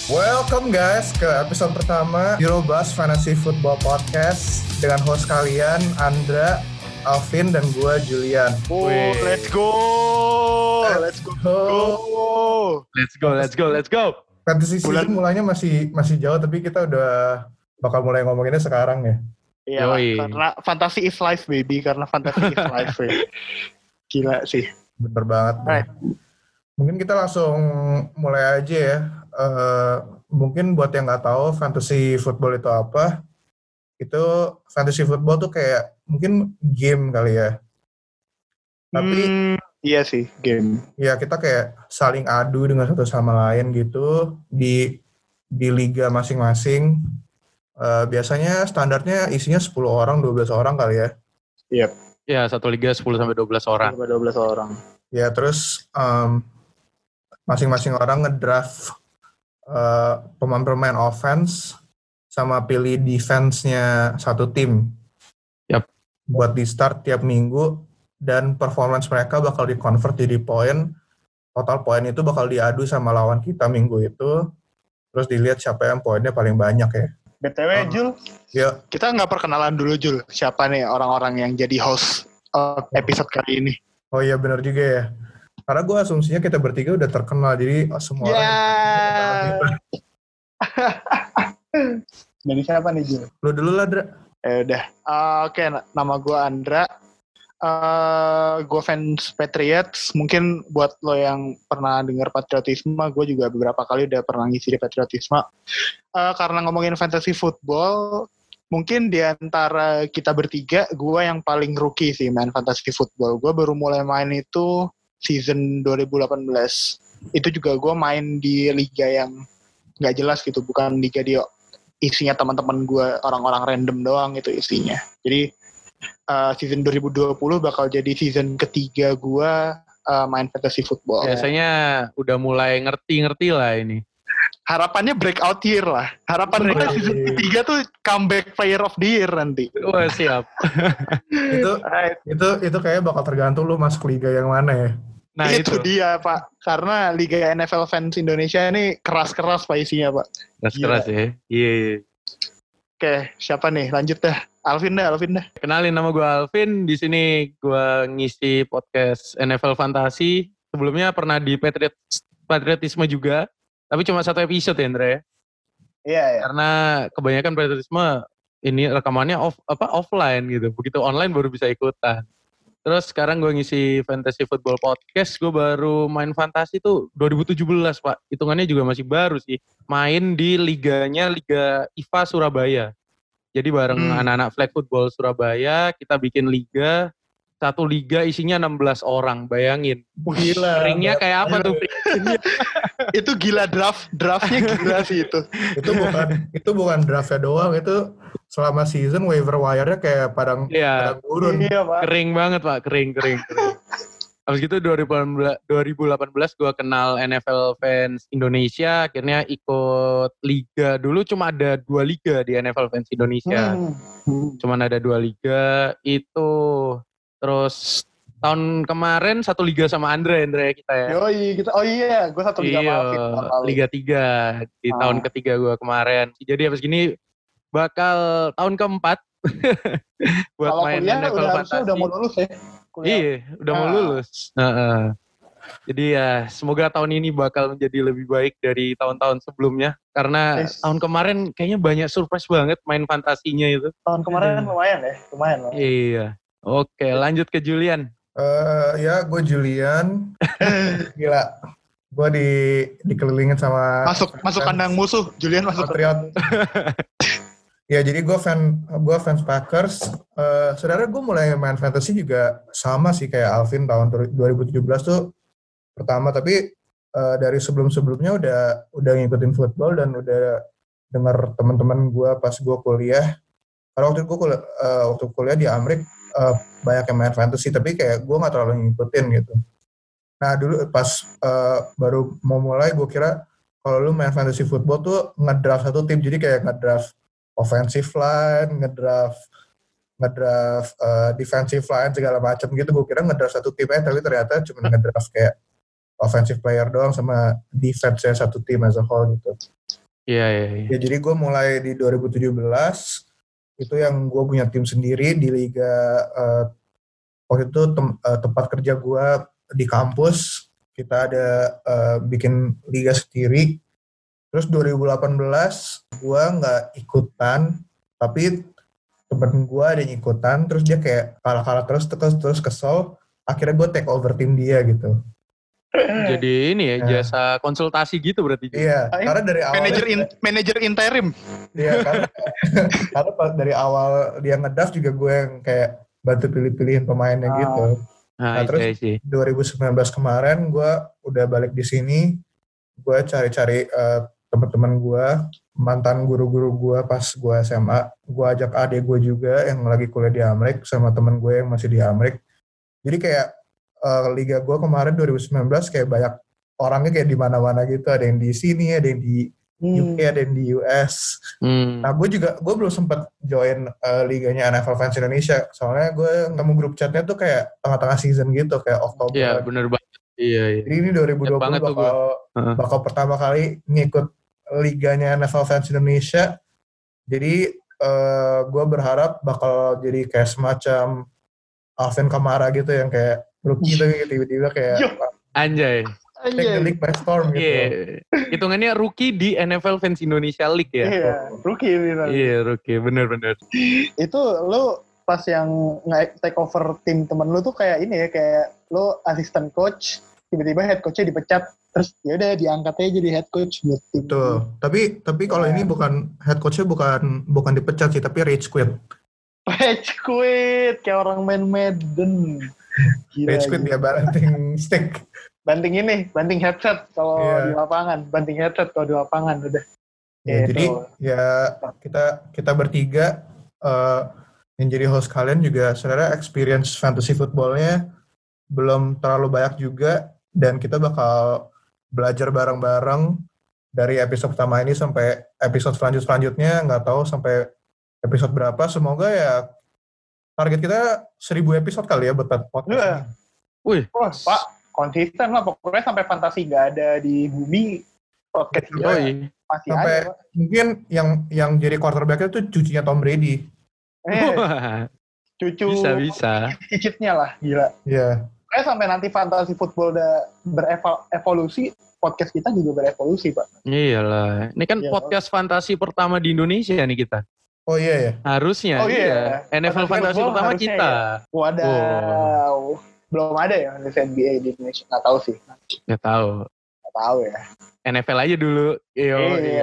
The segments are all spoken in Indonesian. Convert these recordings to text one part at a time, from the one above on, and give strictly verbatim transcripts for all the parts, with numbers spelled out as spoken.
Welcome guys ke episode pertama Eurobus Fantasy Football Podcast dengan host kalian Andra, Alvin, dan gue Julian. Oh, let's go, let's go, let's go, let's go, let's go. Fantasy season mulainya masih masih jauh, tapi kita udah bakal mulai ngomonginnya sekarang ya. Iya, karena fantasy is life baby, karena fantasy is life ya. Gila sih. Bener banget. Right. Mungkin kita langsung mulai aja ya. Uh, mungkin buat yang nggak tahu fantasy football itu apa, itu fantasy football tuh kayak mungkin game kali ya. Tapi hmm, iya sih game. Ya kita kayak saling adu dengan satu sama lain gitu di di liga masing-masing. Uh, biasanya standarnya isinya sepuluh orang, dua belas orang kali ya. Iya. Yep. Ya, satu liga sepuluh sampai dua belas orang. Sampai dua belas orang. Ya, terus um, masing-masing orang ngedraft uh, pemain-pemain offense sama pilih defense-nya satu tim. Yap. Buat di start tiap minggu, dan performance mereka bakal di-convert jadi poin. Total poin itu bakal diadu sama lawan kita minggu itu. Terus dilihat siapa yang poinnya paling banyak ya. B T W, um, Jul, ya. Kita nggak perkenalan dulu, Jul. Siapa nih orang-orang yang jadi host uh, episode kali ini? Oh iya, benar juga ya. Karena gue asumsinya kita bertiga udah terkenal, jadi semua yeah. orang... Jadi siapa nih, Jul? Lu dulu lah, Dra. Eh, udah. Uh, Oke, okay, nama gue Andra. Uh, gue fans Patriots. Mungkin buat lo yang pernah dengar patriotisme, gue juga beberapa kali udah pernah ngisi di patriotisme. Uh, karena ngomongin fantasy football, mungkin di antara kita bertiga, gue yang paling rookie sih main fantasy football. Gue baru mulai main itu season dua ribu delapan belas. Itu juga gue main di liga yang nggak jelas gitu, bukan liga dia isinya teman-teman gue, orang-orang random doang itu isinya. Jadi Uh, season dua ribu dua puluh bakal jadi season ketiga gue uh, main fantasy football. Biasanya ya. Udah mulai ngerti-ngerti lah ini. Harapannya breakout year lah. Harapan gue season ketiga tuh comeback player of the year nanti. Wah, siap. itu itu itu kayaknya bakal tergantung lu masuk liga yang mana ya. Nah itu, itu dia Pak. Karena liga N F L fans Indonesia ini keras-keras Pak isinya Pak. Keras-keras ya. Iya. Yeah. Oke, siapa nih? Lanjut dah. Alvin dah, Alvin dah. Kenalin, nama gue Alvin. Di sini gue ngisi podcast N F L Fantasi. Sebelumnya pernah di Patriot, Patriotisme juga. Tapi cuma satu episode ya, Indra ya? Iya, iya. Karena kebanyakan Patriotisme ini rekamannya off, apa offline gitu. Begitu online baru bisa ikutan. Terus sekarang gue ngisi Fantasy Football Podcast. Gue baru main fantasi tuh dua ribu tujuh belas, Pak. Hitungannya juga masih baru sih. Main di liganya Liga I F A Surabaya. Jadi bareng hmm. anak-anak flag football Surabaya, kita bikin liga. Satu liga isinya enam belas orang, bayangin. Gila. Ringnya kayak apa tuh? Itu gila draft, draftnya gila sih itu. Itu bukan itu bukan draftnya doang, itu selama season waiver wire-nya kayak padang, ya, padang gurun. Iya, Pak. Kering banget, Pak. Kering, kering, kering. Habis gitu dua ribu delapan belas gue kenal N F L Fans Indonesia, akhirnya ikut liga. Dulu cuma ada dua liga di N F L Fans Indonesia. Hmm. Cuma ada dua liga itu. Terus tahun kemarin satu liga sama Andre, Andre kita ya. Yoi, kita, oh iya, gue satu liga iya, sama Liga tiga di ah. tahun ketiga gue kemarin. Jadi habis gini bakal tahun keempat buat kalau main kuliah N F L udah, Fantasi. Udah mau lulus ya? Kuliah. Iya, udah nah. mau lulus. Uh-uh. Jadi ya semoga tahun ini bakal menjadi lebih baik dari tahun-tahun sebelumnya. Karena yes. tahun kemarin kayaknya banyak surprise banget main fantasinya itu. Tahun kemarin hmm. lumayan ya, lumayan loh. Iya. Oke, lanjut ke Julian. Uh, ya, gue Julian. Gila. Gue di dikelilingin sama masuk masuk kandang musuh. Julian masuk Patriot. Ya, jadi gue fan gue fans Packers. Uh, Sebenarnya gue mulai main fantasy juga sama sih kayak Alvin tahun dua ribu tujuh belas tuh pertama, tapi uh, dari sebelum-sebelumnya udah udah ngikutin football dan udah dengar teman-teman gue pas gue kuliah. Karena waktu gue kuliah, uh, waktu kuliah di Amerika uh, banyak yang main fantasy, tapi kayak gue nggak terlalu ngikutin gitu. Nah dulu pas uh, baru mau mulai, gue kira kalau lu main fantasy football tuh ngedraft satu tim, jadi kayak ngedraft offensive line, ngedraft ngedraft uh, defensive line segala macam gitu. Gue kira ngedraft satu tim aja, tapi ternyata cuma ngedraft kayak offensive player doang sama defense-nya satu tim as a whole gitu. Iya, iya, iya. Ya jadi gue mulai di dua ribu tujuh belas itu yang gue punya tim sendiri di liga uh, waktu itu tem, uh, tempat kerja gue di kampus kita ada uh, bikin liga sendiri. Terus dua ribu delapan belas gue nggak ikutan, tapi temen gue ada yang ikutan, terus dia kayak kalah-kalah terus terus terus kesel, akhirnya gue take over tim dia gitu. Jadi ini ya Nah. jasa konsultasi gitu berarti. Iya, karena dari awal Manager in, manager interim. Iya, karena karena pas dari awal dia ngedraft juga gue yang kayak bantu pilih-pilihin pemainnya Ah. gitu. Nah, Nah, terus sih. dua ribu sembilan belas kemarin gue udah balik di sini, gue cari-cari uh, teman-teman gue, mantan guru-guru gue pas gue S M A, gue ajak adik gue juga yang lagi kuliah di Amerika sama teman gue yang masih di Amerika. Jadi kayak uh, liga gue kemarin dua ribu sembilan belas kayak banyak orangnya kayak di mana-mana gitu, ada yang di sini, ada yang di U K, hmm. ada yang di U S. Hmm. Nah gue juga, gue belum sempat join uh, liganya N F L Fans Indonesia, soalnya gue nemu grup chatnya tuh kayak tengah-tengah season gitu, kayak Oktober. Iya bener banget. Iya, iya. Jadi ini dua ribu dua puluh bakal, uh-huh. bakal pertama kali ngikut liganya N F L Fans Indonesia. Jadi uh, gue berharap bakal jadi kayak semacam Alvin Kamara gitu yang kayak rookie tapi tiba-tiba kayak anjay. Take the league by storm gitu. Iya. Hitungannya rookie di N F L Fans Indonesia League ya. Iya, rookie ini. Iya, rookie, bener-bener. Itu lu pas yang take over tim temen lu tuh kayak ini ya, kayak lu assistant coach, tiba-tiba head coachnya dipecat, terus ya udah diangkat aja jadi head coach buat tim. Betul. Tapi tapi kalau ya. Ini bukan head coachnya bukan bukan dipecat sih, tapi rage quit. Rage quit kayak orang main Madden. Gila, rage quit dia banting stick. Banting ini, banting headset kalau yeah. di lapangan, banting headset kalau di lapangan udah. Ya, jadi ya kita kita bertiga uh, yang jadi host kalian juga sebenarnya experience fantasy footballnya belum terlalu banyak juga, dan kita bakal belajar bareng-bareng dari episode pertama ini sampai episode selanjut selanjutnya, nggak tahu sampai episode berapa. Semoga ya target kita seribu episode kali ya buat podcast. Yeah. Wih, oh, Pak. Konsisten lah, pokoknya sampai fantasi nggak ada di bumi, podcast kita masih sampai ada. Pak. Mungkin yang yang jadi quarterback itu cucunya Tom Brady. Eh, cucu bisa-bisa. Cicitnya lah, gila. Iya. Yeah. Kayak sampai nanti fantasi football udah berevolusi, podcast kita juga berevolusi, Pak. Iyalah, ini kan yeah, podcast oh. fantasi pertama di Indonesia nih kita. Oh iya ya. Harusnya. Oh iya. iya. N F L fantasi pertama kita. Ya. Wadaw. Wow. Belum ada ya N B A di Indonesia, nggak tahu sih. Nggak tahu. Nggak tahu ya. N F L aja dulu. Iyo. Iya.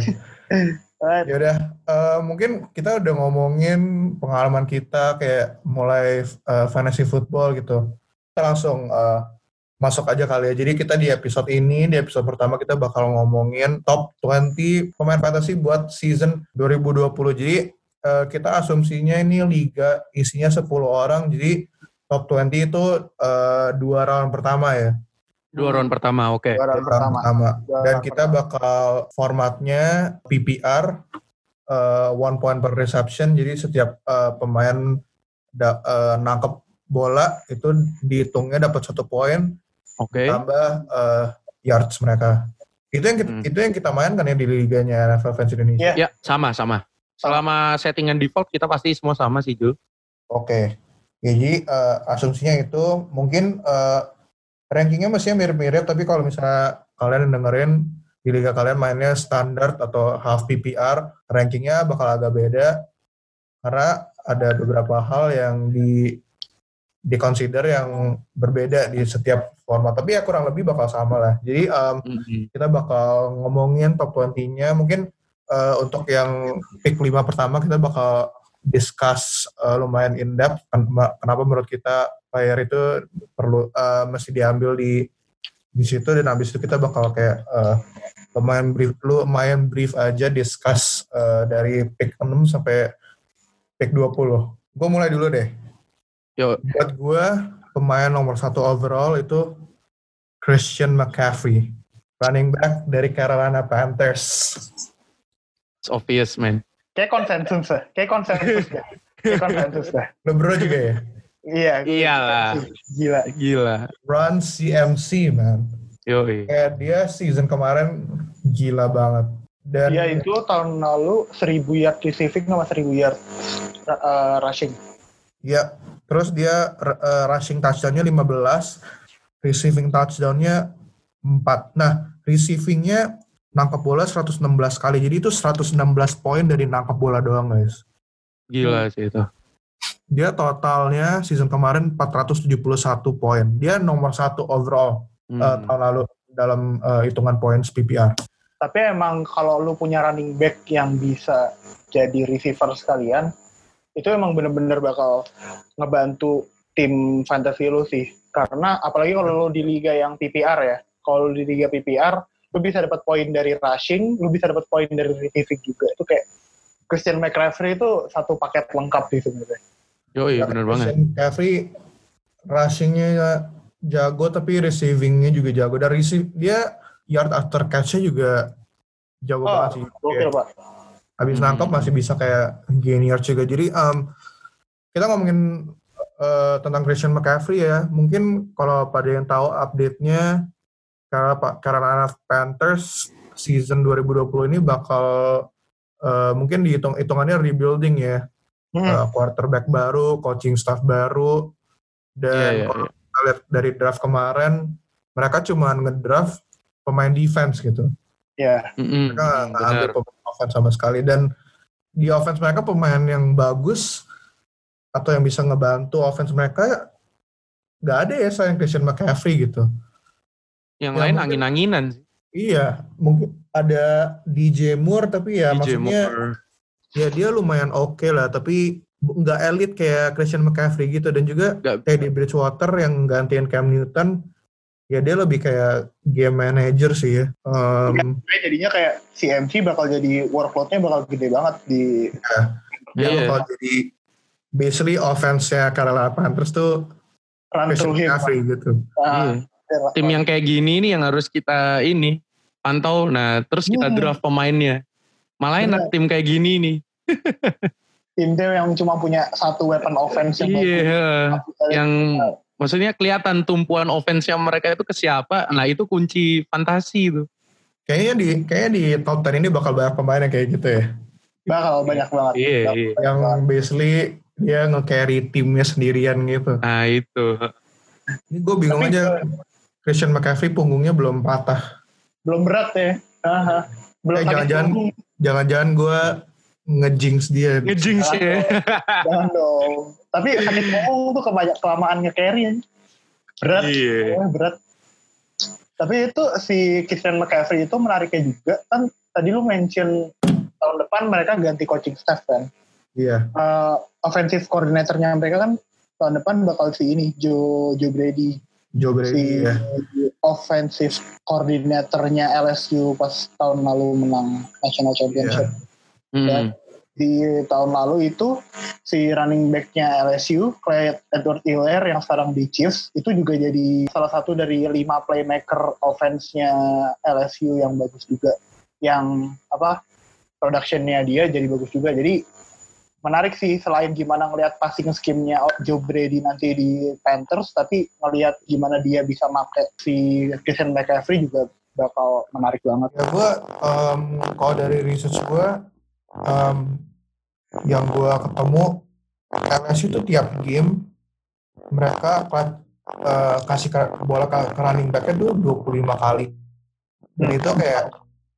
Ya udah, uh, mungkin kita udah ngomongin pengalaman kita kayak mulai uh, fantasy football gitu. Kita langsung uh, masuk aja kali ya. Jadi kita di episode ini, di episode pertama kita bakal ngomongin top dua puluh pemain fantasy buat season dua ribu dua puluh. Jadi uh, kita asumsinya ini liga isinya sepuluh orang, jadi top dua puluh itu uh, dua round pertama ya. Dua round pertama, oke. Okay. Dua round pertama. pertama. Dua Dan kita pertama. bakal formatnya P P R, uh, one point per reception. Jadi setiap uh, pemain da, uh, nangkep bola itu dihitungnya dapat satu poin. Oke. Okay. Tambah uh, yards mereka. Itu yang kita, hmm. itu yang kita mainkan ya di liganya N F L Fans Indonesia. Iya, yeah. sama sama. Selama settingan default kita pasti semua sama sih, Jul. Oke. Okay. Jadi uh, asumsinya itu mungkin uh, rankingnya mestinya mirip-mirip, tapi kalau misalnya kalian dengerin di liga kalian mainnya standar atau half P P R, rankingnya bakal agak beda karena ada beberapa hal yang di di-consider yang berbeda di setiap format, tapi ya kurang lebih bakal sama lah. Jadi um, mm-hmm. kita bakal ngomongin top dua puluh-nya, mungkin uh, untuk yang pick lima pertama kita bakal discuss uh, lumayan in-depth kenapa menurut kita player itu perlu uh, mesti diambil di di situ, dan habis itu kita bakal kayak uh, lumayan brief lu lumayan brief aja discuss uh, dari pick enam sampai pick dua puluh. Gue mulai dulu deh. Yo. Buat gue pemain nomor satu overall itu Christian McCaffrey, running back dari Carolina Panthers. It's obvious, man. Kayak konsensus lah, kayak konsensus dah. Kayak konsensus dah. Lo bro juga ya? Iya. Iyalah. Gila. Gila. Run C M C, man. Yoi. Kayak dia season kemarin gila banget. Dan Iya itu tahun lalu seribu yard receiving sama seribu yard uh, rushing. Ya, terus dia uh, rushing touchdown-nya lima belas, receiving touchdown-nya empat. Nah, receiving-nya nangkap bola seratus enam belas kali. Jadi itu seratus enam belas poin dari nangkap bola doang, guys. Gila sih itu. Dia totalnya season kemarin empat ratus tujuh puluh satu poin. Dia nomor satu overall hmm. uh, tahun lalu dalam uh, hitungan poin P P R. Tapi emang kalau lu punya running back yang bisa jadi receiver sekalian, itu emang bener-bener bakal ngebantu tim fantasy lu sih. Karena apalagi kalau lu di liga yang P P R ya, kalau lu di liga P P R, lu bisa dapat poin dari rushing, lu bisa dapat poin dari receiving juga. Itu kayak Christian McCaffrey itu satu paket lengkap sih sebenarnya. Yo iya bener banget. Christian McCaffrey rushingnya jago tapi receivingnya juga jago. Dan receive dia yard after catch-nya juga jago oh, banget sih. Oke, Pak. Habis hmm. nangkap masih bisa kayak gain yard juga. Jadi um, kita ngomongin uh, tentang Christian McCaffrey ya. Mungkin kalau pada yang tahu update-nya karena Pak Carolina Panthers season dua ribu dua puluh ini bakal uh, mungkin dihitung hitungannya rebuilding ya. Hmm. Uh, quarterback baru, coaching staff baru, dan yeah, yeah, kalau yeah. kita lihat dari draft kemarin mereka cuma ngedraft pemain defense gitu. Ya. Yeah. Mm-hmm. Mereka nggak ambil pemain offense sama sekali, dan di offense mereka pemain yang bagus atau yang bisa ngebantu offense mereka nggak ada ya selain Christian McCaffrey gitu. Yang ya, lain mungkin, angin-anginan sih. Iya, mungkin ada D J Moore tapi ya D J maksudnya Moore. Ya dia lumayan oke okay lah, tapi nggak elit kayak Christian McCaffrey gitu, dan juga gak. kayak di Bridgewater yang gantiin Cam Newton, ya dia lebih kayak game manager sih ya. Um, ya jadinya kayak C M C bakal jadi workload-nya bakal gede banget di. Ya, dia yeah. bakal jadi basically offense-nya Carolina Panthers tuh Christian McCaffrey gitu. Nah, iya. Tim yang kayak gini nih yang harus kita ini pantau, nah terus kita draft pemainnya. Malah enak tim kayak gini nih. Tim-tim yang cuma punya satu weapon offense yang iya, yang uh, maksudnya kelihatan tumpuan offense yang mereka itu ke siapa. Nah, itu kunci fantasi itu. Kayaknya di kayaknya di top sepuluh ini bakal banyak pemain yang kayak gitu ya. Bakal banyak banget. Iya, iya. Yang basically dia nge-carry timnya sendirian gitu. Nah, itu. Ini gue bingung Tapi, aja Christian McCaffrey punggungnya belum patah. Belum berat ya. Uh-huh. Belum eh, jangan-jangan jangan-jangan gue nge-jinx dia. Nge-jinx ya. Jangan dong. Tapi sakit punggung tuh kebanyak kelamaan nge-carry ya. Berat. Iya. Oh, berat. Tapi itu si Christian McCaffrey itu menariknya juga. Kan tadi lu mention tahun depan mereka ganti coaching staff kan. Iya. Uh, offensive coordinator-nya mereka kan tahun depan bakal si ini, Joe, Joe Brady. Joe Brady si ya. Offensive coordinator-nya L S U pas tahun lalu menang National Championship. Yeah. Dan mm. di tahun lalu itu si running back-nya L S U, Clyde Edwards-Helaire yang sekarang di Chiefs, itu juga jadi salah satu dari lima playmaker offense-nya L S U yang bagus juga. Yang apa production-nya dia jadi bagus juga. Jadi menarik sih, selain gimana ngelihat passing scheme-nya Joe Brady nanti di Panthers, tapi ngelihat gimana dia bisa make si Christian McCaffrey juga bakal menarik banget. Ya gue, um, kalau dari research gue, um, yang gue ketemu, L S U tuh tiap game mereka uh, kasih bola ke running back-nya tuh dua puluh lima kali. Dan itu kayak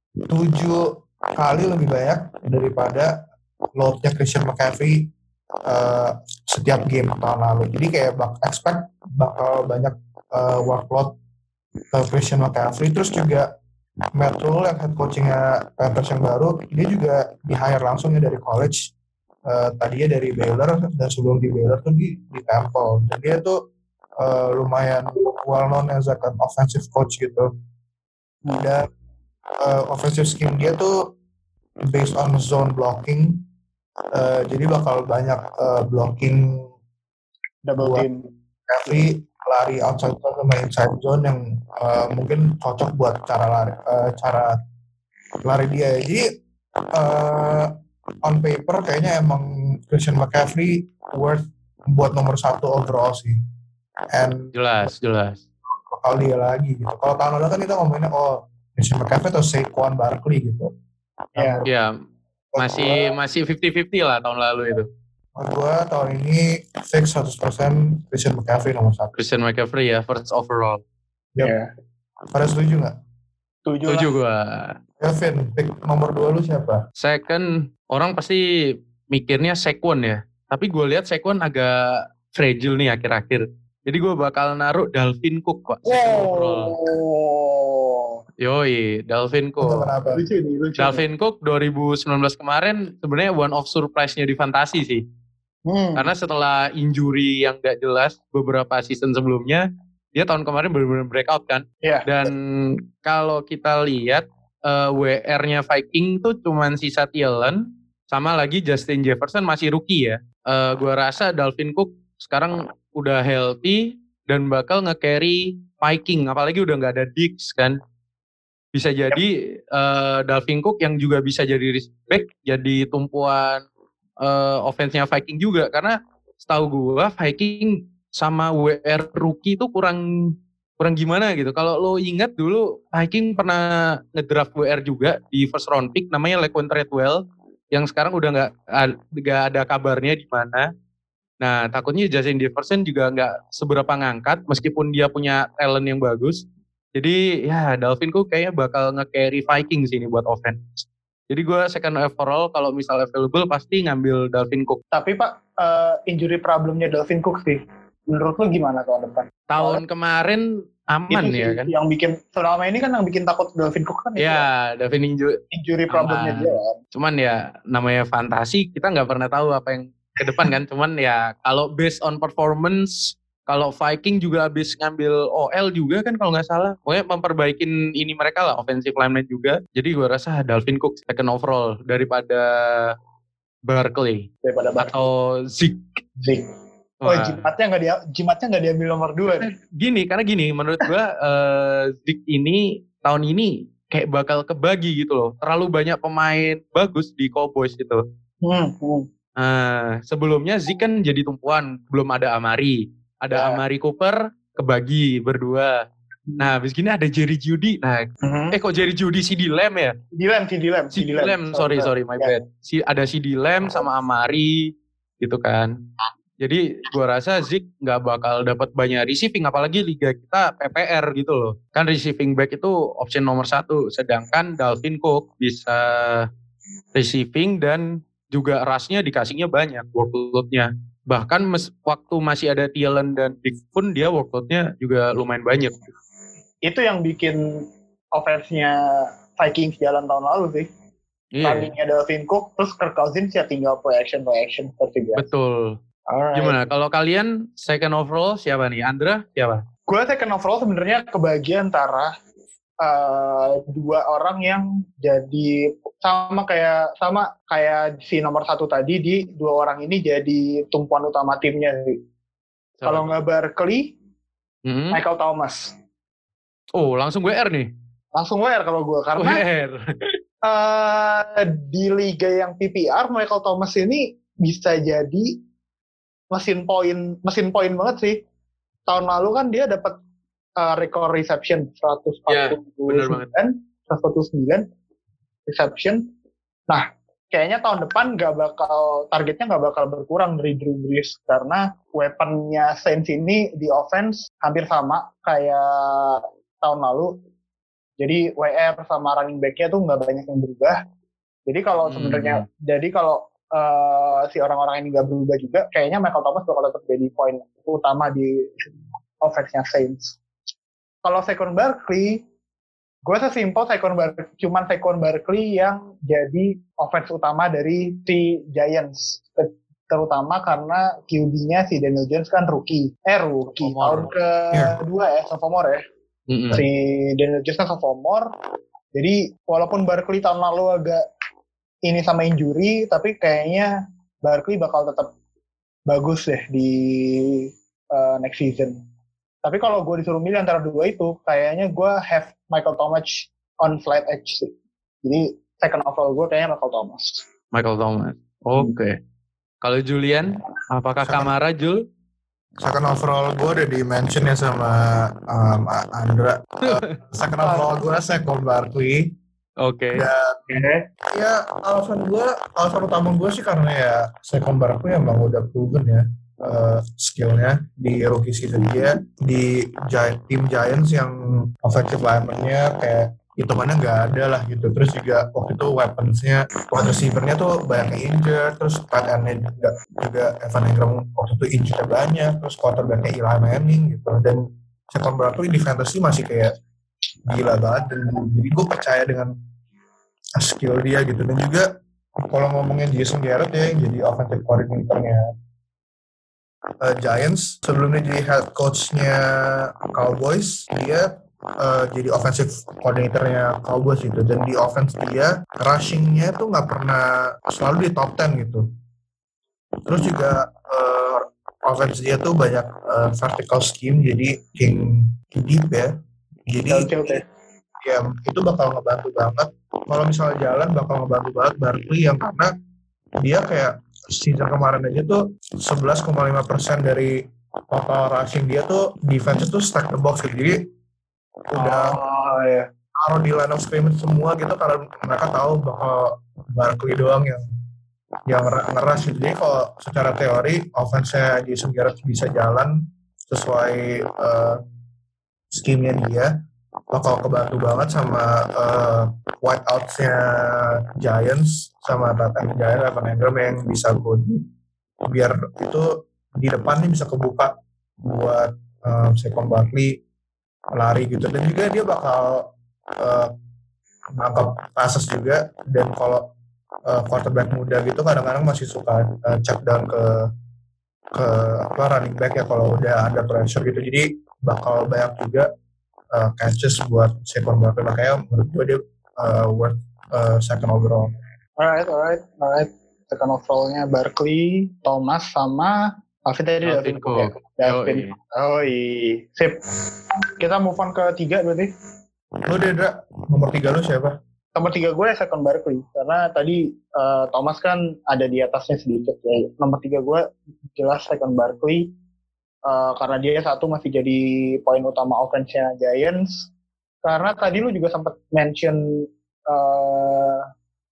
tujuh kali lebih banyak daripada load-nya Christian McCaffrey uh, setiap game tahun lalu. Jadi kayak bak expect bakal banyak uh, workload ke Christian McCaffrey. Terus juga Matt Rule yang head coaching-nya Panthers yang baru, dia juga di-hire langsungnya dari college. Uh, tadinya dari Baylor, dan sebelum di Baylor tuh di, di Temple. Dan dia tuh uh, lumayan well-known as an offensive coach gitu. Dan uh, offensive scheme dia tuh based on zone blocking. Uh, jadi bakal banyak uh, blocking double team McCaffrey lari outside zone sama inside zone yang uh, mungkin cocok buat cara lari uh, cara lari dia. Jadi uh, on paper kayaknya emang Christian McCaffrey worth buat nomor satu overall sih. And jelas jelas bakal dia lagi gitu. Kalau tahun lalu kan kita ngomongin oh Christian McCaffrey atau Saquon Barkley gitu. Iya. Ya, masih masih fifty fifty lah tahun lalu itu. Gue tahun ini fix seratus persen Christian McCaffrey nomor satu. Christian McCaffrey ya, first overall. Yep. Iya. Pada setuju nggak? Setuju Setuju lah. gue. Kevin, pick nomor dua lu siapa? Second, orang pasti mikirnya Saquon ya. Tapi gue lihat Saquon agak fragile nih akhir-akhir. Jadi gue bakal naruh Dalvin Cook Pak. Second overall. Oh. Yoi, Dalvin Cook. Kenapa? Lucu nih, lucu. Dalvin Cook dua ribu sembilan belas kemarin sebenarnya one of surprise-nya di fantasi sih. Hmm. Karena setelah injury yang gak jelas beberapa season sebelumnya, dia tahun kemarin benar-benar breakout kan. Iya. Dan kalau kita lihat uh, W R-nya Viking tuh cuman sisa Thielen, sama lagi Justin Jefferson masih rookie ya. Uh, gua rasa Dalvin Cook sekarang udah healthy dan bakal nge-carry Viking, apalagi udah gak ada Diggs kan. Bisa jadi uh, Dalvin Cook yang juga bisa jadi respect, jadi tumpuan uh, offense-nya Viking juga. Karena setahu gue Viking sama W R rookie itu kurang kurang gimana gitu. Kalau lo ingat dulu Viking pernah ngedraft W R juga di first round pick namanya Laquan Treadwell yang sekarang udah nggak nggak ada kabarnya di mana. Nah takutnya Justin Jefferson juga nggak seberapa ngangkat meskipun dia punya talent yang bagus. Jadi ya Dalvin Cook kayaknya bakal nge-carry Viking sih ini buat offense. Jadi gue second overall kalau misal available pasti ngambil Dalvin Cook. Tapi Pak, uh, injury problemnya Dalvin Cook sih. Menurut lu gimana tahun depan? Tahun oh, kemarin aman itu ya kan? Yang bikin selama ini kan yang bikin takut Dalvin Cook kan? Ya, Dalvin injury. Injury problemnya dia kan. Cuman ya namanya fantasi kita nggak pernah tahu apa yang ke depan kan. Cuman ya kalau based on performance. Kalau Viking juga habis ngambil O L juga kan kalau nggak salah. Pokoknya memperbaikin ini mereka lah, offensive lineman juga. Jadi gue rasa Dalvin Cook second overall daripada Barkley. Daripada Barkley. Atau Zeke. Zeke. Oh jimatnya nggak dia, jimatnya nggak diambil nomor dua. Nih. Gini, karena gini menurut gue uh, Zeke ini tahun ini kayak bakal kebagi gitu loh. Terlalu banyak pemain bagus di Cowboys gitu. Hmm, hmm. Uh, sebelumnya Zeke kan jadi tumpuan, belum ada Amari. Ada ya. Amari Cooper kebagi berdua. Nah, habis gini ada Jerry Jeudy. Nah, mm-hmm. eh kok Jerry Jeudy C D Lamb ya? C D Lamb, C D Lamb, C D Lamb. Sorry, sorry, my yeah. bad. Si ada C D Lamb sama Amari gitu kan. Jadi gua rasa Zeke nggak bakal dapat banyak receiving, apalagi liga kita P P R gitu loh. Kan receiving back itu option nomor satu, sedangkan Dalvin Cook bisa receiving dan juga rush-nya dikasihnya banyak workload-nya. Bahkan mes, waktu masih ada Thielen dan Diggs pun dia workload-nya juga lumayan banyak. Itu yang bikin offense-nya Vikings jalan tahun lalu sih. Iya. Tadinya Dalvin Cook, terus Kirk Cousins ya tinggal play action, play action seperti biasa. Betul. Alright. Gimana? Kalau kalian second overall siapa nih? Andra siapa? Gue second overall sebenarnya kebagian antara uh, dua orang yang jadi sama kayak sama kayak si nomor satu tadi, di dua orang ini jadi tumpuan utama timnya sih. Kalau nggak Barkley, mm-hmm. Michael Thomas. Oh, langsung W R nih? Langsung W R kalau gue, karena W R. uh, di liga yang P P R, Michael Thomas ini bisa jadi mesin poin, mesin poin banget sih. Tahun lalu kan dia dapat uh, rekor reception seratus empat puluh sembilan, seratus empat puluh sembilan reception. Nah, kayaknya tahun depan nggak bakal targetnya nggak bakal berkurang dari Drew Brees karena weaponnya Saints ini di offense hampir sama kayak tahun lalu. Jadi W R sama running back-nya tuh nggak banyak yang berubah. Jadi kalau hmm. sebenarnya, jadi kalau uh, si orang-orang ini nggak berubah juga, kayaknya Michael Thomas bakal tetap jadi poin utama di offense-nya Saints. Kalau Saquon Barkley, gue sesimpel Saquon Barkley, cuman Saquon Barkley yang jadi offense utama dari si Giants, terutama karena Q B-nya si Daniel Jones kan rookie, eh rookie tahun kedua ya, sophomore ya, mm-hmm. si Daniel Jones kan sophomore, jadi walaupun Barkley tahun lalu agak ini sama injury, tapi kayaknya Barkley bakal tetap bagus deh di uh, next season. Tapi kalau gue disuruh milih antara dua itu, kayaknya gue have Michael Thomas on flight edge sih. Jadi second overall gue kayaknya Michael Thomas. Michael Thomas. Oke. Okay. Kalau Julian, apakah second, Kamara, Jul? Second overall gue udah di-mention ya sama um, Andra. Uh, second overall gue Saquon Barkley. Oke. Oke. Dan Oke. ya alasan gue, alasan utama gue sih karena ya Saquon Barkley emang udah proven ya uh, skillnya di rookie season dia di Gi- tim Giants yang offensive lineman-nya kayak hitungannya nggak ada lah gitu. Terus juga waktu itu weapons-nya, wide receiver-nya tuh banyak yang injured, terus tight end-nya juga, juga Evan Engram waktu itu injured banyak, terus quarterback-nya Eli Manning gitu. Dan Saquon Barkley di fantasy masih kayak gila banget, dan jadi gue percaya dengan skill dia gitu. Dan juga kalau ngomongin Jason Garrett ya yang jadi offensive coordinator-nya uh, Giants, sebelumnya jadi head coach-nya Cowboys, dia uh, jadi offensive coordinator-nya Cowboys gitu. Dan di offense dia rushing-nya tuh nggak pernah selalu di top sepuluh gitu. Terus juga uh, offense dia tuh banyak uh, vertical scheme, jadi king, king deep ya. Jadi Oke. ya itu bakal ngebantu banget kalau misalnya jalan, bakal ngebantu banget Barkley yang karena dia kayak season kemarin aja tuh sebelas koma lima persen dari total rushing dia tuh defense itu stack the box gitu. Jadi udah Oh ya. taruh di line of scrimmage semua gitu karena mereka tahu bakal Barkley doang yang yang ngerush gitu. Jadi kalau secara teori offense-nya Jason Garrett bisa jalan sesuai uh, scheme-nya dia, bakal kebantu banget sama uh, wideouts-nya Giants sama Tatan Giants, Evan Engram yang bisa body biar itu di depan nih bisa kebuka buat um, Saquon Barkley lari gitu. Dan juga dia bakal uh, nangkap passes juga. Dan kalau uh, quarterback muda gitu kadang-kadang masih suka uh, check down ke ke apa running back ya kalau udah ada pressure gitu. Jadi bakal banyak juga Uh, catches buat Saquon Barkley, makanya menurut gue dia uh, worth uh, second overall. Alright, alright, alright. Second overall-nya Barkley, Thomas sama Alvin tadi Dalvin Dalvin Cook. Cook. Ya? Dalvin. Yoi. Oh iya. Sip. Kita move on ke tiga berarti. Lu Dedra, nomor tiga lu siapa? Nomor tiga gue Saquon Barkley. Karena tadi uh, Thomas kan ada di atasnya sedikit ya. Nomor tiga gue jelas Saquon Barkley. Uh, karena dia satu masih jadi poin utama offense-nya Giants. Karena tadi lu juga sempat mention uh,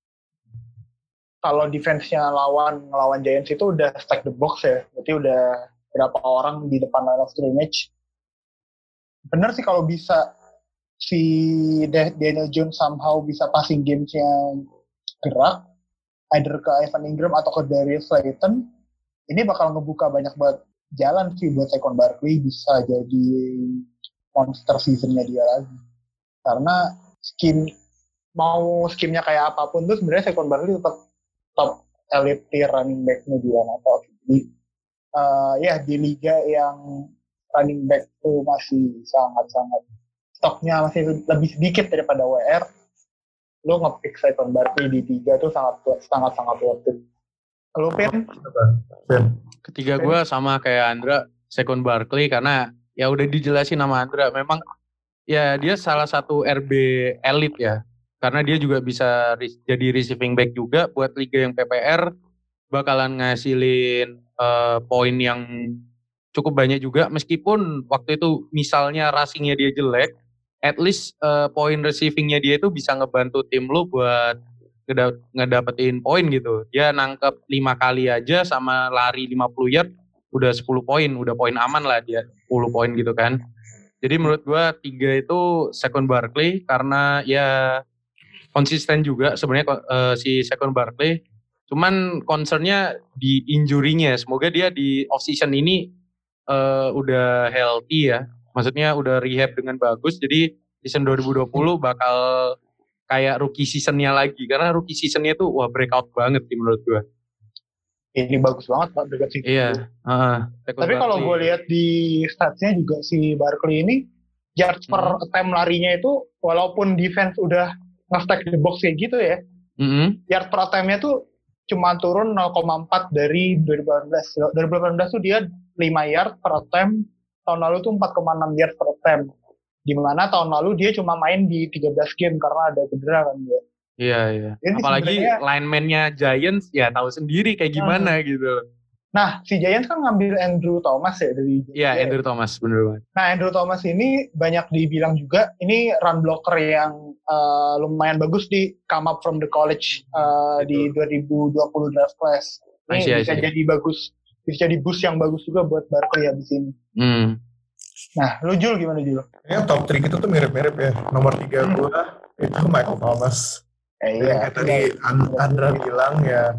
kalau defense-nya lawan ngelawan Giants itu udah stack the box ya. Berarti udah berapa orang di depan line of scrimmage. Bener sih kalau bisa si Daniel Jones somehow bisa passing games-nya gerak, either ke Evan Engram atau ke Darius Slayton, ini bakal ngebuka banyak banget jalan sih buat Saquon Barkley bisa jadi monster season-nya dia lagi. Karena skim mau skimnya kayak apapun tuh sebenarnya Saquon Barkley tetap top elite tier running back-nya dia atau jadi uh, ya di liga yang running back tuh masih sangat-sangat stoknya masih lebih sedikit daripada W R. Lo nge-pick Saquon Barkley di tiga tuh sangat sangat sangat worth it. Lo Pin? Ketiga gue sama kayak Andra, Saquon Barkley, karena ya udah dijelasin sama Andra, memang ya dia salah satu R B elite ya, karena dia juga bisa re- jadi receiving back juga buat liga yang P P R, bakalan ngasilin uh, poin yang cukup banyak juga, meskipun waktu itu misalnya rushingnya dia jelek, at least uh, poin receivingnya dia itu bisa ngebantu tim lu buat ngedapetin poin gitu. Dia nangkep lima kali aja sama lari lima puluh yard udah sepuluh poin, udah poin aman lah dia, sepuluh poin gitu kan. Jadi menurut gua tiga itu Saquon Barkley karena ya konsisten juga sebenarnya uh, si Saquon Barkley. Cuman concernnya di injury-nya. Semoga dia di off season ini uh, udah healthy ya. Maksudnya udah rehab dengan bagus. Jadi season dua ribu dua puluh bakal kayak rookie season-nya lagi. Karena rookie season-nya tuh wah breakout banget sih menurut gue. Ini bagus banget Pak breakout season. Iya. Uh, Tapi kalau gue lihat di stats-nya juga si Barkley ini yards per hmm. attempt larinya itu walaupun defense udah nge-stack the box kayak gitu ya. Mm-hmm. Yards per attempt-nya tuh cuma turun nol koma empat dari dua ribu delapan belas. dua ribu delapan belas tuh dia lima yard per attempt. Tahun lalu tuh empat koma enam yard per attempt. Di mana tahun lalu dia cuma main di tiga belas game karena ada cedera kan dia. Iya, iya. Jadi apalagi sebenarnya lineman-nya Giants ya tahu sendiri kayak gimana hmm. gitu. Nah, si Giants kan ngambil Andrew Thomas ya dari Iya, yeah, Andrew Thomas, bener banget. Nah, Andrew Thomas ini banyak dibilang juga ini run blocker yang uh, lumayan bagus di come up from the college uh, di dua ribu dua puluh draft class. Ini see, bisa see. jadi bagus, bisa jadi boost yang bagus juga buat Barkley habis ini. Hmm. Nah, lu Jul gimana Jul? Ya top tiga itu tuh mirip-mirip ya. Nomor tiga hmm. gue itu Michael Thomas. Eh, iya. Kayak tadi Andra bilang ya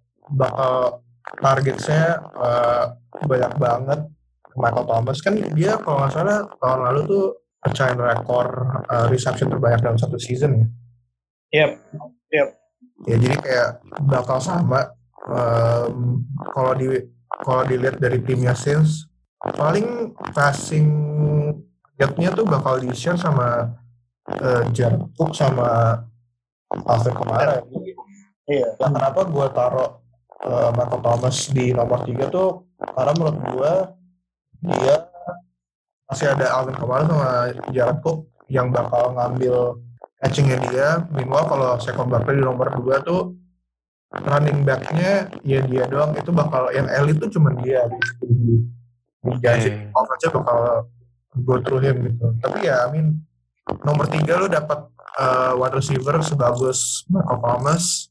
bakal targetnya uh, banyak banget. Michael Thomas kan dia kalau nggak salah tahun lalu tuh pecahin rekor uh, reception terbanyak dalam satu season ya. Yep, yep. Ya jadi kayak bakal sama um, kalau di kalau dilihat dari timnya Saints paling passing gap-nya tuh bakal di-share sama uh, Jared Cook sama Alvin Kamara. Iya. Ya, kenapa gue taruh uh, Michael Thomas di nomor tiga tuh karena menurut gue dia masih ada Alvin Kamara sama Jared Cook yang bakal ngambil catching-nya dia. Meanwhile kalau Saquon Barkley di nomor dua tuh running back-nya ya dia doang, itu bakal yang elite tuh cuma dia di Giants offense bakal go through him gitu. Tapi ya I mean nomor tiga lu dapat uh, wide receiver sebagus Michael Thomas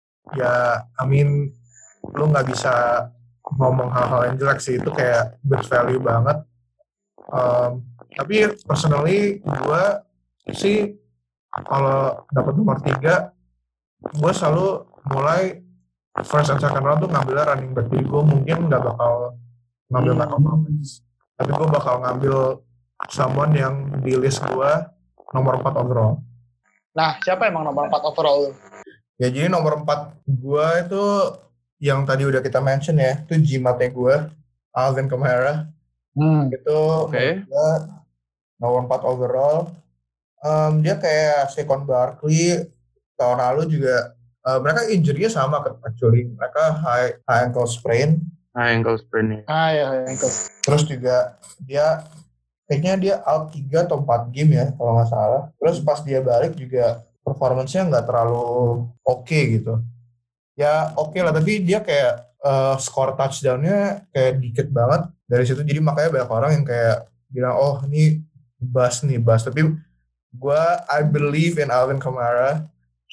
ya I mean lu nggak bisa ngomong hal-hal yang jelek sih, itu kayak good value banget. Um, tapi personally gue sih kalau dapat nomor tiga gue selalu mulai first and second round tuh ngambilnya running back. Jadi gue mungkin nggak bakal ngambil Michael Thomas, tapi gue bakal ngambil someone yang di list gue nomor empat overall. Nah, siapa emang nomor empat overall? Ya jadi nomor empat gue itu yang tadi udah kita mention ya, itu jimatnya gue, Alvin Kamara. Hmm. Itu okay. gue nomor empat overall. Um, dia kayak Saquon Barkley tahun lalu juga. Uh, mereka injury-nya sama actually. Mereka high, high ankle sprain. High ankle sprain. Ah ya, high ankle. Terus juga dia kayaknya dia out tiga atau empat game ya kalau nggak salah. Terus pas dia balik juga performance-nya nggak terlalu oke okay gitu. Ya oke okay lah, tapi dia kayak uh, score touchdown-nya kayak dikit banget dari situ. Jadi makanya banyak orang yang kayak bilang, oh ini bust nih, bust. Tapi gue, I believe in Alvin Kamara.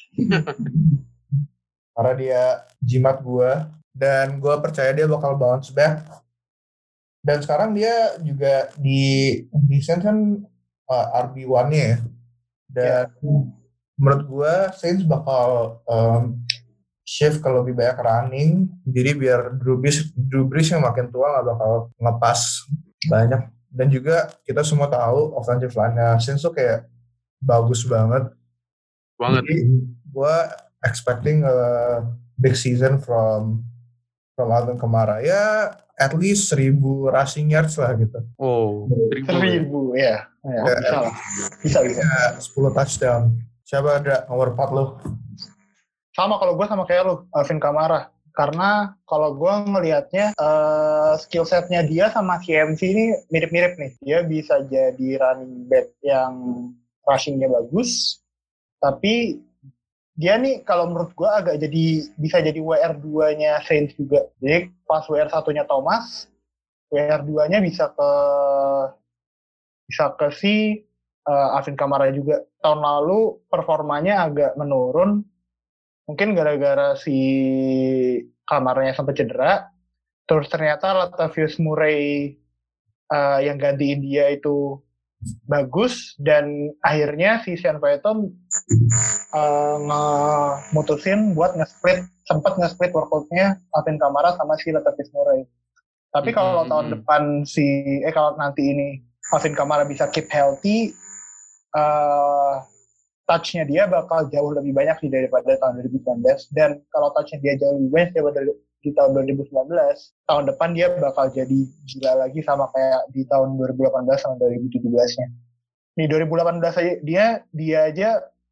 Karena dia jimat gue. Dan gue percaya dia bakal bounce back. Dan sekarang dia juga di, di Saints kan uh, R B one-nya ya. Dan yeah. menurut gue Saints bakal um, shift ke lebih banyak running, jadi biar Drew Brees, Drew Brees yang makin tua nggak bakal ngepas banyak. Dan juga kita semua tahu offensive line-nya Saints tuh kayak bagus banget. Banget. Jadi gue expecting a big season from from Alvin Kamara. Ya at least seribu rushing yards lah gitu. Oh, seribu ya. Ya, ya bisa lah. Bisa bisa. Ya, sepuluh touchdown. Siapa ada nomor empat lo? Sama kalau gue sama kayak lu, Alvin Kamara. Karena kalau gue ngelihatnya uh, skill setnya dia sama C M C ini mirip-mirip nih. Dia bisa jadi running back yang rushingnya bagus, tapi dia nih kalau menurut gue agak jadi bisa jadi W R dua-nya Saints juga. Jadi pas W R satu-nya Thomas, W R dua-nya bisa ke bisa ke si uh, Alvin Kamara juga. Tahun lalu performanya agak menurun. Mungkin gara-gara si Kamaranya sampai cedera, terus ternyata Latavius Murray uh, yang gantiin dia itu bagus, dan akhirnya si Sean Payton uh, nge-mutusin buat nge-split, sempat nge-split workout-nya Alvin Kamara sama si Latavius Murray. Tapi kalau mm-hmm. tahun depan si, eh kalau nanti ini Alvin Kamara bisa keep healthy, uh, touch-nya dia bakal jauh lebih banyak sih daripada tahun dua ribu sembilan belas. Dan kalau touch-nya dia jauh lebih banyak daripada di tahun dua ribu sembilan belas, tahun depan dia bakal jadi gila lagi sama kayak di tahun dua ribu delapan belas sama dua ribu tujuh belas-nya. Nih dua ribu delapan belas aja dia dia aja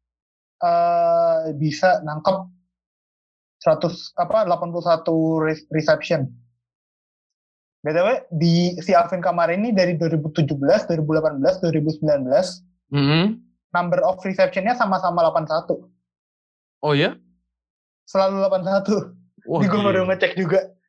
uh, bisa nangkep seratus apa delapan puluh satu reception. B T W di si Alvin Kamara ini dari dua ribu tujuh belas, dua ribu delapan belas, dua ribu sembilan belas. Mm-hmm. Number of reception-nya sama-sama delapan puluh satu. Oh ya? Selalu delapan puluh satu. Ini gue baru ngecek juga.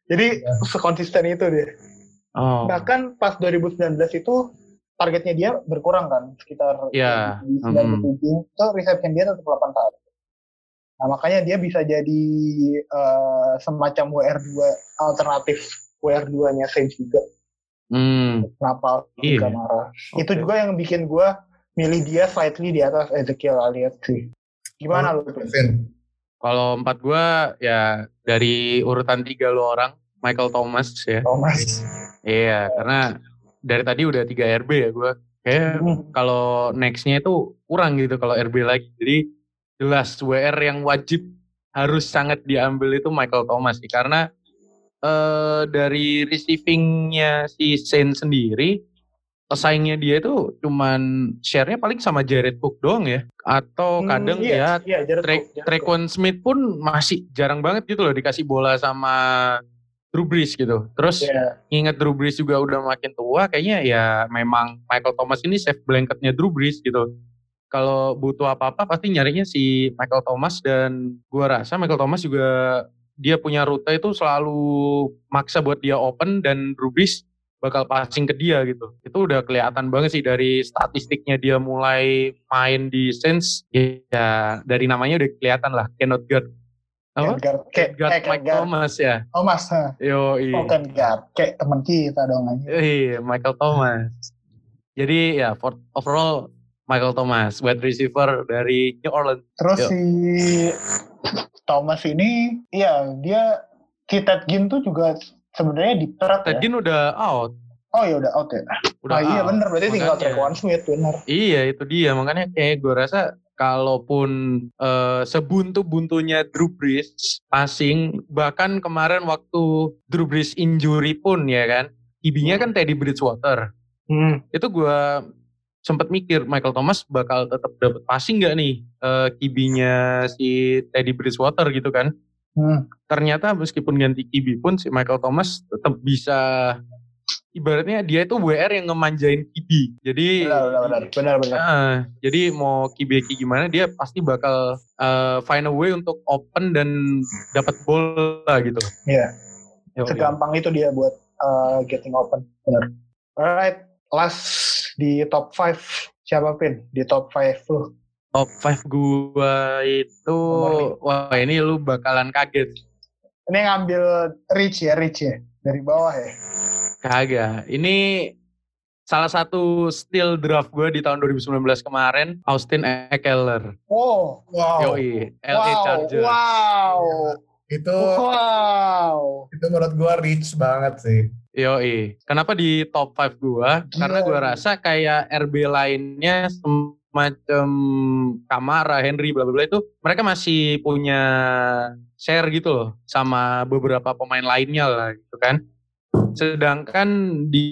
Jadi Ya. sekonsisten itu dia. Oh. Bahkan pas dua ribu sembilan belas itu targetnya dia berkurang kan, sekitar Ya. di sembilan puluh tujuh, Hmm. itu reception dia tetap delapan kali. Nah makanya dia bisa jadi uh, semacam W R dua alternatif W R dua-nya Saints juga. Hmm. Kenapa Iya. Kamara? Okay. Itu juga yang bikin gue milih dia slightly di atas Ezekiel Elliott sih. Gimana lu? Vin? Kalau empat gue ya dari urutan tiga lu orang, Michael Thomas ya. Thomas. Iya, karena dari tadi udah tiga R B ya gue. Kayak hmm. kalau nextnya itu kurang gitu kalau R B lagi. Jadi jelas W R yang wajib harus sangat diambil itu Michael Thomas sih. Karena eh, dari receivingnya si Saints sendiri, pesaingnya dia itu cuman share-nya paling sama Jared Cook doang ya. Atau kadang hmm, iya, ya iya, Tre- Trequan Smith pun masih jarang banget gitu loh dikasih bola sama Drew Brees gitu. Terus yeah. Ingat Drew Brees juga udah makin tua, kayaknya ya memang Michael Thomas ini safe blanket-nya Drew Brees gitu. Kalau butuh apa-apa pasti nyarinya si Michael Thomas, dan gua rasa Michael Thomas juga dia punya rute itu selalu maksa buat dia open dan Drew Brees bakal passing ke dia gitu. Itu udah kelihatan banget sih dari statistiknya dia mulai main di Saints. Ya dari namanya udah kelihatan lah, cannot guard. Apa? Guard, kayak guard kayak Mike guard. Thomas ya. Thomas, ha. Yo, iya. Oh, kan guard, kayak teman kita dong aja. Iya, Michael Thomas. Jadi ya for, overall Michael Thomas, wide receiver dari New Orleans. Terus Yo. si Thomas ini, iya dia si Ted Ginn tuh juga sebenarnya di perat Ted ya. Ginn udah out. Oh ya udah out ya. Udah ah, out. Iya benar, berarti makanya, tinggal Trequan Smith benar. Iya itu dia, makanya kayak gue rasa kalaupun uh, sebuntu-buntunya Drew Brees passing, bahkan kemarin waktu Drew Brees injury pun ya kan, I B-nya hmm. kan Teddy Bridgewater. Hmm. Itu gue sempat mikir Michael Thomas bakal tetap dapat passing nggak nih uh, Q B-nya si Teddy Bridgewater gitu kan. Hmm. Ternyata meskipun ganti Q B pun si Michael Thomas tetap bisa, ibaratnya dia itu W R yang ngemanjain Q B. Jadi benar benar benar benar. Uh, jadi mau Q B gimana dia pasti bakal uh, find a way untuk open dan dapat bola gitu. Iya. Yeah. Segampang itu dia buat uh, getting open. Benar. Alright, last di top five siapa Pin? Di top five lu. Top five gua itu, wah ini lu bakalan kaget. Ini ngambil Rich ya, Rich ya, dari bawah ya. Kagak, ini salah satu steal draft gue di tahun dua ribu sembilan belas kemarin, Austin Ekeler. Oh, wow. Yoi, L A wow, Chargers. Wow, itu, wow. Itu menurut gue rich banget sih. Yoi, kenapa di top five gue? Karena gue rasa kayak R B lainnya semacam Kamara, Henry, bla bla bla itu mereka masih punya share gitu loh sama beberapa pemain lainnya lah gitu kan. Sedangkan di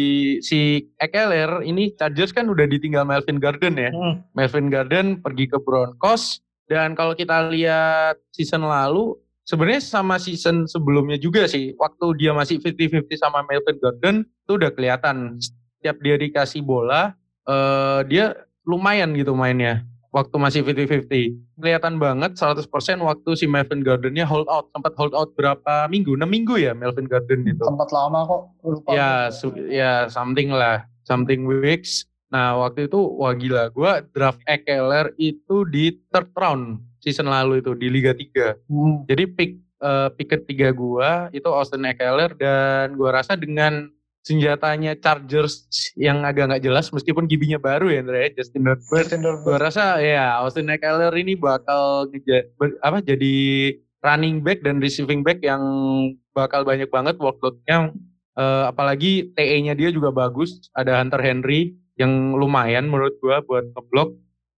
si Ekeler ini Chargers kan udah ditinggal Melvin Gordon ya. Hmm. Melvin Gordon pergi ke Broncos, dan kalau kita lihat season lalu sebenarnya sama season sebelumnya juga sih, waktu dia masih lima puluh lima puluh sama Melvin Gordon itu udah kelihatan setiap dia dikasih bola uh, dia lumayan gitu mainnya. Waktu masih lima puluh lima puluh kelihatan banget seratus persen waktu si Melvin Gordon-nya hold out, sempat hold out berapa minggu, enam minggu ya Melvin Gordon itu. Sempat lama kok, lupa. Ya, su- ya something lah, something weeks. Nah waktu itu wah gila, gue draft Ekeler itu di third round season lalu itu di Liga tiga. Hmm. Jadi pick uh, pick ketiga gue itu Austin Ekeler, dan gue rasa dengan senjatanya Chargers yang agak nggak jelas meskipun Q B-nya baru ya Andre, Justin Herbert. Gue rasa ya Austin Ekeler ini bakal ngeja, ber, apa jadi running back dan receiving back yang bakal banyak banget workload-nya. Uh, apalagi T E-nya dia juga bagus. Ada Hunter Henry yang lumayan menurut gue buat ngeblok.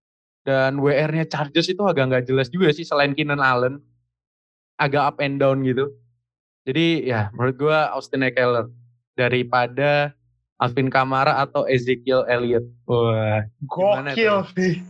Dan W R-nya Chargers itu agak nggak jelas juga sih selain Keenan Allen. Agak up and down gitu. Jadi ya menurut gue Austin Ekeler daripada Alvin Kamara atau Ezekiel Elliott. Wah, gokil sih.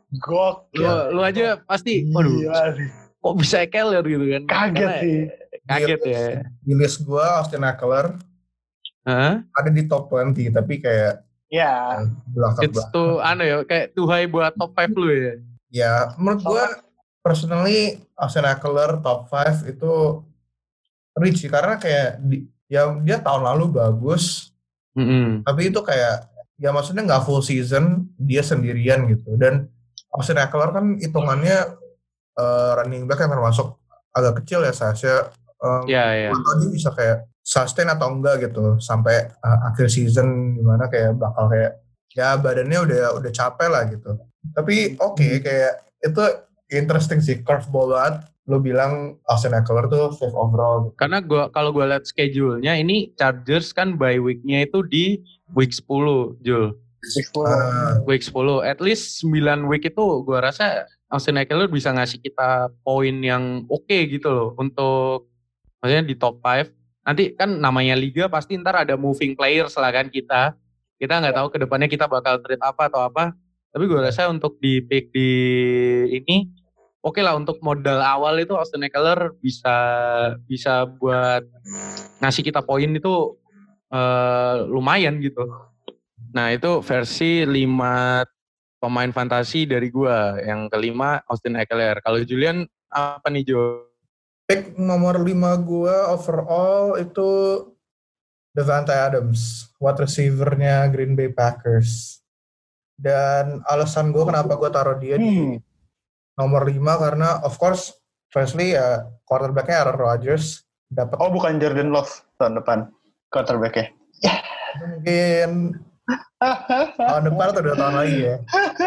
Gokil. Lu, lu aja pasti, waduh, kok bisa Ekeler gitu kan? Kaget Karena, sih. Kaget di ya. Di list gue Austin Ekeler huh? ada di top dua puluh, tapi kayak ya belakang-belakang. It's too, ano ya, kayak too high buat top lima lu ya? Ya, menurut gue personally Austin Ekeler top lima itu reach sih, karena kayak di, ya dia tahun lalu bagus, Mm-hmm. tapi itu kayak ya maksudnya nggak full season dia sendirian gitu. Dan Austin Eckler kan hitungannya uh, running back yang termasuk agak kecil ya saya. Um, Ya, ya. Atau dia bisa kayak sustain atau enggak gitu sampai uh, akhir season gimana kayak bakal kayak ya badannya udah udah capek lah gitu. Tapi oke okay, kayak itu interesting sih, curveball banget. Lo bilang Austin Eckler tuh fifth overall. Gitu. Karena gua kalau gue lihat schedule-nya ini Chargers kan bye week-nya itu di week sepuluh, Jul. Week sepuluh. Uh, week sepuluh. At least sembilan week itu gue rasa Austin Eckler bisa ngasih kita poin yang oke okay gitu loh untuk maksudnya di top lima. Nanti kan namanya liga pasti ntar ada moving players lah kan kita. Kita nggak tahu kedepannya kita bakal trade apa atau apa. Tapi gue rasa untuk di pick di ini oke okay lah, untuk modal awal itu Austin Eckler bisa bisa buat ngasih kita poin itu uh, lumayan gitu. Nah itu versi lima pemain fantasi dari gue. Yang kelima Austin Eckler. Kalau Julian apa nih Jo? Pick nomor lima gue overall itu Davante Adams, wide receiver-nya Green Bay Packers. Dan alasan gue kenapa gue taruh dia di hmm. nomor lima karena of course firstly ya quarterback-nya Aaron Rodgers dapat. Oh bukan Jordan Love tahun depan quarterback-nya. Mungkin tahun depan atau dua tahun lagi ya.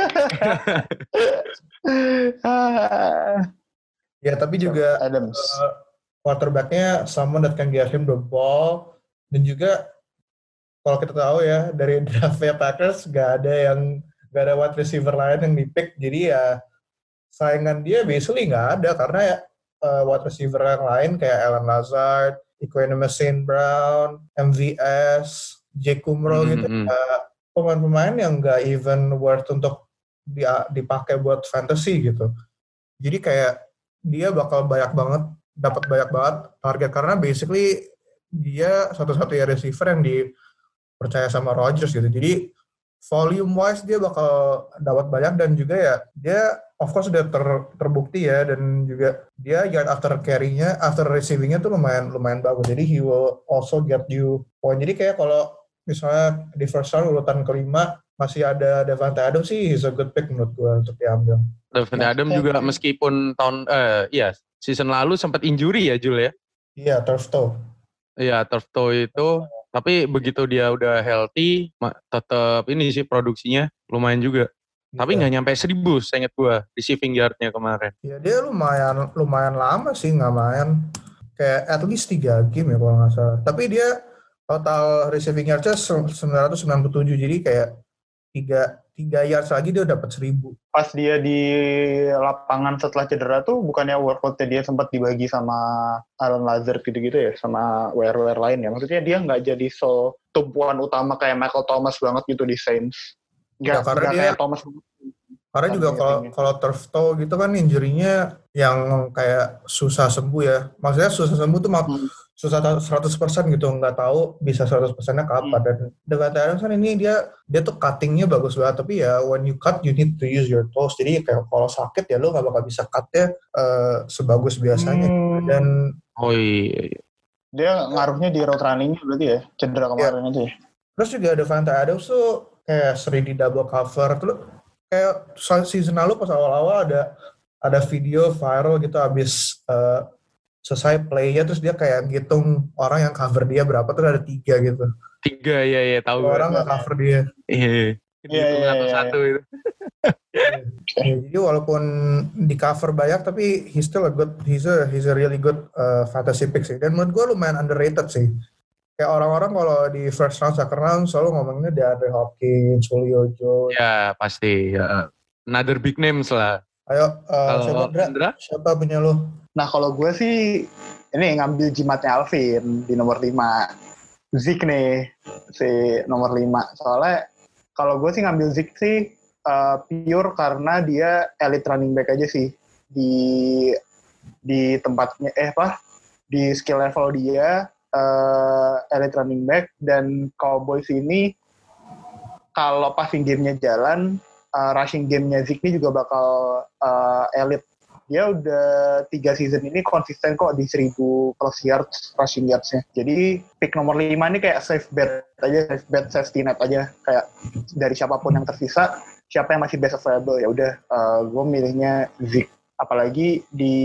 Ya tapi juga Adams. Uh, quarterback-nya someone that can get him the ball. Dan juga kalau kita tahu ya dari draftnya Packers gak ada yang gak ada wide receiver lain yang di-pick, jadi ya saingan dia basically gak ada karena ya uh, wide receiver yang lain kayak Allen Lazard, Equanimous Saint Brown, M V S, Jake Kumro mm-hmm. gitu ya, pemain-pemain yang gak even worth untuk dipakai buat fantasy gitu. Jadi kayak dia bakal banyak banget dapat banyak banget target karena basically dia satu-satunya receiver yang dipercaya sama Rodgers gitu. Jadi volume wise dia bakal dapat banyak dan juga ya dia of course sudah ter, terbukti ya dan juga dia yard after carry-nya, after receiving-nya tuh lumayan lumayan bagus. Jadi he will also get you point. Jadi kayak kalau misalnya di first round urutan kelima masih ada Davante Adams sih, he's a good pick menurut gue untuk diambil. Davante Adams juga meskipun tahun eh iya season lalu sempat injury ya Jul ya? Iya, turf toe. Iya, turf toe itu, tapi begitu dia udah healthy, tetap ini sih produksinya lumayan juga. Iya. Tapi nggak nyampe seribu, saya ingat gue, receiving yard-nya kemarin. Iya, dia lumayan lumayan lama sih nggak main. Kayak at least tiga game ya kalau nggak salah. Tapi dia total receiving yard-nya sembilan ratus sembilan puluh tujuh, jadi kayak tiga, tiga yards lagi dia dapat seribu. Pas dia di lapangan setelah cedera tuh bukannya workout-nya dia sempat dibagi sama Allen Lazard gitu-gitu ya, sama W R W R lain ya. Maksudnya dia nggak jadi so tumpuan utama kayak Michael Thomas banget gitu di Saints. Nggak, ya, karena dia, kayak Thomas. Karena juga kalau kalau turf toe gitu kan injury-nya yang kayak susah sembuh ya. Maksudnya susah sembuh tuh hmm. susah seratus persen gitu, nggak tahu bisa seratus persennya kapan. Hmm. Dan Davante Adams kan ini dia dia tuh cutting-nya bagus banget, tapi ya when you cut you need to use your toes. Jadi kayak kalau sakit ya lo nggak bakal bisa cut-nya uh, sebagus biasanya. Hmm. Dan oh iya, dia ngaruhnya di route running-nya berarti ya, cedera kemarin ya. Aja ya. Terus juga Davante Adams tuh kayak sering di double cover terus. Kayak season lalu pas awal-awal ada ada video viral gitu abis uh, selesai play-nya terus dia kayak ngitung orang yang cover dia berapa tuh ada tiga gitu. Tiga ya ya tahu. Orang nggak cover dia. Iya. Iya iya satu itu. Ya, jadi walaupun di cover banyak tapi he's still a good he's a he's a really good uh, fantasy pick sih. Dan menurut gue lumayan underrated sih. Kayak orang-orang kalau di first round, second round selalu ngomonginnya DeAndre Hopkins, Julio Jones. Ya pasti. Ya. Another big names lah. Ayo, uh, siapa Andra? Siapa punya lo? Nah kalau gue sih ini ngambil jimatnya Alvin di nomor lima. Zeke nih si nomor lima. Soalnya kalau gue sih ngambil Zeke sih uh, pure karena dia elite running back aja sih di di tempatnya eh apa di skill level dia. Uh, elite running back dan Cowboys ini kalau passing game-nya jalan, uh, rushing game-nya Zeke ini juga bakal uh, elite. dia udah tiga season ini konsisten kok di seribu plus yards rushing yards-nya. Jadi pick nomor lima ini kayak safe bet aja, safe bet safety net aja, kayak dari siapapun yang tersisa, siapa yang masih best available ya udah uh, gue milihnya Zeke. Apalagi di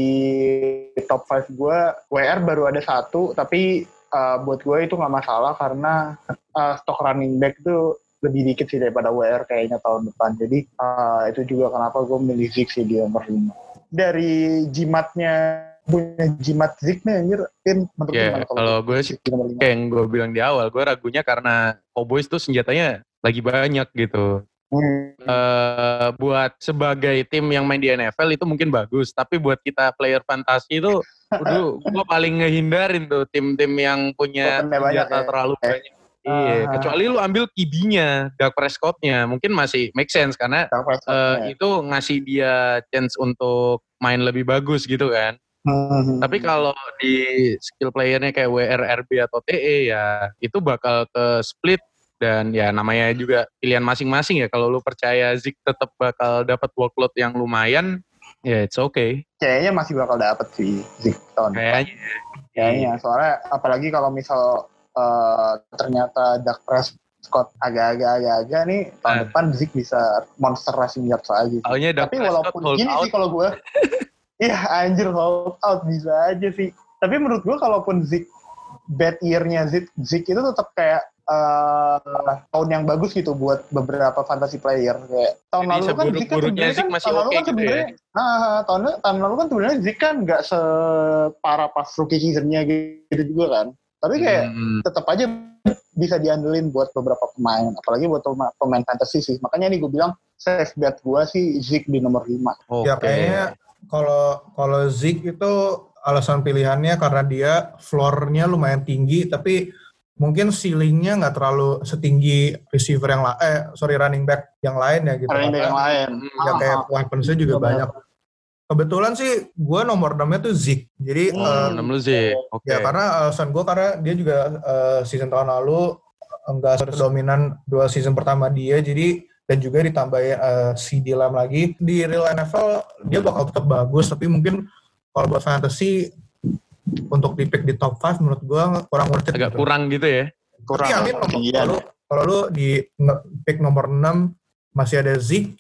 top lima gue W R baru ada satu, tapi uh, buat gue itu nggak masalah karena uh, stok running back itu lebih dikit sih daripada W R kayaknya tahun depan. Jadi uh, itu juga kenapa gue milih Zeke sih di nomor lima. Dari jimatnya punya jimat Zeke nih anjir, Pin, menurut yeah, gimana kalau gue sih kayak yang gue bilang di awal, gue ragunya karena Cowboys tuh senjatanya lagi banyak gitu. Hmm. Uh, buat sebagai tim yang main di N F L itu mungkin bagus, tapi buat kita player fantasi itu udah gue paling ngehindarin tuh tim-tim yang punya senjata ya. Terlalu eh. banyak. Iya, uh, kecuali lu ambil Q B-nya, Dak Prescott-nya, mungkin masih make sense karena uh, itu ngasih dia chance untuk main lebih bagus gitu kan. Hmm. Tapi kalau di skill player-nya kayak W R, R B atau T E ya itu bakal ke split dan ya namanya juga pilihan masing-masing ya. Kalau lu percaya Zeke tetap bakal dapat workload yang lumayan, ya it's okay. Kayaknya masih bakal dapat sih Zeke tahun depan. Kayaknya. Kayaknya, soalnya apalagi kalau misal Uh, ternyata Dak Prescott agak-agak agak-agak nih tahun uh. depan Zeke bisa monster rushing yards lagi. Tapi walaupun gini out. Sih kalau gue, iya anjir hold out bisa aja sih. Tapi menurut gue kalaupun Zeke bad year-nya Zeke, Zeke itu tetap kayak uh, tahun yang bagus gitu buat beberapa fantasy player. Kayak tahun jadi lalu kan Zeke kan sebenarnya kan masih tahun lalu kan sebenarnya, ya? nah tahun tahun lalu kan sebenarnya Zeke kan nggak separah pas rookie season-nya gitu juga kan. Tapi kayak hmm. tetap aja bisa diandelin buat beberapa pemain, apalagi buat pemain fantasy sih. Makanya nih gue bilang safe bet gue sih Zeke di nomor lima. Okay. Ya kayaknya kalau kalau Zeke itu alasan pilihannya karena dia floor-nya lumayan tinggi, tapi mungkin ceiling-nya nggak terlalu setinggi receiver yang lain, eh sorry running back yang lain ya gitu. Running back yang lain. Ya kayak weapons-nya juga banyak. Kebetulan sih gue nomor enam-nya tuh Zeke. Jadi hmm, enam uh, lu Zeke. Oke. Okay. Ya karena alasan gue karena dia juga uh, season tahun lalu enggak sedominan dua season pertama dia, jadi dan juga ditambah uh, C D Lamb lagi di real N F L dia bakal tetap bagus, tapi mungkin kalau buat fantasy untuk di pick di top lima menurut gue kurang worth it. Agak gitu. Kurang gitu ya. Kurang. Tapi amin kalau kalau lu di pick nomor enam masih ada Zeke,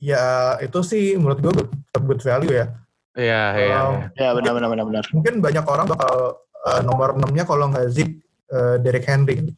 ya itu sih menurut gue good value ya. Iya, iya. Um, ya benar benar benar benar. Mungkin banyak orang bakal uh, nomor enam-nya kalau nggak Zeke, uh, Derrick Henry.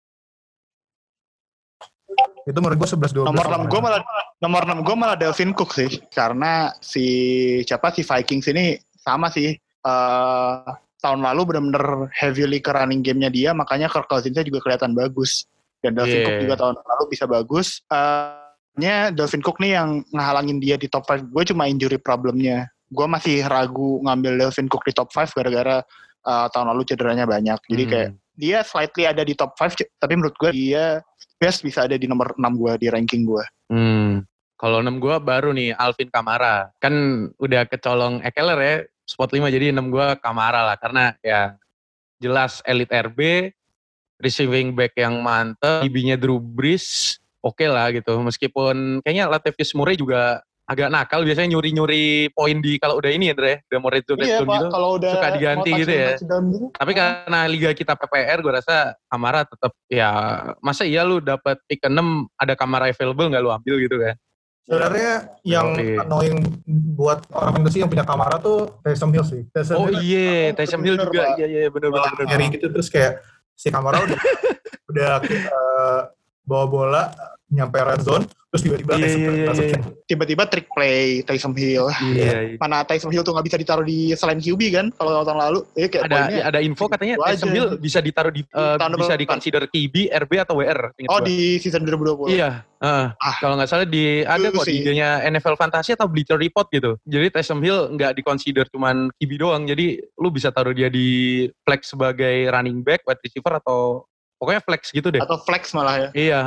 Itu menurut gue sebelas dua belas. Nomor enam gue malah nomor enam gue malah Dalvin Cook sih. Karena si siapa si Vikings ini sama sih. Uh, tahun lalu benar-benar heavily ke running game-nya dia, makanya Kirk Cousins-nya juga kelihatan bagus. Dan Dalvin yeah. Cook juga tahun lalu bisa bagus. Uh, nya Dalvin Cook nih yang ngehalangin dia di top lima gue cuma injury problemnya. Gue masih ragu ngambil Dalvin Cook di top lima gara-gara uh, tahun lalu cederanya banyak. Jadi hmm. kayak dia slightly ada di top lima, tapi menurut gue dia best bisa ada di nomor enam gue di ranking gue. Hmm. Kalau enam gue baru nih Alvin Kamara. Kan udah kecolong Ekeler ya spot lima, jadi enam gue Kamara lah karena ya jelas elite R B, receiving back yang mantep, D B-nya Drew Brees. Oke okay lah gitu, meskipun kayaknya Latavius Murray juga agak nakal, biasanya nyuri-nyuri poin di kalau udah ini ya Dre, udah mau red zone, red zone gitu, udah suka diganti gitu ya. Gitu. Tapi karena liga kita P P R, gue rasa Kamara tetap ya, masa iya lu dapat pick enam ada Kamara available nggak lu ambil gitu kan? Sebenarnya yang okay. annoying buat orang fantasy yang punya Kamara tuh Taysom Hill sih. Taysom oh iya, Taysom Hill juga, iya iya benar-benar. Nyari gitu terus kayak si Kamara udah udah uh, bawa bola nyampe red zone terus tiba-tiba yeah, yeah, yeah, yeah. tiba-tiba trick play Taysom Hill. Yeah, yeah. Mana Taysom Hill tuh nggak bisa ditaruh di selain Q B kan kalau tahun lalu. Ya, kayak ada ya, ada info katanya Taysom Hill bisa ditaruh di uh, bisa dikonsider Q B, R B atau W R. Oh gua. Di season dua ribu dua puluh. Iya. Uh, ah, kalau nggak salah di ada kok di idenya N F L Fantasy atau Bleacher Report gitu. Jadi Taysom Hill nggak dikonsider cuman Q B doang. Jadi lu bisa taruh dia di flex sebagai running back, wide receiver atau pokoknya flex gitu deh. Atau flex malah ya. Iya.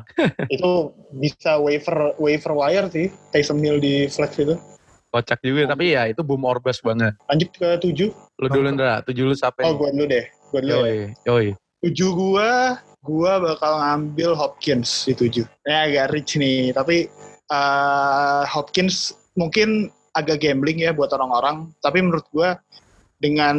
Itu bisa waiver waiver wire sih. Taysom Hill di flex itu. Kocak juga. Oh. Tapi ya itu boom or bust banget. Lanjut ke tujuh. Lu dulu Ndra. Tujuh lu siapa? Oh gue dulu deh. Gue dulu yoi, ya. Yoi. Tujuh gue. Gue bakal ngambil Hopkins di tujuh. Ya agak rich nih. Tapi uh, Hopkins mungkin agak gambling ya buat orang-orang. Tapi menurut gue dengan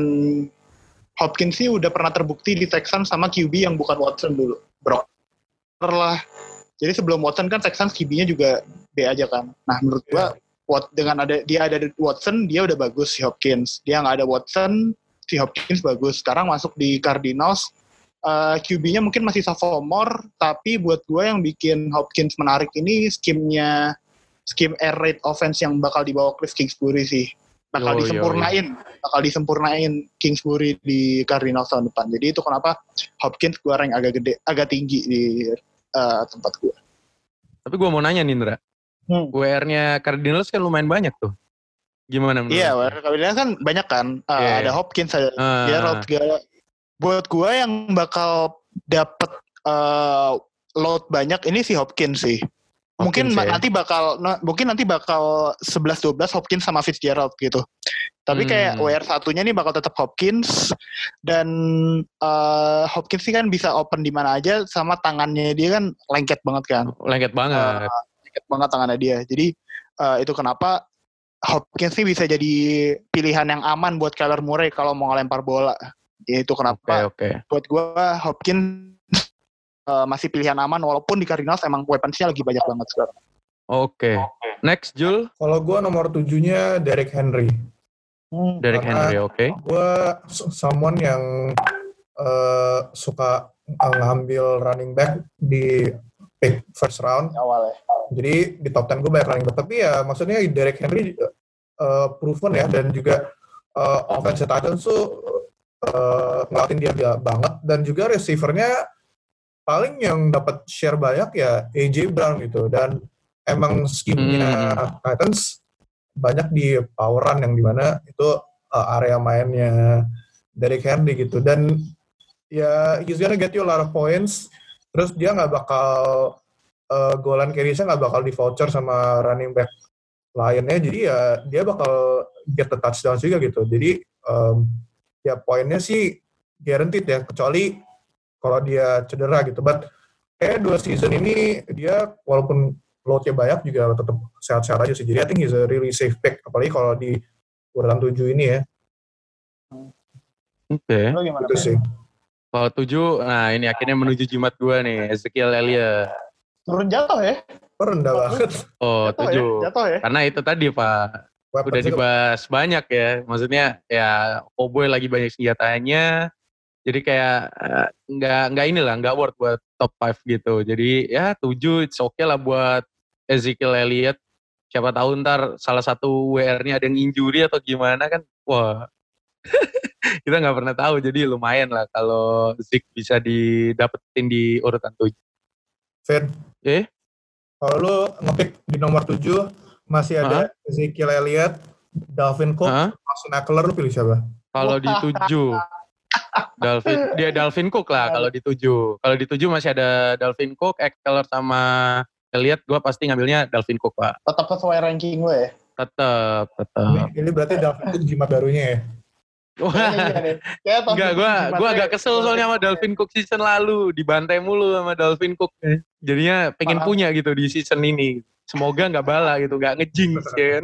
Hopkins sih udah pernah terbukti di Texans sama Q B yang bukan Watson dulu. Brock lah. Jadi sebelum Watson kan Texans Q B-nya juga B aja kan. Nah menurut gue yeah. dengan ada dia ada Watson dia udah bagus si Hopkins. Dia nggak ada Watson si Hopkins bagus. Sekarang masuk di Cardinals. Uh, Q B-nya mungkin masih sophomore, tapi buat gue yang bikin Hopkins menarik ini skimnya, skim air raid offense yang bakal dibawa Cliff Kingsbury sih. Bakal yo, disempurnain, yo, yo. bakal disempurnain Kingsbury di Cardinals tahun depan. Jadi itu kenapa Hopkins gue rank agak gede, agak tinggi di uh, tempat gue. Tapi gue mau nanya nih Indra, hmm. W R-nya Cardinals kan lumayan banyak tuh. Gimana menurut? Iya, W R Cardinals kan banyak kan. Uh, yeah. Ada Hopkins, ada uh. Gerald segala. Buat gue yang bakal dapet uh, load banyak ini si Hopkins sih. Mungkin Hopkins, nanti ya? bakal nah, mungkin nanti bakal sebelas dua belas Hopkins sama Fitzgerald gitu. Tapi hmm. kayak W R satunya nih bakal tetap Hopkins dan uh, Hopkins sih kan bisa open di mana aja sama tangannya dia kan lengket banget kan. Lengket banget. Uh, lengket banget tangannya dia. Jadi uh, itu kenapa Hopkins sih bisa jadi pilihan yang aman buat Kyler Murray kalau mau ngelempar bola. Ya itu kenapa okay, okay. buat gue Hopkins uh, masih pilihan aman walaupun di Cardinals emang weapons-nya lagi banyak banget sekarang. Oke. Okay. Okay. Next Jul. Kalau gue nomor tujuhnya Derrick Henry. Hmm. Derrick Henry, oke. Okay. Gue someone yang uh, suka ngambil running back di pick first round. Awal ya. Jadi di top sepuluh gue banyak running back. Tapi ya maksudnya Derrick Henry uh, proven ya dan juga uh, offensive Titans tuh Uh, ngelatin dia banget dan juga receivernya paling yang dapat share banyak ya A J Brown gitu dan emang skimnya hmm. Titans banyak di poweran yang dimana itu uh, area mainnya Derrick Henry gitu dan ya he's gonna get you a lot of points terus dia nggak bakal uh, goal line carry-nya nggak bakal di voucher sama running back lainnya jadi ya dia bakal get the touchdown juga gitu jadi um, ya poinnya sih guaranteed ya, kecuali kalau dia cedera gitu. But kayak dua season ini dia walaupun load-nya banyak juga tetap sehat-sehat aja sih. Jadi I think he's a really safe pick, apalagi kalau di urutan tujuh ini ya. Oke. Okay. Itu sih. Kalau tujuh, nah ini akhirnya menuju jimat gua nih, Ezekiel Elliott. Turun jatuh ya? Rendah banget. Oh, jatuh tujuh. Ya? Jatuh ya? Karena itu tadi Pak. Weapons udah dibahas itu banyak ya, maksudnya ya Cowboy lagi banyak senjatanya, jadi kayak nggak uh, nggak inilah nggak worth buat top lima gitu, jadi ya tujuh it's okay lah buat Ezekiel Elliott, siapa tahu ntar salah satu W R-nya ada yang injury atau gimana kan, wah kita nggak pernah tahu, jadi lumayan lah kalau Zeke bisa didapetin di urutan tujuh. Fir, eh? Kalau lu ngepick di nomor tujuh masih ada uh-huh. Ezekiel Elliott, Dalvin Cook, uh-huh. Austin Ekeler, lu pilih siapa? Kalau di tujuh, Dalvin, dia Dalvin Cook lah kalau di tujuh. Kalau di tujuh masih ada Dalvin Cook, Ekeler sama Elliott, gue pasti ngambilnya Dalvin Cook Pak. Tetap sesuai ranking gue ya? Tetap, tetap. Ini, ini berarti Dalvin Cook jimat barunya ya? Wah, enggak, gue gue agak kesel soalnya sama Dalvin Cook season lalu, dibantai mulu sama Dalvin Cook. Jadinya pengen Parah. punya gitu di season ini. Semoga nggak bala gitu, nggak ngejinx ya kan.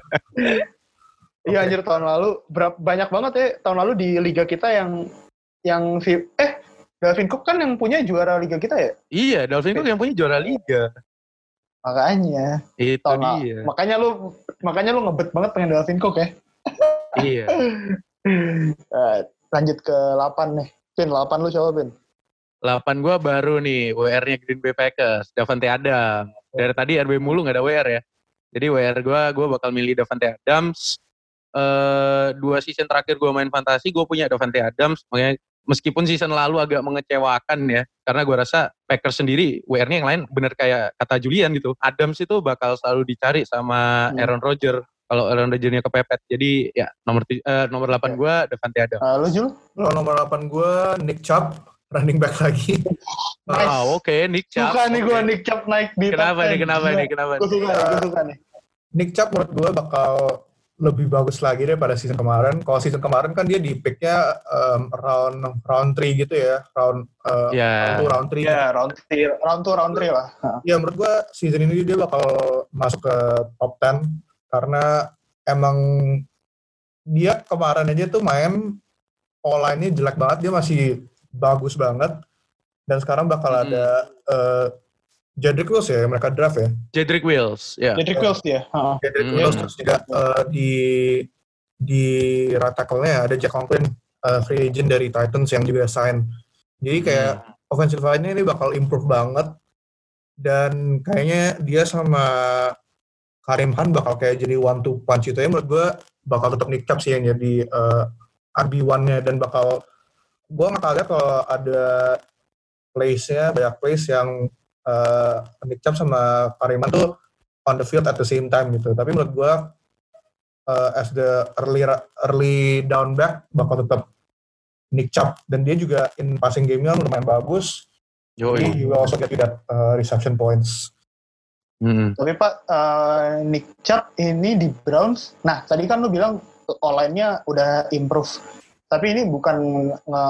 Iya anjir tahun lalu berapa banyak banget ya tahun lalu di liga kita yang yang si eh Dalvin Cook kan yang punya juara liga kita ya? Iya, Dalvin Cook yang punya juara liga. Makanya. Itu tahun dia. Lalu. Makanya lu makanya lu ngebet banget pengen Dalvin Cook ya. Iya. uh, lanjut ke delapan nih. Pin delapan lu coba Pin. delapan gue baru nih W R-nya Green Bay Packers, Davante Adams. Dari tadi R B mulu gak ada W R ya. Jadi W R gue, gue bakal milih Davante Adams. Uh, dua season terakhir gue main fantasi, gue punya Davante Adams. Makanya meskipun season lalu agak mengecewakan ya. Karena gue rasa Packers sendiri, W R-nya yang lain bener kayak kata Julian gitu. Adams itu bakal selalu dicari sama hmm. Aaron Rodgers. Kalau Aaron Rodgers-nya kepepet. Jadi ya nomor uh, nomor delapan gue Davante Adams. Uh, lu Jul? Kalau nomor delapan gue Nick Chubb. Running back lagi. Nice. Oh, oke, okay. Nick Chubb. Suka nih okay. gue Nick Chubb naik di Kenapa nih, kenapa nih, kenapa nih? Gue suka, gue suka nih. Nick Chubb menurut gue bakal lebih bagus lagi daripada season kemarin. Kalau season kemarin kan dia di picknya um, round round three gitu ya, round uh, yeah. round two, round three. Ya, yeah, round three, round two, round three lah. Ya menurut gue season ini dia bakal masuk ke top ten karena emang dia kemarin aja tuh main online-nya jelek banget, dia masih bagus banget. Dan sekarang bakal hmm. ada uh, Jedrick Wills ya, mereka draft ya. Jedrick Wills, ya. Yeah. Jedrick Wills ya. Uh-huh. Jedrick Wills hmm. terus juga uh, di di right tackle-nya ada Jack Conklin, uh, free agent dari Titans yang juga sign. Jadi kayak hmm. offensive line-nya ini bakal improve banget. Dan kayaknya dia sama Karim Khan bakal kayak jadi one two punch itu ya. Menurut gue bakal tetap Nick Chubb sih yang jadi uh, R B one-nya. Dan bakal, gue gak lihat kalau ada plays-nya, banyak plays yang uh, Nick Chubb sama Karim Khan tuh on the field at the same time gitu. Tapi menurut gue uh, as the early early down back bakal tetap Nick Chubb. Dan dia juga in passing game-nya lumayan bagus. Jadi he will also get that uh, reception points. Hmm. Tapi Pak, uh, Nick Chubb ini di Browns, nah tadi kan lu bilang online-nya udah improve. Tapi ini bukan nge,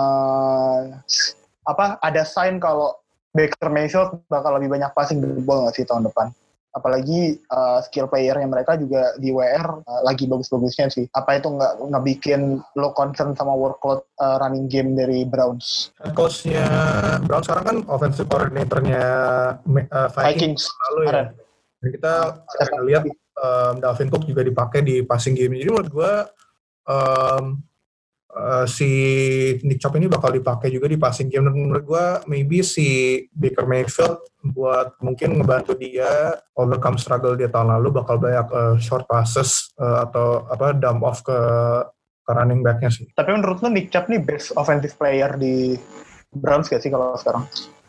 apa ada sign kalau Baker Mayfield bakal lebih banyak passing the ball nggak sih tahun depan? Apalagi uh, skill player-nya mereka juga di W R uh, lagi bagus-bagusnya sih. Apa itu nggak ngebikin lo concern sama workload uh, running game dari Browns? Coach-nya Browns sekarang kan offensive coordinator-nya uh, Vikings, Vikings lalu ya. Dan kita uh, lihat um, Dalvin Cook juga dipakai di passing game. Jadi menurut gue um, uh, si Nick Chubb ini bakal dipakai juga di passing game. Dan menurut gue maybe si Baker Mayfield buat mungkin ngebantu dia overcome struggle dia tahun lalu bakal banyak uh, short passes uh, atau apa dump off ke, ke running back-nya sih. Tapi menurut lo Nick Chubb nih best offensive player di Browns gak sih kalau sekarang?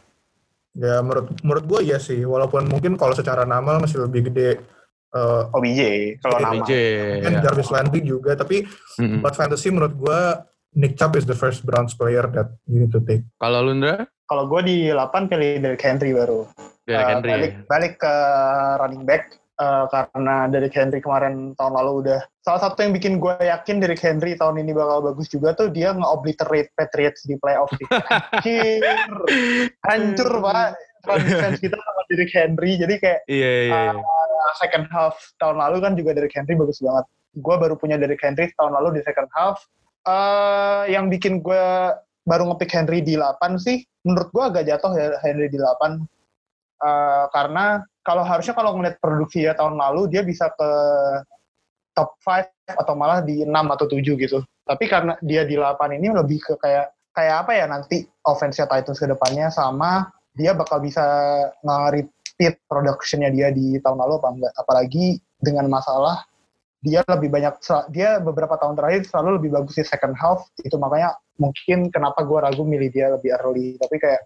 Ya menurut menurut gue ya sih, walaupun mungkin kalau secara nama masih lebih gede uh, O B J kalau nama. Mungkin ya. Jarvis Landry juga, tapi mm-hmm. buat fantasy menurut gue Nick Chubb is the first Browns player that you need to take. Kalau lu Ndra? Kalau gue di delapan pilih Derrick Henry baru. Derrick uh, Henry. Balik, balik ke running back uh, karena Derrick Henry kemarin tahun lalu udah. Salah satu yang bikin gue yakin Derrick Henry tahun ini bakal bagus juga tuh dia nge-obliterate Patriots di playoff. Hancur, hancur Pak. Defense kita sama Derrick Henry. Jadi kayak yeah, yeah, yeah. Uh, second half tahun lalu kan juga Derrick Henry bagus banget. Gue baru punya Derrick Henry tahun lalu di second half. Uh, yang bikin gue baru ngepick Henry di delapan sih, menurut gue agak jatuh ya Henry di delapan. Uh, karena kalau harusnya kalau ngeliat produksi ya tahun lalu, dia bisa ke top lima atau malah di enam atau tujuh gitu. Tapi karena dia di delapan ini lebih ke kayak kayak apa ya nanti offense-nya Titans ke depannya sama dia bakal bisa nge-repeat production-nya dia di tahun lalu apa enggak. Apalagi dengan masalah dia lebih banyak, dia beberapa tahun terakhir selalu lebih bagus di second half, itu makanya mungkin kenapa gue ragu milih dia lebih early, tapi kayak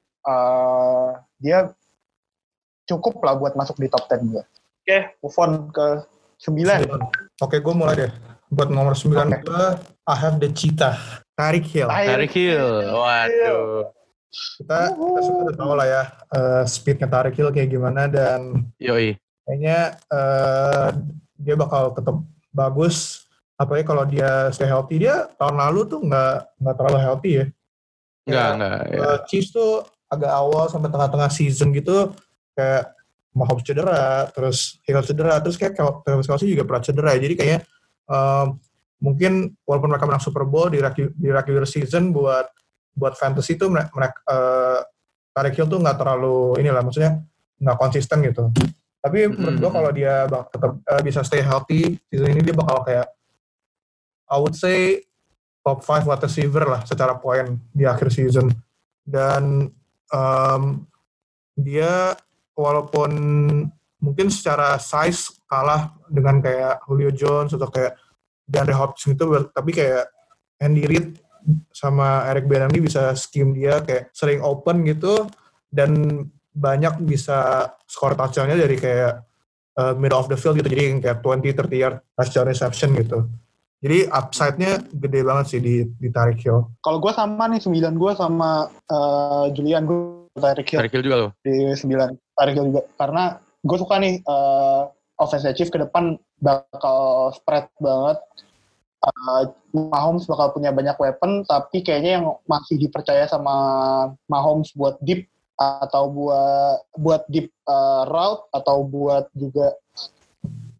uh, dia cukup lah buat masuk di top sepuluh gue. Oke, okay, move on ke sembilan. Oke, okay, gue mulai deh. Buat nomor sembilan okay. gue, I have the cheetah, Tyreek Hill. Tyreek Hill, waduh. Kita, kita sudah tahu lah ya, uh, speednya Tyreek Hill kayak gimana, dan Yoi. kayaknya uh, dia bakal tetap bagus, apalagi kalau dia stay healthy. Dia tahun lalu tuh nggak nggak terlalu healthy ya. Nggak nggak. Ya. Uh, Chiefs tuh agak awal sampai tengah-tengah season gitu kayak Mahomes cedera, terus Hill cedera, terus kayak Travis Kelce juga pernah cedera. Jadi kayaknya um, mungkin walaupun mereka menang Super Bowl di di regular season buat buat fantasy tuh mereka uh, Tyreek Hill tuh nggak terlalu inilah, maksudnya nggak konsisten gitu. Tapi menurut gue kalau dia tetap uh, bisa stay healthy, season ini dia bakal kayak, I would say, top five wide receiver lah secara poin di akhir season. Dan um, dia walaupun mungkin secara size kalah dengan kayak Julio Jones atau kayak DeAndre Hopkins gitu, tapi kayak Andy Reid sama Eric Bieniemy bisa scheme dia kayak sering open gitu, dan banyak bisa skor touchdown-nya dari kayak uh, middle of the field gitu, jadi kayak twenty to thirty yard touchdown reception gitu. Jadi upside-nya gede banget sih di, di Tyreek Hill. Kalau gue sama nih, sembilan gue sama uh, Julian, gue Tyreek Hill. Tyreek Hill juga loh? Di sembilan, Tyreek Hill juga. Karena gue suka nih, uh, offensive Chief ke depan bakal spread banget. Uh, Mahomes bakal punya banyak weapon, tapi kayaknya yang masih dipercaya sama Mahomes buat deep, atau buat buat deep uh, route, atau buat juga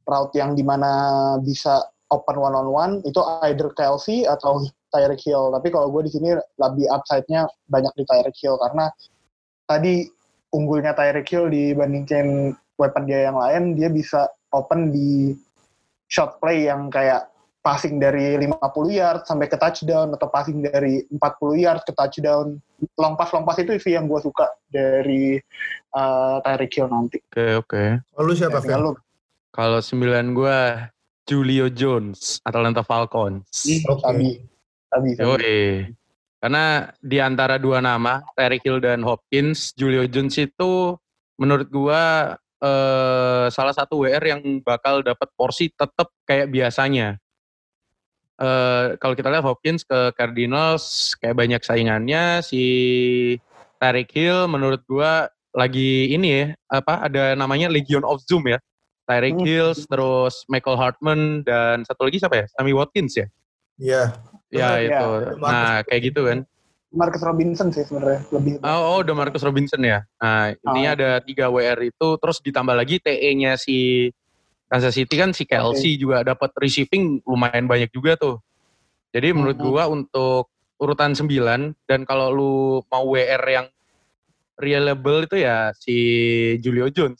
route yang dimana bisa open one on one itu either Kelsey atau Tyreek Hill. Tapi kalau gue di sini lebih upside-nya banyak di Tyreek Hill karena tadi unggulnya Tyreek Hill dibandingkan weapon dia yang lain, dia bisa open di shot play yang kayak passing dari lima puluh yard sampai ke touchdown atau passing dari empat puluh yard ke touchdown. Long pass long pass itu sih yang gue suka dari uh, Tyreek Hill nanti. Oke okay, oke. Okay. Lalu siapa ya, Phil? Kalau sembilan gue Julio Jones Atlanta Falcons. Oke. Okay. Tabi, tabi. Karena di antara dua nama Tyreek Hill dan Hopkins, Julio Jones itu menurut gue uh, salah satu W R yang bakal dapat porsi tetap kayak biasanya. Uh, kalau kita lihat Hopkins ke Cardinals kayak banyak saingannya, si Tyreek Hill menurut gua lagi ini ya, apa ada namanya Legion of Zoom ya. Tyreek hmm. Hill, terus Michael Hartman dan satu lagi siapa ya? Sammy Watkins ya? Iya. Ya oh, itu. Ya. Nah, kayak gitu kan. Marcus Robinson sih sebenarnya lebih. Oh, oh udah Marcus Robinson ya. Nah, intinya oh. ada tiga W R itu, terus ditambah lagi T E-nya si Kansas City kan si Kelsey okay. juga dapat receiving lumayan banyak juga tuh. Jadi menurut mm-hmm. gua untuk urutan sembilan dan kalau lu mau W R yang reliable itu ya si Julio Jones.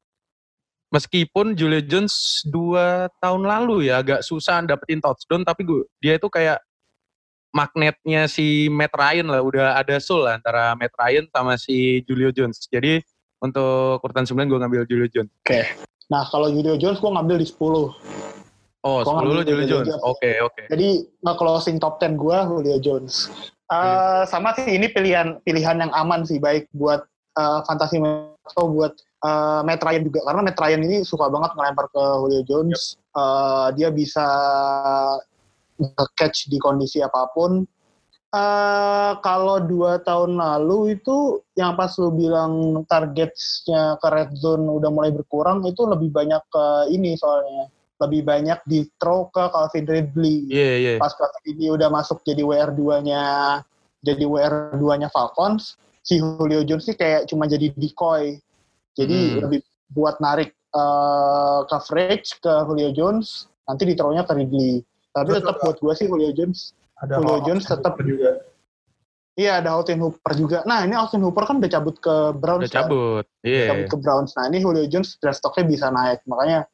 Meskipun Julio Jones dua tahun lalu ya agak susah dapetin touchdown tapi gua, dia itu kayak magnetnya si Matt Ryan lah, udah ada soul lah antara Matt Ryan sama si Julio Jones. Jadi untuk urutan sembilan gua ngambil Julio Jones. Oke. Okay. Nah, kalau Julio Jones gue ngambil di sepuluh. Oh, gua sepuluh lo Julio Jones. Oke, okay, oke. Okay. Jadi, nge-closing top sepuluh gue Julio Jones. Uh, hmm. Sama sih, ini pilihan pilihan yang aman sih, baik buat uh, fantasi atau buat uh, Matt Ryan juga. Karena Matt Ryan ini suka banget ngelempar ke Julio Jones. Yep. Uh, dia bisa catch di kondisi apapun. Uh, kalau dua tahun lalu itu yang pas lu bilang targetnya ke red zone udah mulai berkurang itu lebih banyak ke ini soalnya lebih banyak di throw ke Calvin Ridley. Yeah, yeah. Pas Calvin Ridley udah masuk jadi W R dua-nya jadi W R dua-nya Falcons, si Julio Jones sih kayak cuma jadi decoy. Jadi hmm. lebih buat narik uh, coverage ke Julio Jones, nanti di throw-nya ke Ridley. Tapi tetap buat gue sih Julio Jones Ada Julio Jones tetap juga. Iya, ada Austin Hooper juga. Nah, ini Austin Hooper kan udah cabut ke Browns. Udah cabut. Iya. Yeah. Cabut ke Browns. Nah, ini Julio Jones draft stock-nya bisa naik. Makanya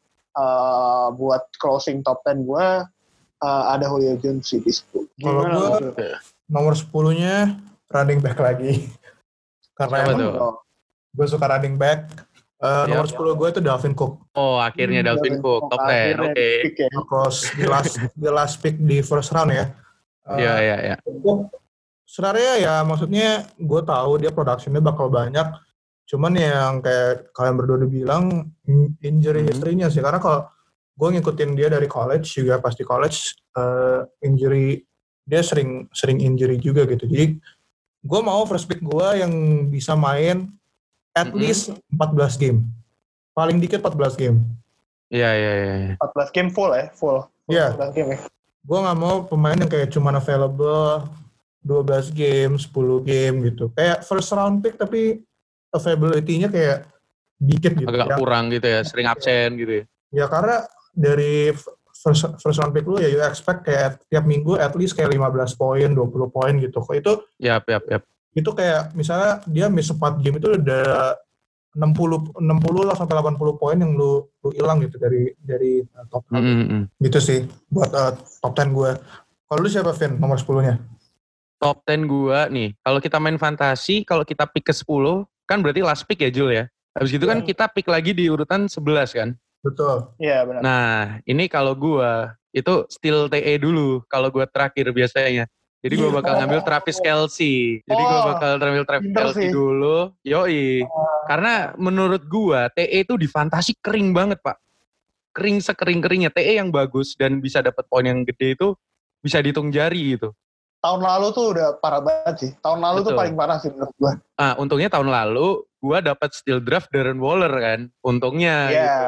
uh, buat closing top sepuluh gue uh, ada Julio Jones di sepuluh. Kalau gue nomor sepuluh-nya running back lagi. Karena emang gue suka running back. Uh, yep. Nomor sepuluh gue itu Dalvin Cook. Oh, akhirnya hmm, Dalvin Cook. Top sepuluh. Oke. Okay. Ya. Terus di last, di last pick di first round ya. Iya, iya, iya. Sebenarnya ya maksudnya gue tahu dia produksinya bakal banyak. Cuman yang kayak kalian berdua udah bilang injury hmm. history-nya sih. Karena kalau gue ngikutin dia dari college juga pas di college uh, injury dia sering sering injury juga gitu. Jadi gue mau first pick gue yang bisa main at mm-hmm. least empat belas game. Paling dikit empat belas game. Iya, iya, iya. empat belas game full ya, full. Iya. Yeah. Gue gak mau pemain yang kayak cuma available dua belas game, sepuluh game gitu. Kayak first round pick tapi availability-nya kayak dikit gitu. Agak ya. Kurang gitu ya, sering absen gitu ya. Ya karena dari first, first round pick lu ya you expect kayak tiap minggu at least kayak lima belas poin, dua puluh poin gitu. Kok itu Yap, yap, yap. Itu kayak misalnya dia miss empat game itu udah enam puluh lah sampai delapan puluh poin yang lu lu hilang gitu dari dari uh, top sepuluh. Mm-hmm. Gitu sih buat uh, top sepuluh gue. Kalau lu siapa Vin nomor sepuluh-nya? Top sepuluh gue nih, kalau kita main fantasi, kalau kita pick ke sepuluh, kan berarti last pick ya Jul ya? Habis gitu yeah. kan kita pick lagi di urutan sebelas kan? Betul. Iya yeah, benar. Nah, ini kalau gue, itu still T E dulu, kalau gue terakhir biasanya. Jadi gue bakal ngambil Travis Kelce. Jadi gue bakal ngambil Travis Kelce dulu. Yoi. Karena menurut gue, T E itu di fantasi kering banget Pak. Kering sekering-keringnya. T E yang bagus dan bisa dapat poin yang gede itu bisa dihitung jari gitu. Tahun lalu tuh udah parah banget sih. Tahun lalu Betul. tuh paling parah sih menurut gue. Ah, untungnya tahun lalu gue dapat steal draft Darren Waller kan. Untungnya yeah. gitu.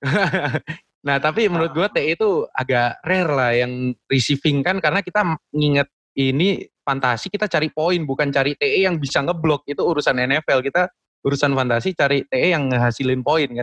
Nah tapi menurut gue T E itu agak rare lah yang receiving kan. Karena kita nginget ini fantasi kita cari poin bukan cari T E yang bisa ngeblok. Itu urusan N F L, kita urusan fantasi cari T E yang ngehasilin poin kan.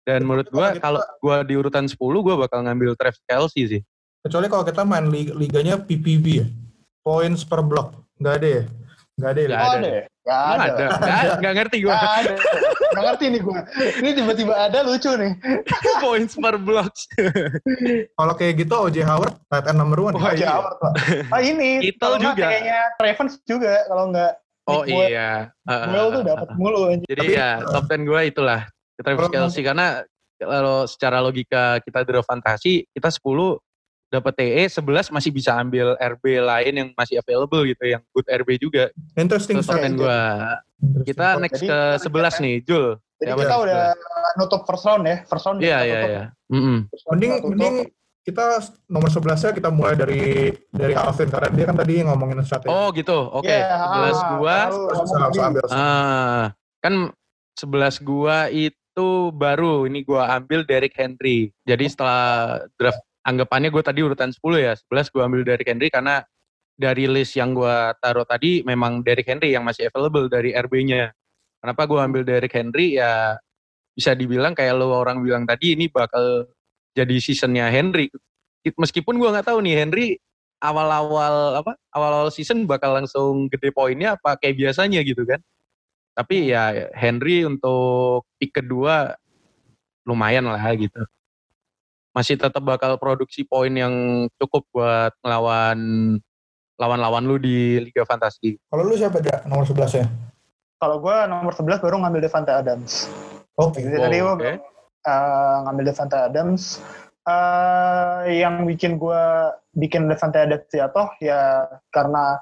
Dan Kecuali menurut gue kita- kalau gue di urutan sepuluh gue bakal ngambil Travis Kelce sih. Kecuali kalau kita main lig- liganya P P B ya, points per block, nggak ada ya? Nggak ada ya? Nggak Oh ada. ada ya? Nggak Emang ada. ada? Nggak, nggak ngerti gue. Nggak ada. Nggak ngerti nih gue. Ini tiba-tiba ada lucu nih. Points per blocks. Kalau kayak gitu O J Howard tight end number one. Oh, Aja iya. awal, Pak. Ah ini. Kittle kalau nggak juga. Kayaknya Ravens juga. Kalau nggak. Oh Nick Boyle- iya. Uh, Boyle tuh dapat mulu. anjing. Jadi Tapi- ya top sepuluh gue itulah Travis Kalau- Kelce karena kalau secara logika kita draft fantasi kita sepuluh dapat T E, sebelas masih bisa ambil R B lain yang masih available gitu, yang good R B juga. Interesting Itu top start. sepuluh gue. Kita next Jadi, ke sebelas nih, Jul. Jadi Siapa kita nih? udah nutup first round ya. First round. Iya kita iya tutup. iya. Mm-mm. First round Mending kita tutup. mending kita nomor sebelasnya kita mulai dari dari Alvin karena dia kan tadi ngomongin strategi. Oh gitu. Oke. Iya, sebelas ah, gua. lalu Harus ngomong harus tadi. ambil. Ah, kan sebelas gua itu baru ini gua ambil Derrick Henry. Jadi setelah draft anggapannya gua tadi urutan sepuluh ya, sebelas gua ambil Derrick Henry karena dari list yang gua taruh tadi memang Derrick Henry yang masih available dari R B-nya. Kenapa gua ambil Derrick Henry ya bisa dibilang kayak lo orang bilang tadi ini bakal jadi seasonnya Henry. Meskipun gua nggak tahu nih Henry awal-awal apa awal-awal season bakal langsung gede poinnya apa kayak biasanya gitu kan. Tapi ya Henry untuk pick kedua lumayan lah gitu. Masih tetap bakal produksi poin yang cukup buat ngelawan lawan-lawan lu di Liga Fantasi. Kalau lu siapa dia nomor sebelasnya? Kalau gue nomor sebelas baru ngambil Devante Adams. Oke. Jadi tadi gue Oke. uh, ngambil Devante Adams. Uh, yang bikin gue bikin Devante Adams jatuh ya karena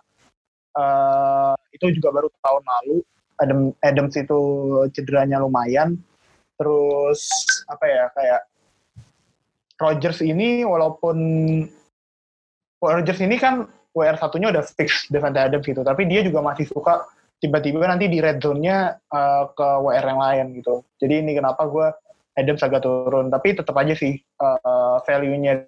uh, itu juga baru tahun lalu. Adam, Adams itu cederanya lumayan. Terus apa ya kayak Rodgers ini walaupun Rodgers ini kan W R satunya udah fix Devante Adams gitu, tapi dia juga masih suka tiba-tiba nanti di red zone-nya uh, ke W R yang lain gitu. Jadi ini kenapa gue Adams agak turun, tapi tetap aja sih uh, value-nya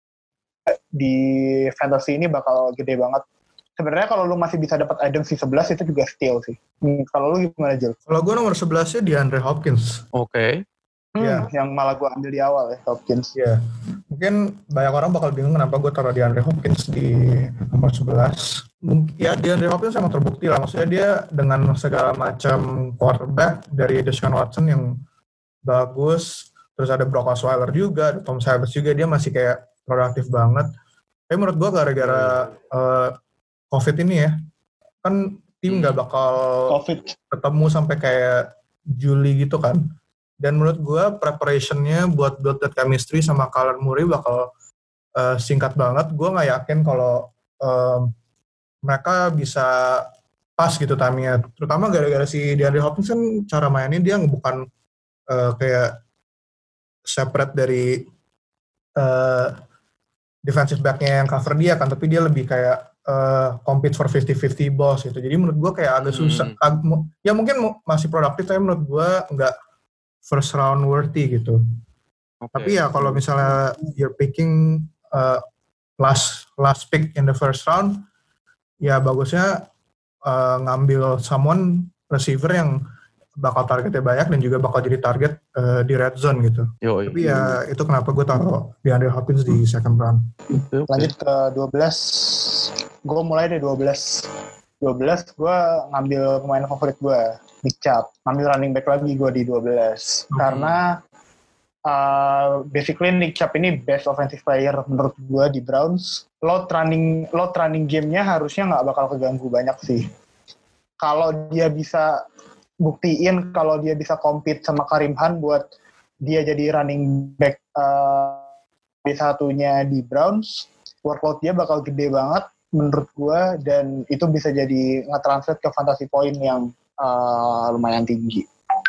di fantasy ini bakal gede banget. Sebenarnya kalau lu masih bisa dapat Adams di sebelas itu juga steal sih. Hmm, kalau lu gimana, Jul? Kalau gue nomor sebelasnya DeAndre Hopkins. Oke. Hmm, Iya. Yang malah gue ambil di awal ya, Hopkins. Iya. Mungkin banyak orang bakal bingung kenapa gue taruh DeAndre Hopkins di nomor sebelas. Mungkin ya DeAndre Hopkins emang terbukti lah. Maksudnya dia dengan segala macam quarterback dari Deshaun Watson yang bagus, terus ada Brock Osweiler juga, ada Tom Savage juga, dia masih kayak produktif banget. Tapi menurut gue gara-gara uh, COVID ini ya, kan tim nggak bakal Covid. ketemu sampai kayak Juli gitu kan. Dan menurut gue preparationnya buat build that chemistry sama Kyler Murray bakal uh, singkat banget. Gue nggak yakin kalau um, mereka bisa pas gitu timingnya. Terutama gara-gara si DeAndre Hopkins kan cara mainnya dia bukan uh, kayak separate dari uh, defensive back-nya yang cover dia kan, tapi dia lebih kayak uh, compete for fifty-fifty balls gitu. Jadi menurut gue kayak agak susah. Hmm. Ag- ya mungkin masih produktif, tapi menurut gue nggak first round worthy gitu. Oke. Tapi ya kalau misalnya you're picking uh, last last pick in the first round, ya bagusnya uh, ngambil someone receiver yang bakal targetnya banyak dan juga bakal jadi target uh, di red zone gitu. Yoi. Tapi ya itu kenapa gue taruh DeAndre Hopkins di second round. Oke. Lanjut ke dua belas. Gue mulai dari dua belas. dua belas gue ngambil pemain favorit gue, Nick Chubb. Ngambil running back lagi gue di dua belas. Hmm. Karena uh, basically Nick Chubb ini best offensive player menurut gue di Browns. Load running, load running game-nya harusnya nggak bakal keganggu banyak sih. Kalau dia bisa buktiin, kalau dia bisa compete sama Karim Hunt buat dia jadi running back uh, B satunya di Browns, workload dia bakal gede banget menurut gue, dan itu bisa jadi nge-translate ke fantasy point yang uh, lumayan tinggi.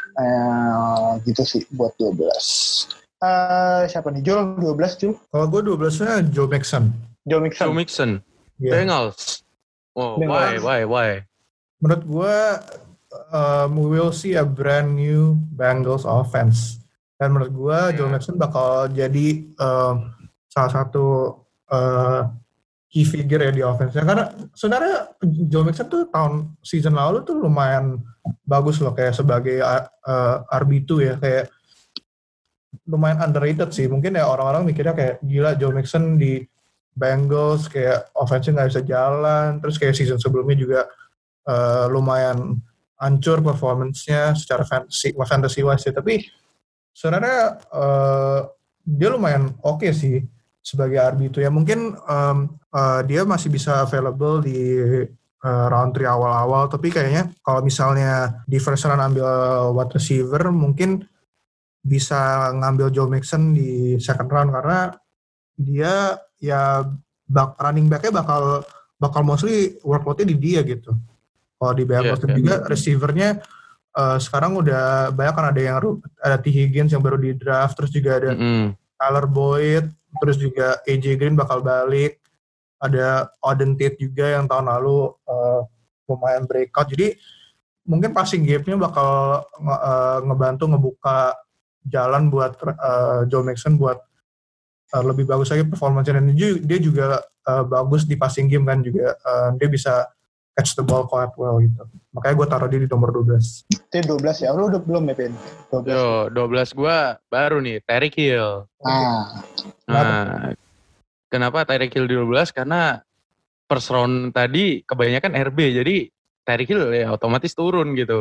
Uh, gitu sih buat dua belas. Uh, siapa nih? Jul, dua belas Jul? Kalau gue dua belasnya Joe Mixon. Joe Mixon. Joe Mixon. Yeah. Bengals. Oh, Bengals. why, why, why? Menurut gue um, we will see a brand new Bengals offense. Dan menurut gue Joe Mixon bakal jadi um, salah satu uh, key figure ya di offense-nya. Karena sebenarnya Joe Mixon tuh tahun season lalu tuh lumayan bagus loh kayak sebagai uh, R B two ya, kayak lumayan underrated sih. Mungkin ya orang-orang mikirnya kayak gila Joe Mixon di Bengals kayak offense-nya nggak bisa jalan, terus kayak season sebelumnya juga uh, lumayan hancur performance-nya secara fantasy, fantasy wise ya. Tapi sebenarnya uh, dia lumayan oke okay sih sebagai R B itu ya. Mungkin um, uh, dia masih bisa available di uh, round three awal-awal, tapi kayaknya kalau misalnya di first round ambil wide receiver, mungkin bisa ngambil Joe Mixon di second round karena dia ya bak, running back-nya bakal bakal mostly workload-nya di dia gitu. Kalau di Bengals yeah, yeah. juga receiver-nya uh, sekarang udah banyak kan, ada yang ada T. Higgins yang baru di draft, terus juga ada mm-hmm. Tyler Boyd, terus juga A J Green bakal balik, ada Auden Tate juga yang tahun lalu uh, lumayan breakout. Jadi mungkin passing game-nya bakal uh, ngebantu ngebuka jalan buat uh, Joe Mixon buat uh, lebih bagus lagi performanya, dan dia juga uh, bagus di passing game kan juga, uh, dia bisa catch the ball quite well gitu. Makanya gue taruh dia di nomor dua belas. Itu dua belas ya? Lu udah belum ya, Pin? dua belas. Yo, dua belas gue baru nih, Tyreek Hill. Ah. Nah, kenapa Tyreek Hill di dua belas? Karena first round tadi kebanyakan R B, jadi Tyreek Hill ya otomatis turun gitu.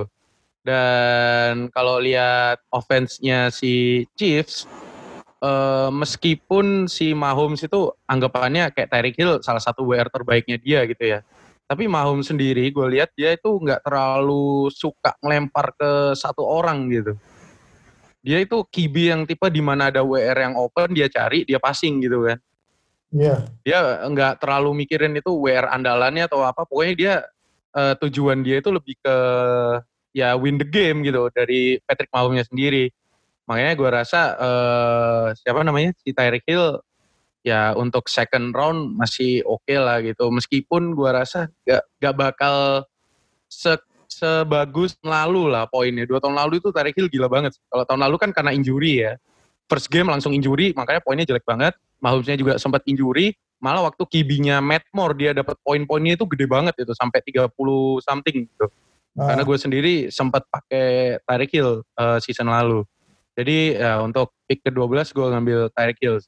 Dan kalau lihat offense-nya si Chiefs, uh, meskipun si Mahomes itu anggapannya kayak Tyreek Hill salah satu W R terbaiknya dia gitu ya. Tapi Mahomes sendiri gue lihat dia itu nggak terlalu suka ngelempar ke satu orang gitu. Dia itu Q B yang tipe di mana ada W R yang open dia cari, dia passing gitu kan. Iya. Yeah. Dia nggak terlalu mikirin itu W R andalannya atau apa. Pokoknya dia uh, tujuan dia itu lebih ke ya win the game gitu dari Patrick Mahomes sendiri. Makanya gue rasa uh, siapa namanya si Tyreek Hill ya untuk second round masih oke okay lah gitu. Meskipun gue rasa gak, gak bakal se, sebagus lalu lah poinnya. Dua tahun lalu itu Tyreek Hill gila banget. Kalau tahun lalu kan karena injury ya. First game langsung injury, makanya poinnya jelek banget. Mahomesnya juga sempat injury. Malah waktu Q B-nya Matt Moore dia dapat poin-poinnya itu gede banget itu. Sampai tiga puluh something gitu. Ah. Karena gue sendiri sempat pakai Tyreek Hill uh, season lalu. Jadi ya untuk pick ke dua belas gue ngambil Tyreek Hill.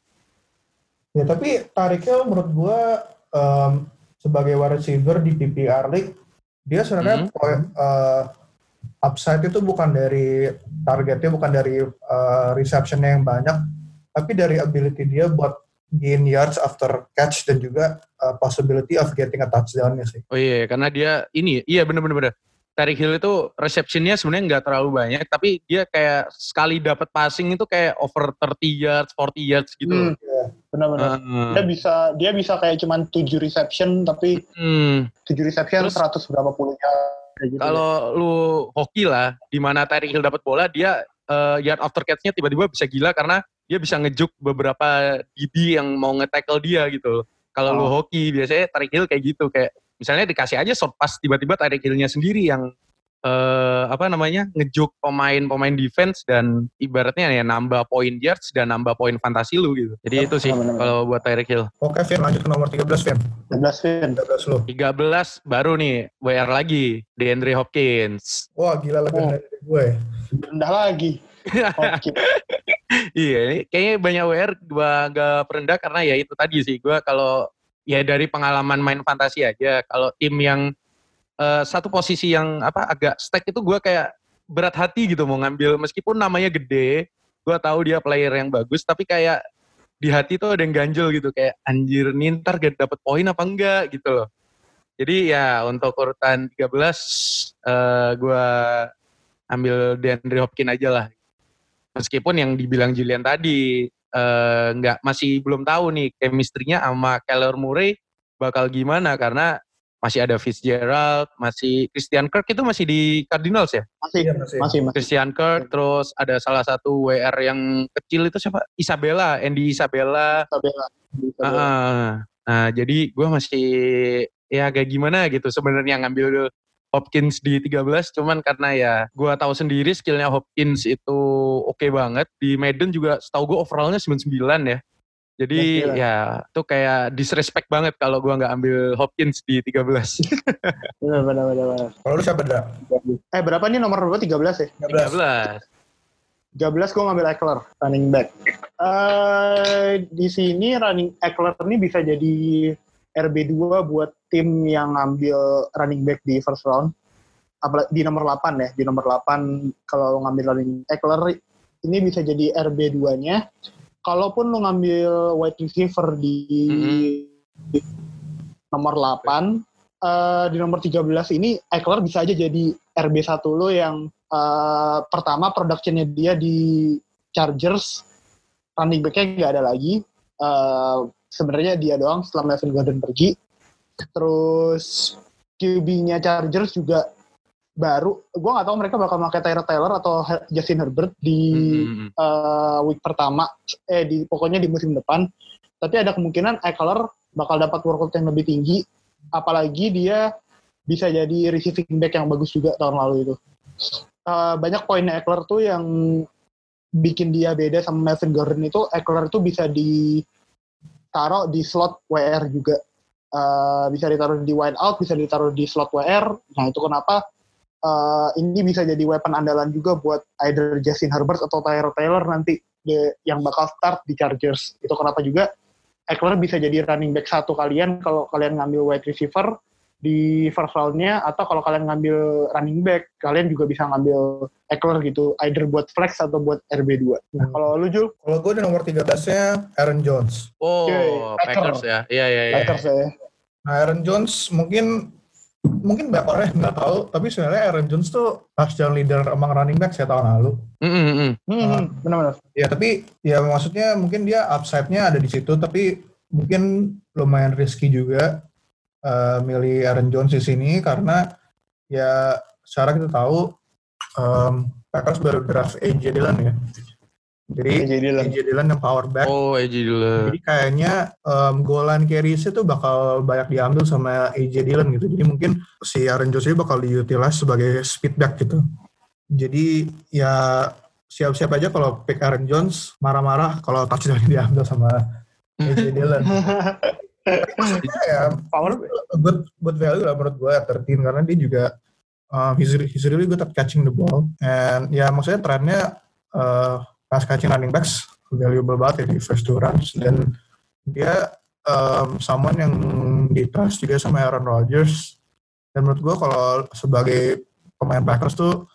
Ya tapi Tyreek Hill menurut gue um, sebagai wide receiver di P P R League, dia sebenarnya mm-hmm. point, uh, upside itu bukan dari targetnya, bukan dari uh, reception-nya yang banyak, tapi dari ability dia buat gain yards after catch dan juga uh, possibility of getting a touchdown-nya sih. Oh iya, karena dia ini, iya bener-bener. Tyreek Hill itu reception-nya sebenarnya nggak terlalu banyak, tapi dia kayak sekali dapat passing itu kayak over thirty yards, forty yards gitu. Hmm, ya, benar-benar. Uh, dia bisa dia bisa kayak cuman tujuh reception, tapi hmm. tujuh reception terus, seratus berapa puluh yards. Gitu kalau ya. Lu hoki lah, di mana Tyreek Hill dapat bola, dia uh, yard after catch-nya tiba-tiba bisa gila karena dia bisa ngejuk beberapa D B yang mau nge-tackle dia gitu. Kalau oh. lu hoki, biasanya Tyreek Hill kayak gitu, kayak misalnya dikasih aja short pass, tiba-tiba Tyreek Hill-nya sendiri yang uh, apa namanya ngejuk pemain-pemain defense dan ibaratnya ya nambah point yards dan nambah poin fantasi lu gitu. Jadi oh, itu sih kalau buat Tyreek Hill. Oke, Vin, lanjut ke nomor tiga belas, Vin. tiga belas, Vin. tiga belas lu. tiga belas baru nih, W R lagi, DeAndre Hopkins. Wah, gila lebih oh. dari gue. Rendah lagi. Iya, ini kayaknya banyak W R gue agak perendah karena ya itu tadi sih, gue kalau ya dari pengalaman main fantasi aja, kalau tim yang uh, satu posisi yang apa agak stack itu gue kayak berat hati gitu mau ngambil, meskipun namanya gede, gue tahu dia player yang bagus, tapi kayak di hati tuh ada yang ganjel gitu, kayak anjir nih ntar gak dapet poin apa enggak gitu loh. Jadi ya untuk urutan tiga belas uh, gue ambil DeAndre Hopkins aja lah. Meskipun yang dibilang Julian tadi Uh, nggak masih belum tahu nih chemistry-nya sama Kyler Murray bakal gimana karena masih ada Fitzgerald, masih Christian Kirk itu masih di Cardinals ya? Masih, ya, masih. masih, masih. Christian Kirk, terus ada salah satu W R yang kecil itu siapa? Isabella, Andy Isabella. Isabella. Isabella. Uh, nah jadi gue masih ya kayak gimana gitu sebenarnya ngambil Hopkins di tiga belas, cuman karena ya gue tahu sendiri skillnya Hopkins itu oke okay banget. Di Madden juga setahu gue overallnya sembilan puluh sembilan ya. Jadi ya, ya itu kayak disrespect banget kalau gue nggak ambil Hopkins di tiga belas. Benar, benar, benar. Kalau lu siapa, Dra? Eh berapa nih nomor berapa? tiga belas ya? tiga belas. tiga belas gue ngambil Eckler, running back. Uh, di sini running Eckler ini bisa jadi R B dua buat tim yang ngambil running back di first round. Apalagi di nomor delapan ya, di nomor delapan kalau ngambil running Eckler ini bisa jadi R B dua-nya. Kalaupun lu ngambil wide receiver di, mm-hmm. di nomor delapan, uh, di nomor tiga belas ini Eckler bisa aja jadi R B satu lo yang uh, pertama production-nya dia di Chargers, running back-nya nggak ada lagi. Uh, sebenarnya dia doang setelah Melvin Gordon pergi. Terus Q B-nya Chargers juga baru, gue nggak tahu mereka bakal pakai Tyrod Taylor atau Justin Herbert di mm-hmm. uh, week pertama, eh di pokoknya di musim depan. Tapi ada kemungkinan Eckler bakal dapat workload yang lebih tinggi, apalagi dia bisa jadi receiving back yang bagus juga tahun lalu itu. Uh, banyak poinnya Eckler tuh yang bikin dia beda sama Melvin Gordon itu, Eckler tuh bisa ditaruh di slot W R juga, uh, bisa ditaruh di wide out, bisa ditaruh di slot W R. Nah itu kenapa Uh, ini bisa jadi weapon andalan juga buat either Justin Herbert atau Tyrod Taylor nanti de, yang bakal start di Chargers. Itu kenapa juga Eckler bisa jadi running back satu kalian kalau kalian ngambil wide receiver di first round-nya, atau kalau kalian ngambil running back, kalian juga bisa ngambil Eckler gitu, either buat flex atau buat R B dua. Nah, hmm. Kalau lu, Jul? Kalau gue di nomor tiga belasnya Aaron Jones. Oh, okay. Packers ya? Iya, iya, iya. Packers ya. Nah, Aaron Jones mungkin mungkin banyak orang nggak tahu, tapi sebenarnya Aaron Jones tuh touchdown leader among running back saya tahun lalu. Mm-hmm. Hmm, benar-benar. Ya tapi ya maksudnya mungkin dia upside-nya ada di situ, tapi mungkin lumayan risky juga uh, milih Aaron Jones di sini karena ya secara kita tahu um, Packers baru draft A J Dillon ya. Jadi A J Dillon. A J Dillon yang power back. Oh, A J Dillon. Jadi kayaknya um, goal line carries itu bakal banyak diambil sama A J Dillon gitu. Jadi mungkin si Aaron Jones ini bakal diutilize sebagai speed back gitu. Jadi ya siap-siap aja kalau pick Aaron Jones, marah-marah kalau touchdown diambil sama A J Dillon. Maksudnya ya power good, good value lah menurut gue at thirteen karena dia juga um, he's, he's really good at catching the ball. And ya maksudnya trennya uh, pass catching running backs valuable banget ya di first two rounds, dan dia um, someone yang di-trust juga sama Aaron Rodgers, dan menurut gue kalau sebagai pemain Packers tuh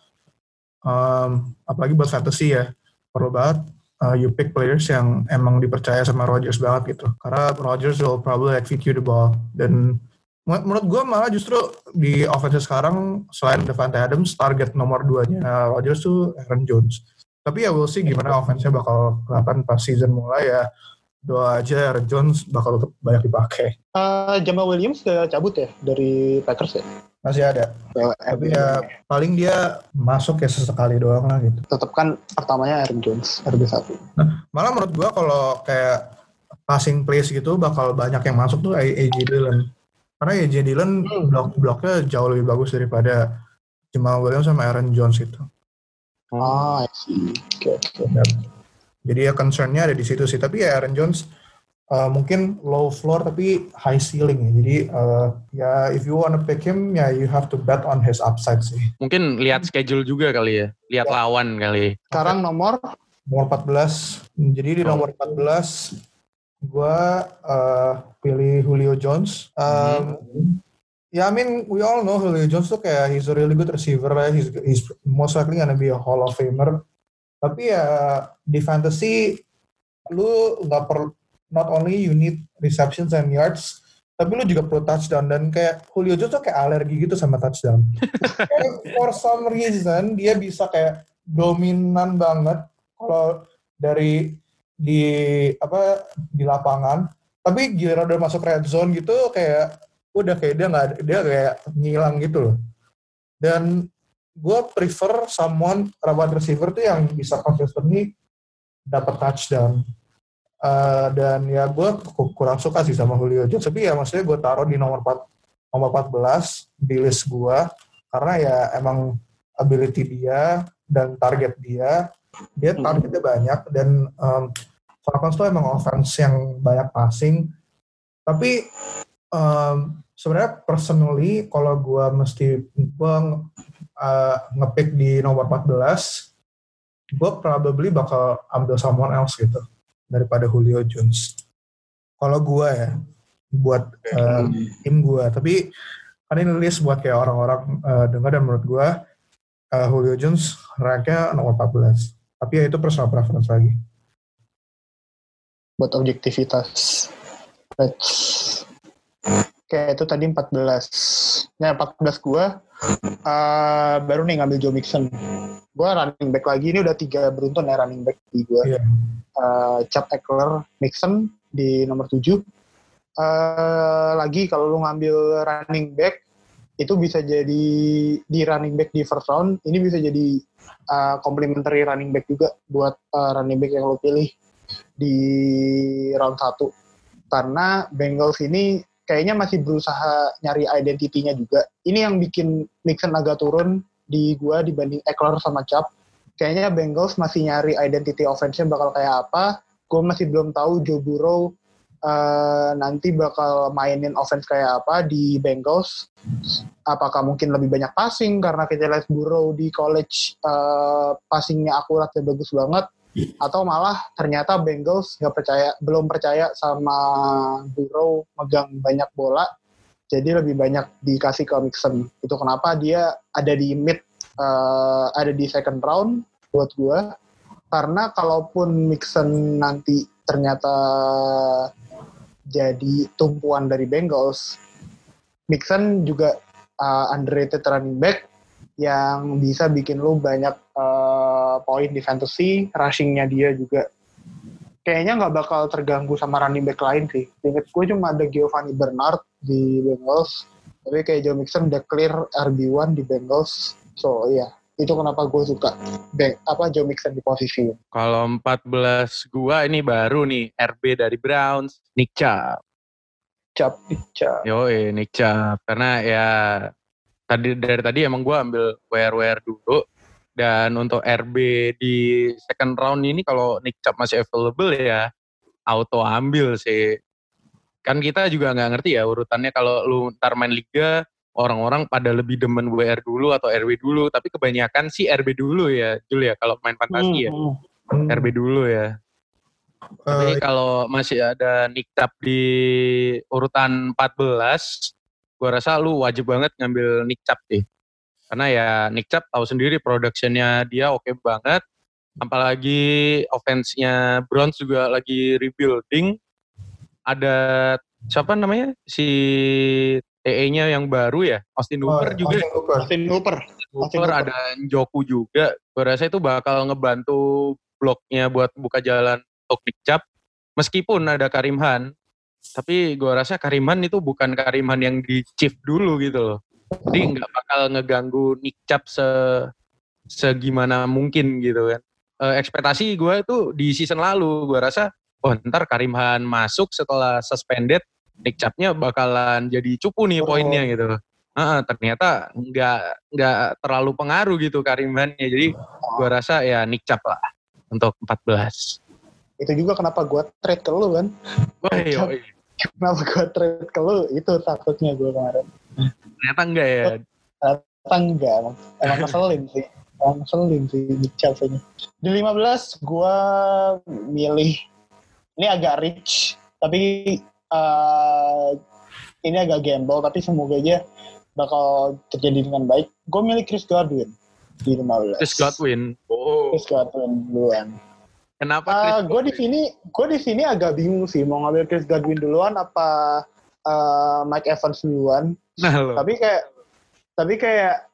um, apalagi buat fantasy ya perlu banget uh, you pick players yang emang dipercaya sama Rodgers banget gitu, karena Rodgers will probably execute the ball. Dan menurut gue malah justru di offense sekarang selain Davante Adams, target nomor duanya Rodgers tuh Aaron Jones. Tapi ya we'll see gimana offense-nya bakal kelihatan pas season mulai ya. Doa aja Aaron Jones bakal banyak dipakai. Uh, Jamal Williams udah cabut ya dari Packers ya? Masih ada. Ya, tapi ya paling dia masuk ya sesekali doang lah gitu. Tetap kan pertamanya Aaron Jones, R B satu. Nah, malah menurut gua kalau kayak passing plays gitu bakal banyak yang masuk tuh A J Dillon. Karena A J Dillon hmm. blok-bloknya jauh lebih bagus daripada Jamal Williams sama Aaron Jones itu. Ah, I see. Oke, okay, okay. Jadi ya concern-nya ada di situ sih. Tapi ya Aaron Jones uh, mungkin low floor tapi high ceiling ya. Jadi uh, ya if you wanna pick him ya you have to bet on his upside sih. Mungkin lihat schedule juga kali ya. Lihat ya. Lawan kali. Sekarang nomor? Nomor empat belas. Jadi di nomor empat belas gue uh, pilih Julio Jones. Um, hmm. Ya, I mean, we all know Julio Jones tuh kayak he's a really good receiver, right? He's, he's most likely gonna be a Hall of Famer. Tapi ya di fantasy, lu nggak perlu, not only you need receptions and yards, tapi lu juga perlu touchdown. Dan kayak Julio Jones tuh kayak alergi gitu sama touchdown. Kayak for some reason, dia bisa kayak dominan banget kalau dari di apa di lapangan. Tapi giliran udah masuk red zone gitu kayak udah kayak dia nggak dia kayak ngilang gitu loh. Dan gue prefer someone wide receiver tuh yang bisa consistently dapat touchdown. Uh, dan ya gue kurang suka sih sama Julio Jones. Tapi ya maksudnya gue taruh di nomor empat, nomor empat belas di list gue karena ya emang ability dia dan target dia, dia targetnya banyak dan um, Falcons tuh emang offense yang banyak passing. Tapi um, sebenarnya personally kalau gue mesti gue uh, ngepick di nomor empat belas, gue probably bakal ambil someone else gitu daripada Julio Jones. Kalau gue ya, buat uh, tim gue. Tapi kan ini list buat kayak orang-orang uh, dengar, dan menurut gue uh, Julio Jones ranknya nomor empat belas. Tapi ya itu personal preference lagi. Buat objektivitas. Let's... Kayak itu tadi empat belas. Nah, empat belas gue uh, baru nih ngambil Joe Mixon. Gue running back lagi, ini udah tiga beruntun ya running back di gue. Yeah. Uh, Chubb, Eckler, Mixon di nomor tujuh. Uh, lagi kalau lu ngambil running back, itu bisa jadi di running back di first round, ini bisa jadi uh, complementary running back juga buat uh, running back yang lu pilih di round satu. Karena Bengals ini kayaknya masih berusaha nyari identity-nya juga. Ini yang bikin Mixon agak turun di gua dibanding Eckler sama Chubb. Kayaknya Bengals masih nyari identity offense-nya bakal kayak apa. Gua masih belum tahu Joe Burrow uh, nanti bakal mainin offense kayak apa di Bengals. Apakah mungkin lebih banyak passing karena kita lihat Burrow di college uh, passingnya akurat dan bagus banget. Atau malah ternyata Bengals nggak percaya, belum percaya sama Burrow megang banyak bola, jadi lebih banyak dikasih ke Mixon. Itu kenapa dia ada di mid, uh, ada di second round buat gue. Karena kalaupun Mixon nanti ternyata jadi tumpuan dari Bengals, Mixon juga uh, underrated running back yang bisa bikin lu banyak uh, poin di fantasy, rushing-nya dia juga kayaknya nggak bakal terganggu sama running back lain sih. Ingat gue cuma ada Giovanni Bernard di Bengals, tapi kayak Joe Mixon udah clear R B one di Bengals, so iya, itu kenapa gue suka Bang, apa Joe Mixon di posisi. Kalau empat belas gue ini baru nih, R B dari Browns, Nick Chubb. Chubb, Nick Chubb. Yoi, Nick Chubb, karena ya tadi dari tadi emang gue ambil W R W R dulu, dan untuk R B di second round ini kalau Nick Chubb masih available ya auto ambil sih. Kan kita juga nggak ngerti ya urutannya, kalau lu ntar main liga orang-orang pada lebih demen W R dulu atau R B dulu, tapi kebanyakan sih R B dulu ya Jul ya kalau main fantasi ya. hmm. R B dulu ya. uh, tapi kalau masih ada Nick Chubb di urutan empat belas, gue rasa lu wajib banget ngambil Nick Chubb sih. Karena ya Nick Chubb tahu sendiri production-nya dia oke okay banget. Apalagi offense-nya Browns juga lagi rebuilding. Ada siapa namanya? Si T E-nya yang baru ya, Austin Hooper oh, juga. Austin Hooper. Austin Hooper. Austin Hooper ada Njoku juga. Gue rasa itu bakal ngebantu bloknya buat buka jalan untuk Nick Chubb. Meskipun ada Karim Hunt, tapi gue rasa Karim Hunt itu bukan Karim Hunt yang di Chief dulu gitu loh. Jadi nggak bakal ngeganggu Nick Chubb se segimana mungkin gitu kan. E, ekspektasi gue itu di season lalu, gue rasa oh ntar Karim Hunt masuk setelah suspended, Nick Chubb-nya bakalan jadi cupu nih poinnya gitu. Uh, ternyata nggak nggak terlalu pengaruh gitu Karim Hunt-nya. Jadi gue rasa ya Nick Chubb lah untuk empat belas. Itu juga kenapa gue trade ke lu kan. Oh iya. Kenapa gue trade ke lu, itu takutnya gue kemarin. Ternyata enggak ya? Ternyata enggak, emang, emang ngeselin sih. Emang ngeselin sih Nick Chubb ini. Di lima belas gue milih, ini agak rich, tapi uh, ini agak gamble, tapi semoga aja bakal terjadi dengan baik. Gue milih Chris Godwin di lima belas. Chris Godwin? Oh. Chris Godwin duluan. Kenapa Uh, gue di sini, gue di sini agak bingung sih mau ngambil Chris Godwin duluan apa uh, Mike Evans duluan. Nah, tapi kayak, tapi kayak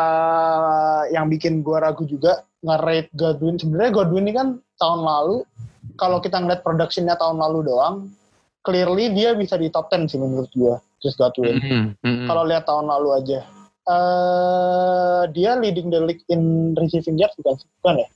uh, yang bikin gue ragu juga nge-rate Godwin. Sebenarnya Godwin ini kan tahun lalu, kalau kita ngeliat productionnya tahun lalu doang, clearly dia bisa di top ten sih menurut gue, Chris Godwin. Mm-hmm. Mm-hmm. Kalau lihat tahun lalu aja, uh, dia leading the league in receiving yards bukan? Bukan ya?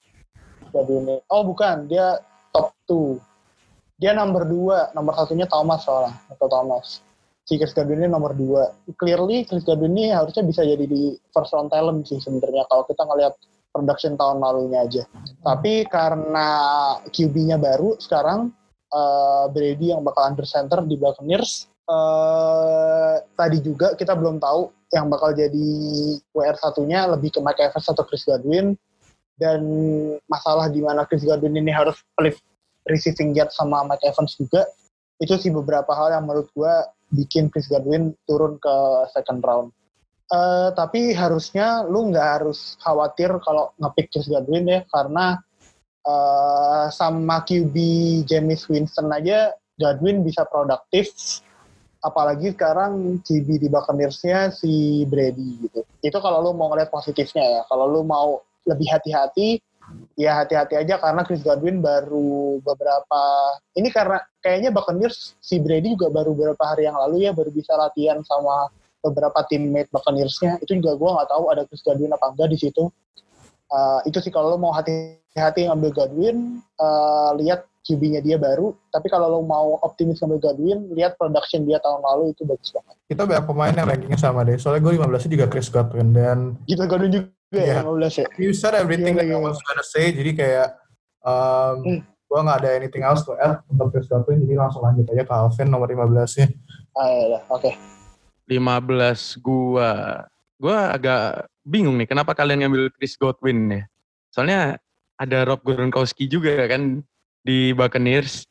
Oh bukan, dia top two. Dia nomor dua, nomor satunya Thomas soalnya, atau Thomas. Si Chris Godwin ini nomor dua. Clearly Chris Godwin ini harusnya bisa jadi di first round talent sih sebenarnya kalau kita ngelihat production tahun lalunya aja. Hmm. Tapi karena Q B-nya baru sekarang, uh, Brady yang bakal under center di Buccaneers, uh, tadi juga kita belum tahu yang bakal jadi W R satunya lebih ke Mike Evans atau Chris Godwin. dan masalah di mana Chris Godwin ini harus flip receiving yard sama Mike Evans juga, itu sih beberapa hal yang menurut gue bikin Chris Godwin turun ke second round. Uh, tapi harusnya lu nggak harus khawatir kalau nge-pick Chris Godwin ya, karena uh, sama Q B Jameis Winston aja Godwin bisa produktif, apalagi sekarang Q B di Buccaneers-nya si Brady gitu. Itu kalau lu mau ngeliat positifnya ya. Kalau lu mau lebih hati-hati, ya hati-hati aja karena Chris Godwin baru beberapa, ini karena kayaknya Buccaneers si Brady juga baru beberapa hari yang lalu ya baru bisa latihan sama beberapa teammate Buccaneers-nya. Itu juga gue nggak tahu ada Chris Godwin apa enggak di situ. Uh, itu sih kalau lo mau hati-hati ngambil Godwin, uh, lihat Q B-nya dia baru. Tapi kalau lo mau optimis ngambil Godwin, lihat production dia tahun lalu itu bagus banget. Kita banyak pemain yang rankingnya sama deh. Soalnya gue lima belasnya juga Chris Godwin dan gitu Godwin juga yeah. ya lima belas ya. You said everything yeah, that yeah. I was gonna say. Jadi kayak um, hmm. gue nggak ada anything else to add untuk Chris Godwin. Jadi langsung lanjut aja ke Alvin nomor lima belasnya. Ah ya, oke. Okay. lima belas gua. Gua agak bingung nih kenapa kalian ngambil Chris Godwin ya. Soalnya ada Rob Gronkowski juga kan di Buccaneers.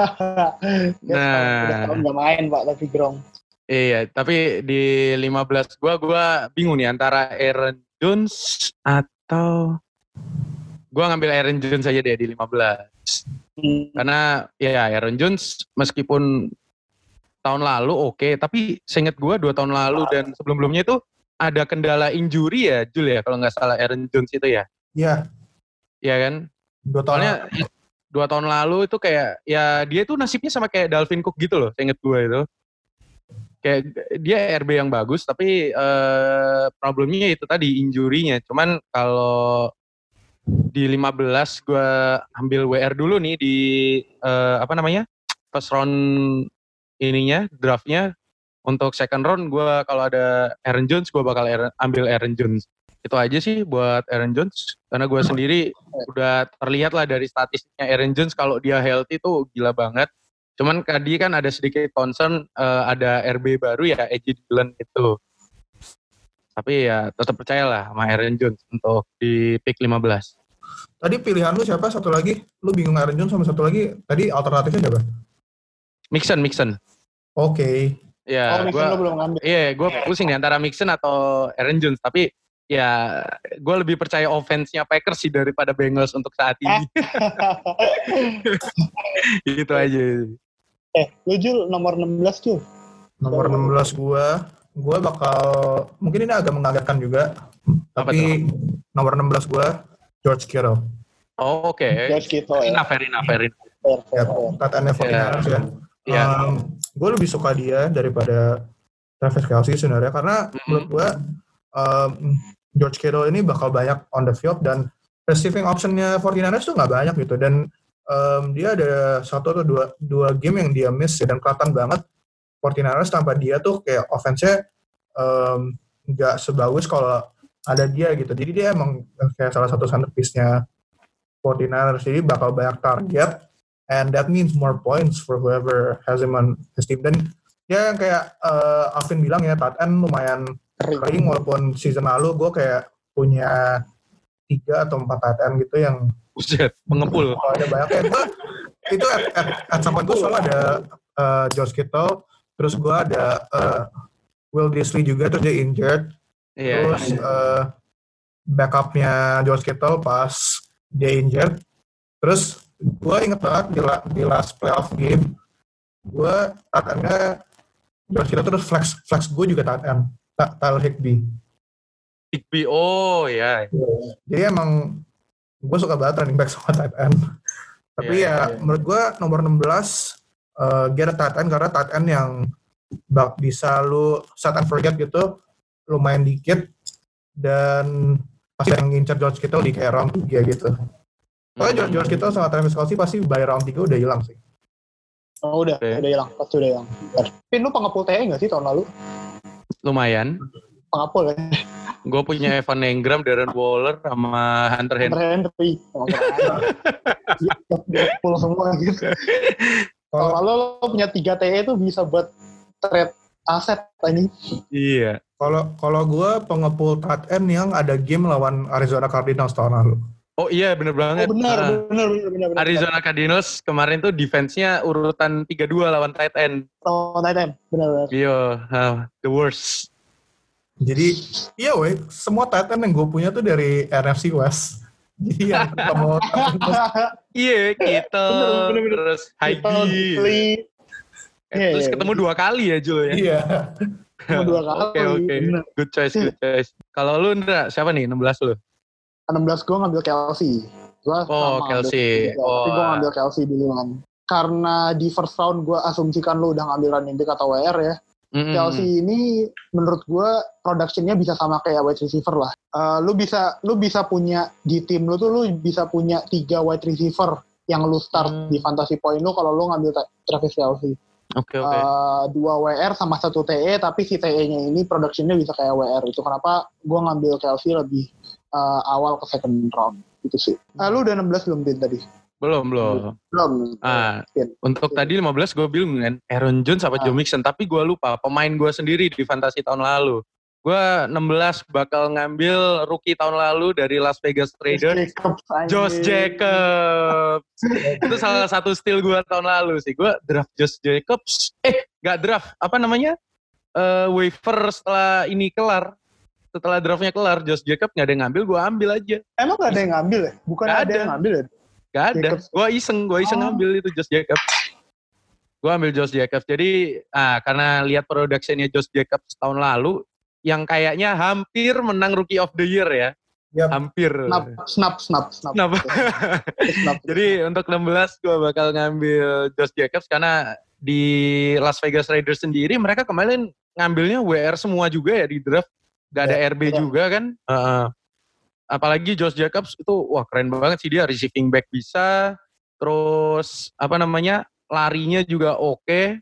Nah, udah tahun gak main Pak tapi Gronk. Iya, tapi di lima belas gua gua bingung nih antara Aaron Jones atau gua ngambil Aaron Jones aja deh di lima belas. Hmm. Karena ya Aaron Jones meskipun tahun lalu oke, okay, tapi seingat gue dua tahun lalu dan sebelum-sebelumnya itu ada kendala injury ya, Jul ya, kalau nggak salah Aaron Jones itu ya. Iya. Iya kan? Dua tahun Soalnya lalu. dua tahun lalu itu kayak, ya dia tuh nasibnya sama kayak Dalvin Cook gitu loh, seingat gue itu. Kayak dia R B yang bagus, tapi uh, problemnya itu tadi, injury-nya. Cuman kalau di lima belas gue ambil W R dulu nih di, uh, apa namanya, first round ininya, draftnya untuk second round gue kalau ada Aaron Jones gue bakal Aaron, ambil Aaron Jones. Itu aja sih buat Aaron Jones karena gue sendiri udah terlihat lah dari statistiknya Aaron Jones kalau dia healthy tuh gila banget. Cuman tadi kan ada sedikit concern uh, ada R B baru ya A J Dillon itu. Tapi ya tetap percayalah sama Aaron Jones untuk di pick lima belas. Tadi pilihan lu siapa satu lagi? Lu bingung Aaron Jones sama satu lagi. Tadi alternatifnya siapa? Mixon, Mixon. Oke. Okay. Ya, oh, Mixon lo belum ngambil. Iya, gue pusing nih antara Mixon atau Aaron Jones. Tapi ya, gue lebih percaya offense-nya Packers sih daripada Bengals untuk saat ini. Gitu aja. Eh, lu Jul, nomor enam belas Jul. Nomor enam belas gue, gue bakal, mungkin ini agak mengagetkan juga. Apa tapi tuh? Nomor enam belas gue, George Kittle. Oh, oke. Okay. George Kittle. Fair enough, fair enough, fair enough. Ya, tataannya forty-niners ya. Yeah. Um, gue lebih suka dia daripada Travis Kelce sebenarnya karena mm-hmm. menurut gue um, George Kittle ini bakal banyak on the field dan receiving optionnya forty-niners tuh nggak banyak gitu dan um, dia ada satu atau dua dua game yang dia miss ya, dan kelihatan banget forty-niners tanpa dia tuh kayak offense-nya nggak um, sebagus kalau ada dia gitu. Jadi dia emang kayak salah satu centerpiece-nya forty-niners, jadi bakal banyak target. And that means more points for whoever has him on his team. Dan ya yang kayak uh, Alvin bilang ya, tight end lumayan kering walaupun season lalu gue kayak punya tiga atau empat tight end gitu yang buset, mengepul. Oh, ada banyak ya. Gue, itu at, at, at some point gue selalu ada uh, George Kittle, terus gue ada uh, Will Disley juga, terus dia injured. Yeah, terus yeah. Uh, backupnya George Kittle pas dia injured. Terus gue inget banget di, la, di last playoff game, gue tight end-nya George Kittle, terus flex flex gue juga tight end, Tyler Higbee. Higbee, oh ya. Yeah. Jadi emang gue suka banget running back sama tight end. Tapi yeah, ya yeah. menurut gue nomor enam belas uh, get a tight end karena tight end yang bak, bisa lu set and forget gitu, lumayan dikit, dan pasti yang ngincer George Kittle di kayak round tiga gitu. Pokoknya George, George Kittle sama Travis Kelce pasti by round tiga udah hilang sih. Oh udah, okay. udah hilang, pasti udah hilang. Tapi lu pengepul T E nggak sih tahun lalu? Lumayan. Pengepul ya? Gue punya Evan Engram, Darren Waller, sama Hunter Henry. Hunter Henry. Pengepul semua gitu. Tahun lalu lo punya tiga T E tuh bisa buat trade aset ini. Iya. Kalau kalau gue pengepul tight end yang ada game lawan Arizona Cardinals tahun lalu. Oh iya bener banget. Oh benar, Ah. benar, benar, benar, benar. Arizona Cardinals kemarin tuh defense-nya urutan tiga dua lawan tight end. Oh, tight end, benar, benar. Iya, uh, the worst. Jadi iya weh, semua tight end yang gue punya tuh dari N F C West. Jadi yang ketemu Iya, kita Bener, bener, terus Kita Heidi. beli. Eh, Iya, terus iya. ketemu dua kali ya Jul ya. Iya. Cuma dua kali. Oke oke. bener. Good choice, good choice. Kalau lu Ndra, siapa nih enam belas lu? enam belas gue ngambil Kelsey. Gua Oh, sama Kelsey. ngambil, Oh. Tapi gue ngambil Kelsey duluan. Karena di first round gue asumsikan lu udah ngambil running back atau W R ya. Mm-mm. Kelsey ini menurut gue productionnya bisa sama kayak wide receiver lah. Uh, lu bisa lu bisa punya di tim lu tuh lu bisa punya tiga wide receiver yang lu start Hmm. di fantasy point lu kalau lu ngambil Travis Kelsey. Oke oke. Uh, dua W R sama satu T E, tapi si T E-nya ini productionnya bisa kayak W R. Itu kenapa gue ngambil Kelsey lebih uh, awal ke second round. Itu sih. Uh, lu udah enam belas belum Din tadi? Belum belum. Belum. Ah, Din. untuk tadi lima belas gue bilang kan Aaron Jones sama Ah. Joe Mixon, tapi gue lupa pemain gue sendiri di fantasi tahun lalu. Gue enam belas bakal ngambil rookie tahun lalu dari Las Vegas Raiders, Jacobs, anjing. Josh Jacobs. Itu salah satu steal gue tahun lalu sih. Gue draft Josh Jacobs. Eh, gak draft. Apa namanya? Eh, waiver setelah ini kelar. Setelah draftnya kelar, Josh Jacobs gak ada yang ngambil, gue ambil aja. Emang gak ada yang ngambil ya? Bukan Gak ada. ada. yang ngambil ya? Gak ada. Jacobs. Gue iseng, gue iseng Oh. ngambil itu Josh Jacobs. Gue ambil Josh Jacobs. Jadi, ah, karena lihat productionnya Josh Jacobs tahun lalu, yang kayaknya hampir menang Rookie of the Year ya. Yap. Hampir. Snap, snap, snap, snap. Snap. Snap. Jadi untuk enam belas gue bakal ngambil Josh Jacobs karena di Las Vegas Raiders sendiri mereka kemarin ngambilnya W R semua juga ya di draft. Gak ada Ya, R B ya. juga kan. Uh, apalagi Josh Jacobs itu wah keren banget sih dia, receiving back bisa. Terus apa namanya larinya juga oke.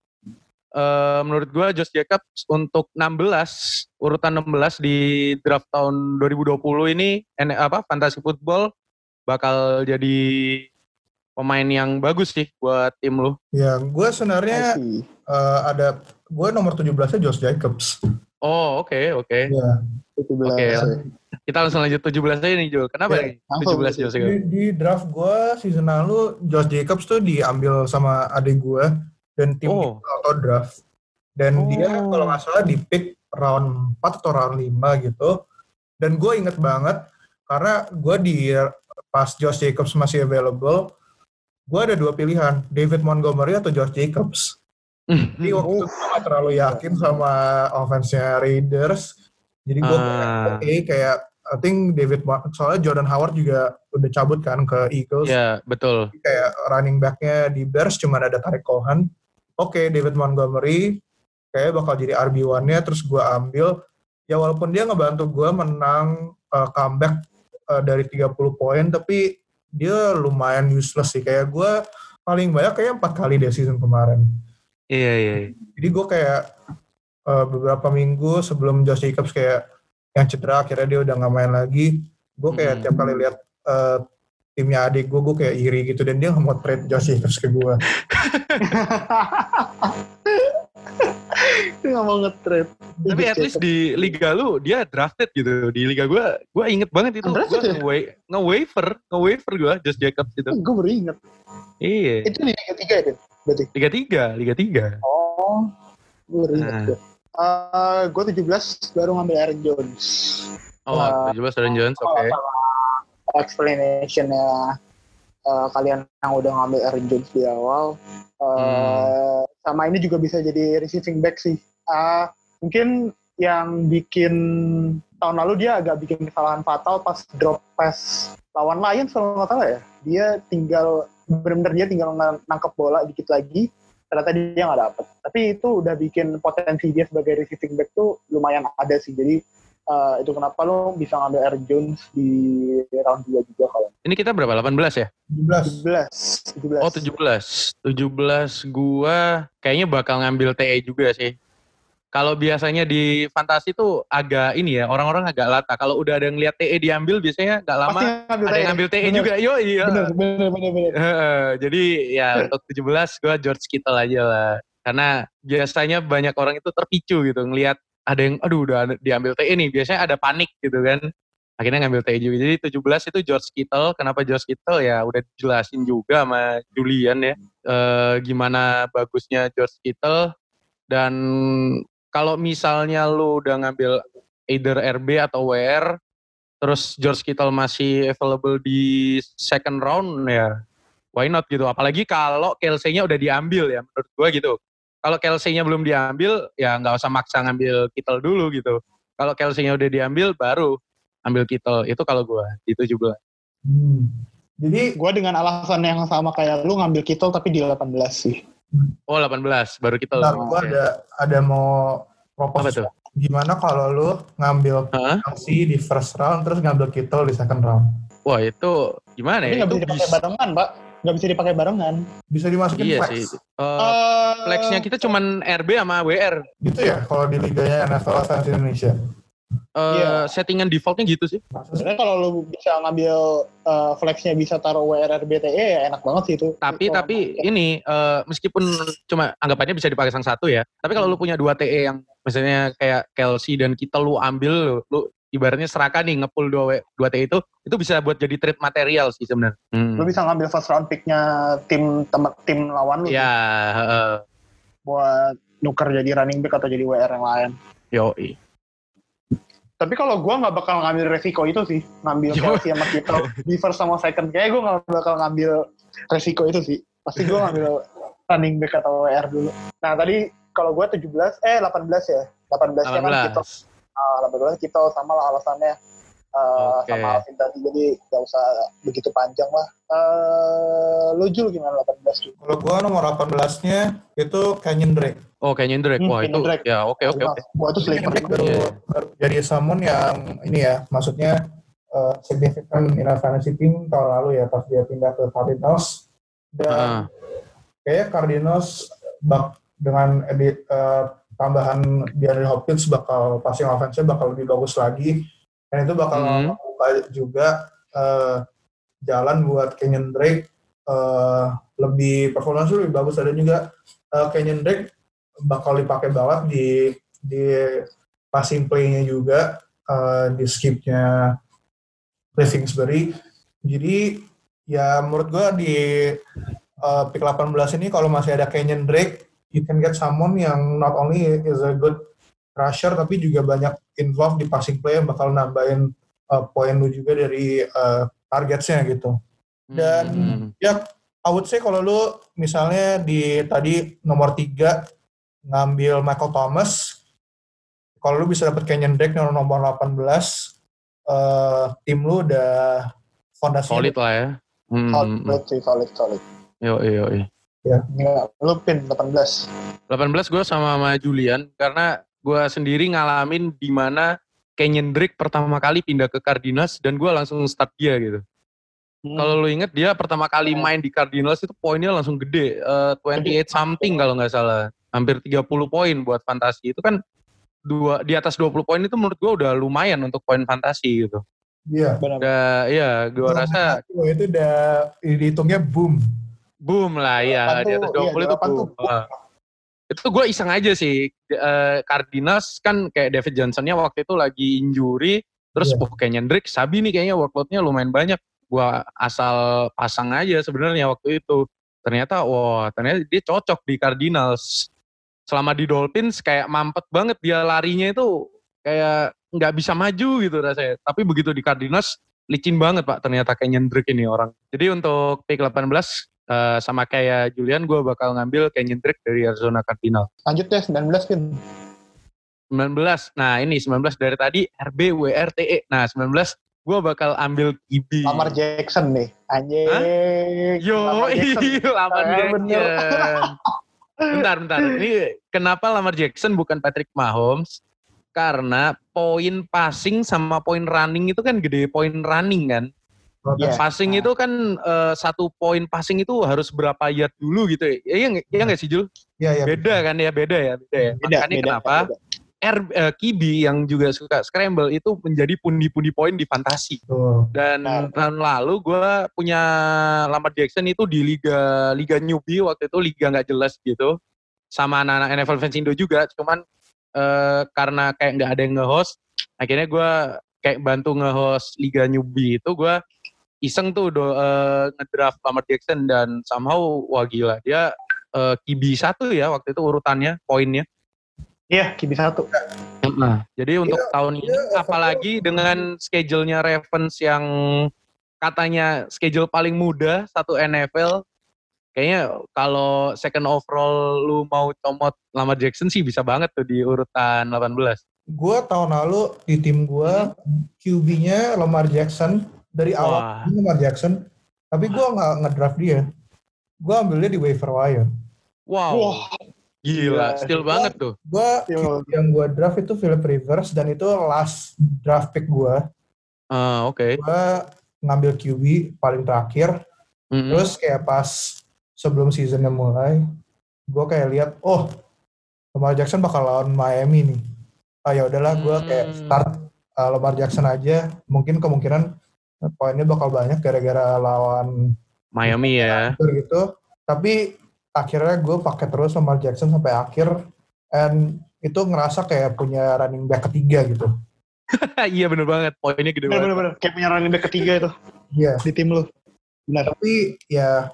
Uh, menurut gue Josh Jacobs untuk enam belas urutan enam belas di draft tahun dua ribu dua puluh ini N- apa fantasy football bakal jadi pemain yang bagus sih buat tim lu. Ya, gue sebenarnya I see. eh, ada gue nomor tujuh belasnya Josh Jacobs. Oh oke oke. Ya. tujuh belas. Oke. Kita langsung lanjut tujuh belas aja nih Jul. Kenapa Ya, nih tujuh belas Josh Di, Jacobs? di draft gue season lalu Josh Jacobs tuh diambil sama adik gue dan tim Oh. itu auto draft. Dan Oh. dia kalau nggak salah di pick round empat atau round lima gitu. Dan gue inget banget karena gue di pas Josh Jacobs masih available, gue ada dua pilihan, David Montgomery atau Josh Jacobs. Jadi waktu itu gue gak terlalu yakin sama offense-nya Raiders. Jadi gue Ah. oke okay, kayak I think David, soalnya Jordan Howard juga udah cabut kan ke Eagles. Ya betul. Jadi kayak running back-nya di Bears cuma ada Tariq Cohen. Oke, okay, David Montgomery kayak bakal jadi R B one-nya, terus gue ambil. Ya walaupun dia ngebantu gue menang uh, comeback uh, dari tiga puluh poin, tapi dia lumayan useless sih. Kayak gue paling banyak kayak empat kali deh season kemarin. Iya iya. Jadi gue kayak uh, beberapa minggu sebelum Josh Jacobs kayak yang cedera, akhirnya dia udah gak main lagi. Gue kayak Hmm. tiap kali lihat uh, timnya adik gue, gue kayak iri gitu. Dan dia gak mau trade Josh Jacobs ke gue. Dia gak mau nge-trade. Tapi at least di liga lu dia drafted gitu. Di liga gue, gue inget banget itu. Undrafted Gue ya? nge- nge-waiver, nge-waiver gue Josh Jacobs itu. Gue baru inget. Iya. Itu di Liga tiga ya, Din? Berarti? Liga tiga, Liga tiga. Oh, gue baru inget. Nah. Gue uh, gue tujuh belas baru ngambil Aaron Jones. Oh, Nah, tujuh belas Aaron Jones, oke. Sama explanation-nya uh, kalian yang udah ngambil Aaron Jones di awal. Uh, Hmm. Sama ini juga bisa jadi receiving back sih. Uh, mungkin yang bikin tahun lalu dia agak bikin kesalahan fatal pas drop pass lawan Lions kalau nggak salah ya. Dia tinggal benar-benar dia tinggal nangkep bola dikit lagi, ternyata dia nggak dapet. Tapi itu udah bikin potensi dia sebagai receiving back tuh lumayan ada sih. Jadi uh, itu kenapa lo bisa ngambil Aaron Jones di round dua juga kalau. Ini kita berapa? delapan belas ya? tujuh belas. tujuh belas. tujuh belas. Oh, tujuh belas. tujuh belas gua kayaknya bakal ngambil T E juga sih. Kalau biasanya di fantasi tuh agak ini ya, orang-orang agak lata. Kalau udah ada yang lihat T E diambil biasanya nggak lama Pasti ada yang ngambil T E Bener. juga. Yo iya. Bener, bener, bener, bener. Heeh, jadi ya untuk tujuh belas gua George Kittle aja lah. Karena biasanya banyak orang itu terpicu gitu ngelihat ada yang aduh udah ada- diambil T E nih, biasanya ada panik gitu kan. akhirnya ngambil T E juga. Jadi tujuh belas itu George Kittle. Kenapa George Kittle? Ya udah dijelasin juga sama Julian ya. E, gimana bagusnya George Kittle. Dan kalau misalnya lu udah ngambil either R B atau W R, terus George Kittle masih available di second round ya, why not gitu. Apalagi kalau Kelsey-nya udah diambil ya, menurut gue gitu. Kalau Kelsey-nya belum diambil, ya nggak usah maksa ngambil Kittle dulu gitu. Kalau Kelsey-nya udah diambil, baru ambil Kittle. Itu kalau gue di tujuh belas. Hmm. Jadi gue dengan alasan yang sama kayak lu ngambil Kittle tapi di delapan belas sih. Oh delapan belas, baru Kittle. Bentar, gue ada, ada mau propose. Gimana kalau lu ngambil huh? Kelsey di first round, terus ngambil Kittle di second round? Wah itu gimana tapi ya? Tapi nggak bisa dipakai barengan, Pak. Nggak bisa dipakai barengan. Bisa dimasukin iya flex. Sih. Uh, uh, flexnya kita cuman R B sama W R. Gitu ya, kalau di liganya N F L Fans Indonesia. Uh, yeah. Settingan defaultnya gitu sih. Sebenarnya kalau lu bisa ngambil uh, flexnya bisa taruh W R R B T E ya enak banget sih itu. Tapi itu tapi ya. ini uh, meskipun cuma anggapannya bisa dipakai sang satu ya. Tapi kalau lu punya dua T E yang misalnya kayak Kelsey dan kita lu ambil lu, lu ibaratnya seraka nih nge-pull dua, dua T E itu, itu bisa buat jadi trade material sih sebenarnya. Hmm. Lu bisa ngambil first round pick-nya tim tem, tim lawan lu. Ya. Uh, buat nuker jadi running back atau jadi W R yang lain. Yoi. Tapi kalau gue nggak bakal ngambil resiko itu sih, ngambil Kelsey sama Kittle di first sama second. Kayaknya gue nggak bakal ngambil resiko itu sih. Pasti gue ngambil running back atau W R dulu. Nah tadi kalau gue tujuh belas, eh delapan belas ya. delapan belas kan Kittle. Uh, delapan belas Kittle sama lah alasannya. Uh, okay. Sama Alvin tadi, jadi gak usah begitu panjang lah. Uh, lu Jul gimana delapan belas? Kalau gue nomor delapan belasnya itu Kenyon Drake. Oh Kenyon Drake, hmm, wah itu Drake. Ya oke oke oke. Wah itu sleeper. Jadi someone yang ini ya, maksudnya uh, significant in a fantasy team tahun lalu ya, pas dia pindah ke Cardinals. Dan uh. kayaknya Cardinals bak, dengan edit, uh, tambahan DeAndre Hopkins bakal passing offense-nya bakal lebih bagus lagi. Dan itu bakal hmm. membuka juga uh, jalan buat Kenyon Drake uh, lebih performance lebih bagus. Dan juga uh, Kenyon Drake bakal dipakai banget di di passing play-nya juga, uh, di skip-nya Cliff Kingsbury. Jadi ya menurut gue di uh, pick delapan belas ini kalau masih ada Kenyon Drake, you can get someone yang not only is a good rusher tapi juga banyak involved di passing play yang bakal nambahin uh, poin lu juga dari uh, targetsnya gitu. Dan hmm. ya I would say kalau lu misalnya di tadi nomor tiga ngambil Michael Thomas, kalau lu bisa dapet Kenyon Drake nomor delapan belas, uh, tim lu udah fondasinya solid lah ya. Hmm. Solid sih, solid, solid. Yo yo yo. Ya, ya lu pin delapan belas. delapan belas gue sama sama Julian karena gue sendiri ngalamin di mana Kenyon Drake pertama kali pindah ke Cardinals dan gue langsung start dia gitu. Hmm. Kalau lu inget dia pertama kali main di Cardinals itu poinnya langsung gede, uh, dua puluh delapan something kalau nggak salah, hampir tiga puluh poin buat fantasi. Itu kan dua di atas dua puluh poin itu menurut gue udah lumayan untuk poin fantasi gitu. Iya. Udah, iya, gue rasa itu udah dihitungnya boom. Boom lah ya, di atas dua puluh iya, itu boom. Uh. Itu gue iseng aja sih, uh, Cardinals kan kayak David Johnson-nya waktu itu lagi injury, terus yeah. oh, Kenyon Drake, sabi nih kayaknya workload-nya lumayan banyak. Gue asal pasang aja sebenarnya waktu itu. Ternyata, wah ternyata dia cocok di Cardinals. Selama di Dolphins kayak mampet banget dia larinya itu kayak nggak bisa maju gitu rasanya. Tapi begitu di Cardinals, licin banget Pak ternyata Kenyon Drake ini orang. Jadi untuk pick delapan belas, Uh, sama kayak Julian, gue bakal ngambil Kenyon Drake dari Arizona Cardinals. Lanjut deh, sembilan belas Pin. sembilan belas, nah ini sembilan belas dari tadi R B, W R, T E. Nah sembilan belas gue bakal ambil Q B. Lamar Jackson nih, anjing. Yo, Lamar Jackson. Lamar Jackson. Bentar, bentar. Ini kenapa Lamar Jackson bukan Patrick Mahomes? Karena poin passing sama poin running itu kan gede, poin running kan. Yeah. Passing nah. itu kan uh, satu poin passing itu harus berapa yard dulu gitu ya? Iya iya nggak sih Jul? Iya iya. Beda kan ya, beda ya, beda ya. Beda, Makanya beda, kenapa beda. R uh, Q B yang juga suka scramble itu menjadi pundi-pundi poin di fantasi. Oh. Dan nah. tahun lalu gue punya Lamar Jackson itu di liga liga newbie waktu itu, liga nggak jelas gitu, sama anak-anak N F L fans Indo juga. Cuman uh, karena kayak nggak ada yang nge-host, akhirnya gue kayak bantu nge-host Liga Newbie itu gue iseng tuh do, uh, ngedraft Lamar Jackson dan somehow wah gila dia uh, Q B satu ya waktu itu urutannya poinnya. Iya, Q B satu. Nah, jadi untuk Iya, tahun ini iya, apalagi overall. dengan schedule-nya Ravens yang katanya schedule paling mudah satu N F L, kayaknya kalau second overall lu mau comot Lamar Jackson sih bisa banget tuh di urutan delapan belas. Gue tahun lalu di tim gue hmm. Q B-nya Lamar Jackson dari awal. Wah. Lamar Jackson, tapi gue nggak ngedraft dia. Gue ambilnya di waiver wire. Wow. Wow. Gila, still gua, banget tuh. Gue yang gue draft itu Philip Rivers dan itu last draft pick gue. Uh, Oke. Okay. Gue ngambil Q B paling terakhir. Mm-hmm. Terus kayak pas sebelum seasonnya mulai, gue kayak lihat, oh Lamar Jackson bakal lawan Miami nih. Ah ya udahlah, gue kayak start uh, Lamar Jackson aja. Mungkin kemungkinan poinnya bakal banyak gara-gara lawan Miami ya. Gitu. Tapi akhirnya gue pakai terus Lamar Jackson sampai akhir, and itu ngerasa kayak punya running back ketiga gitu. Iya bener banget, poinnya gede banget. Bener-bener, kayak punya running back ketiga itu. Iya. Di tim lu. Benar. Tapi ya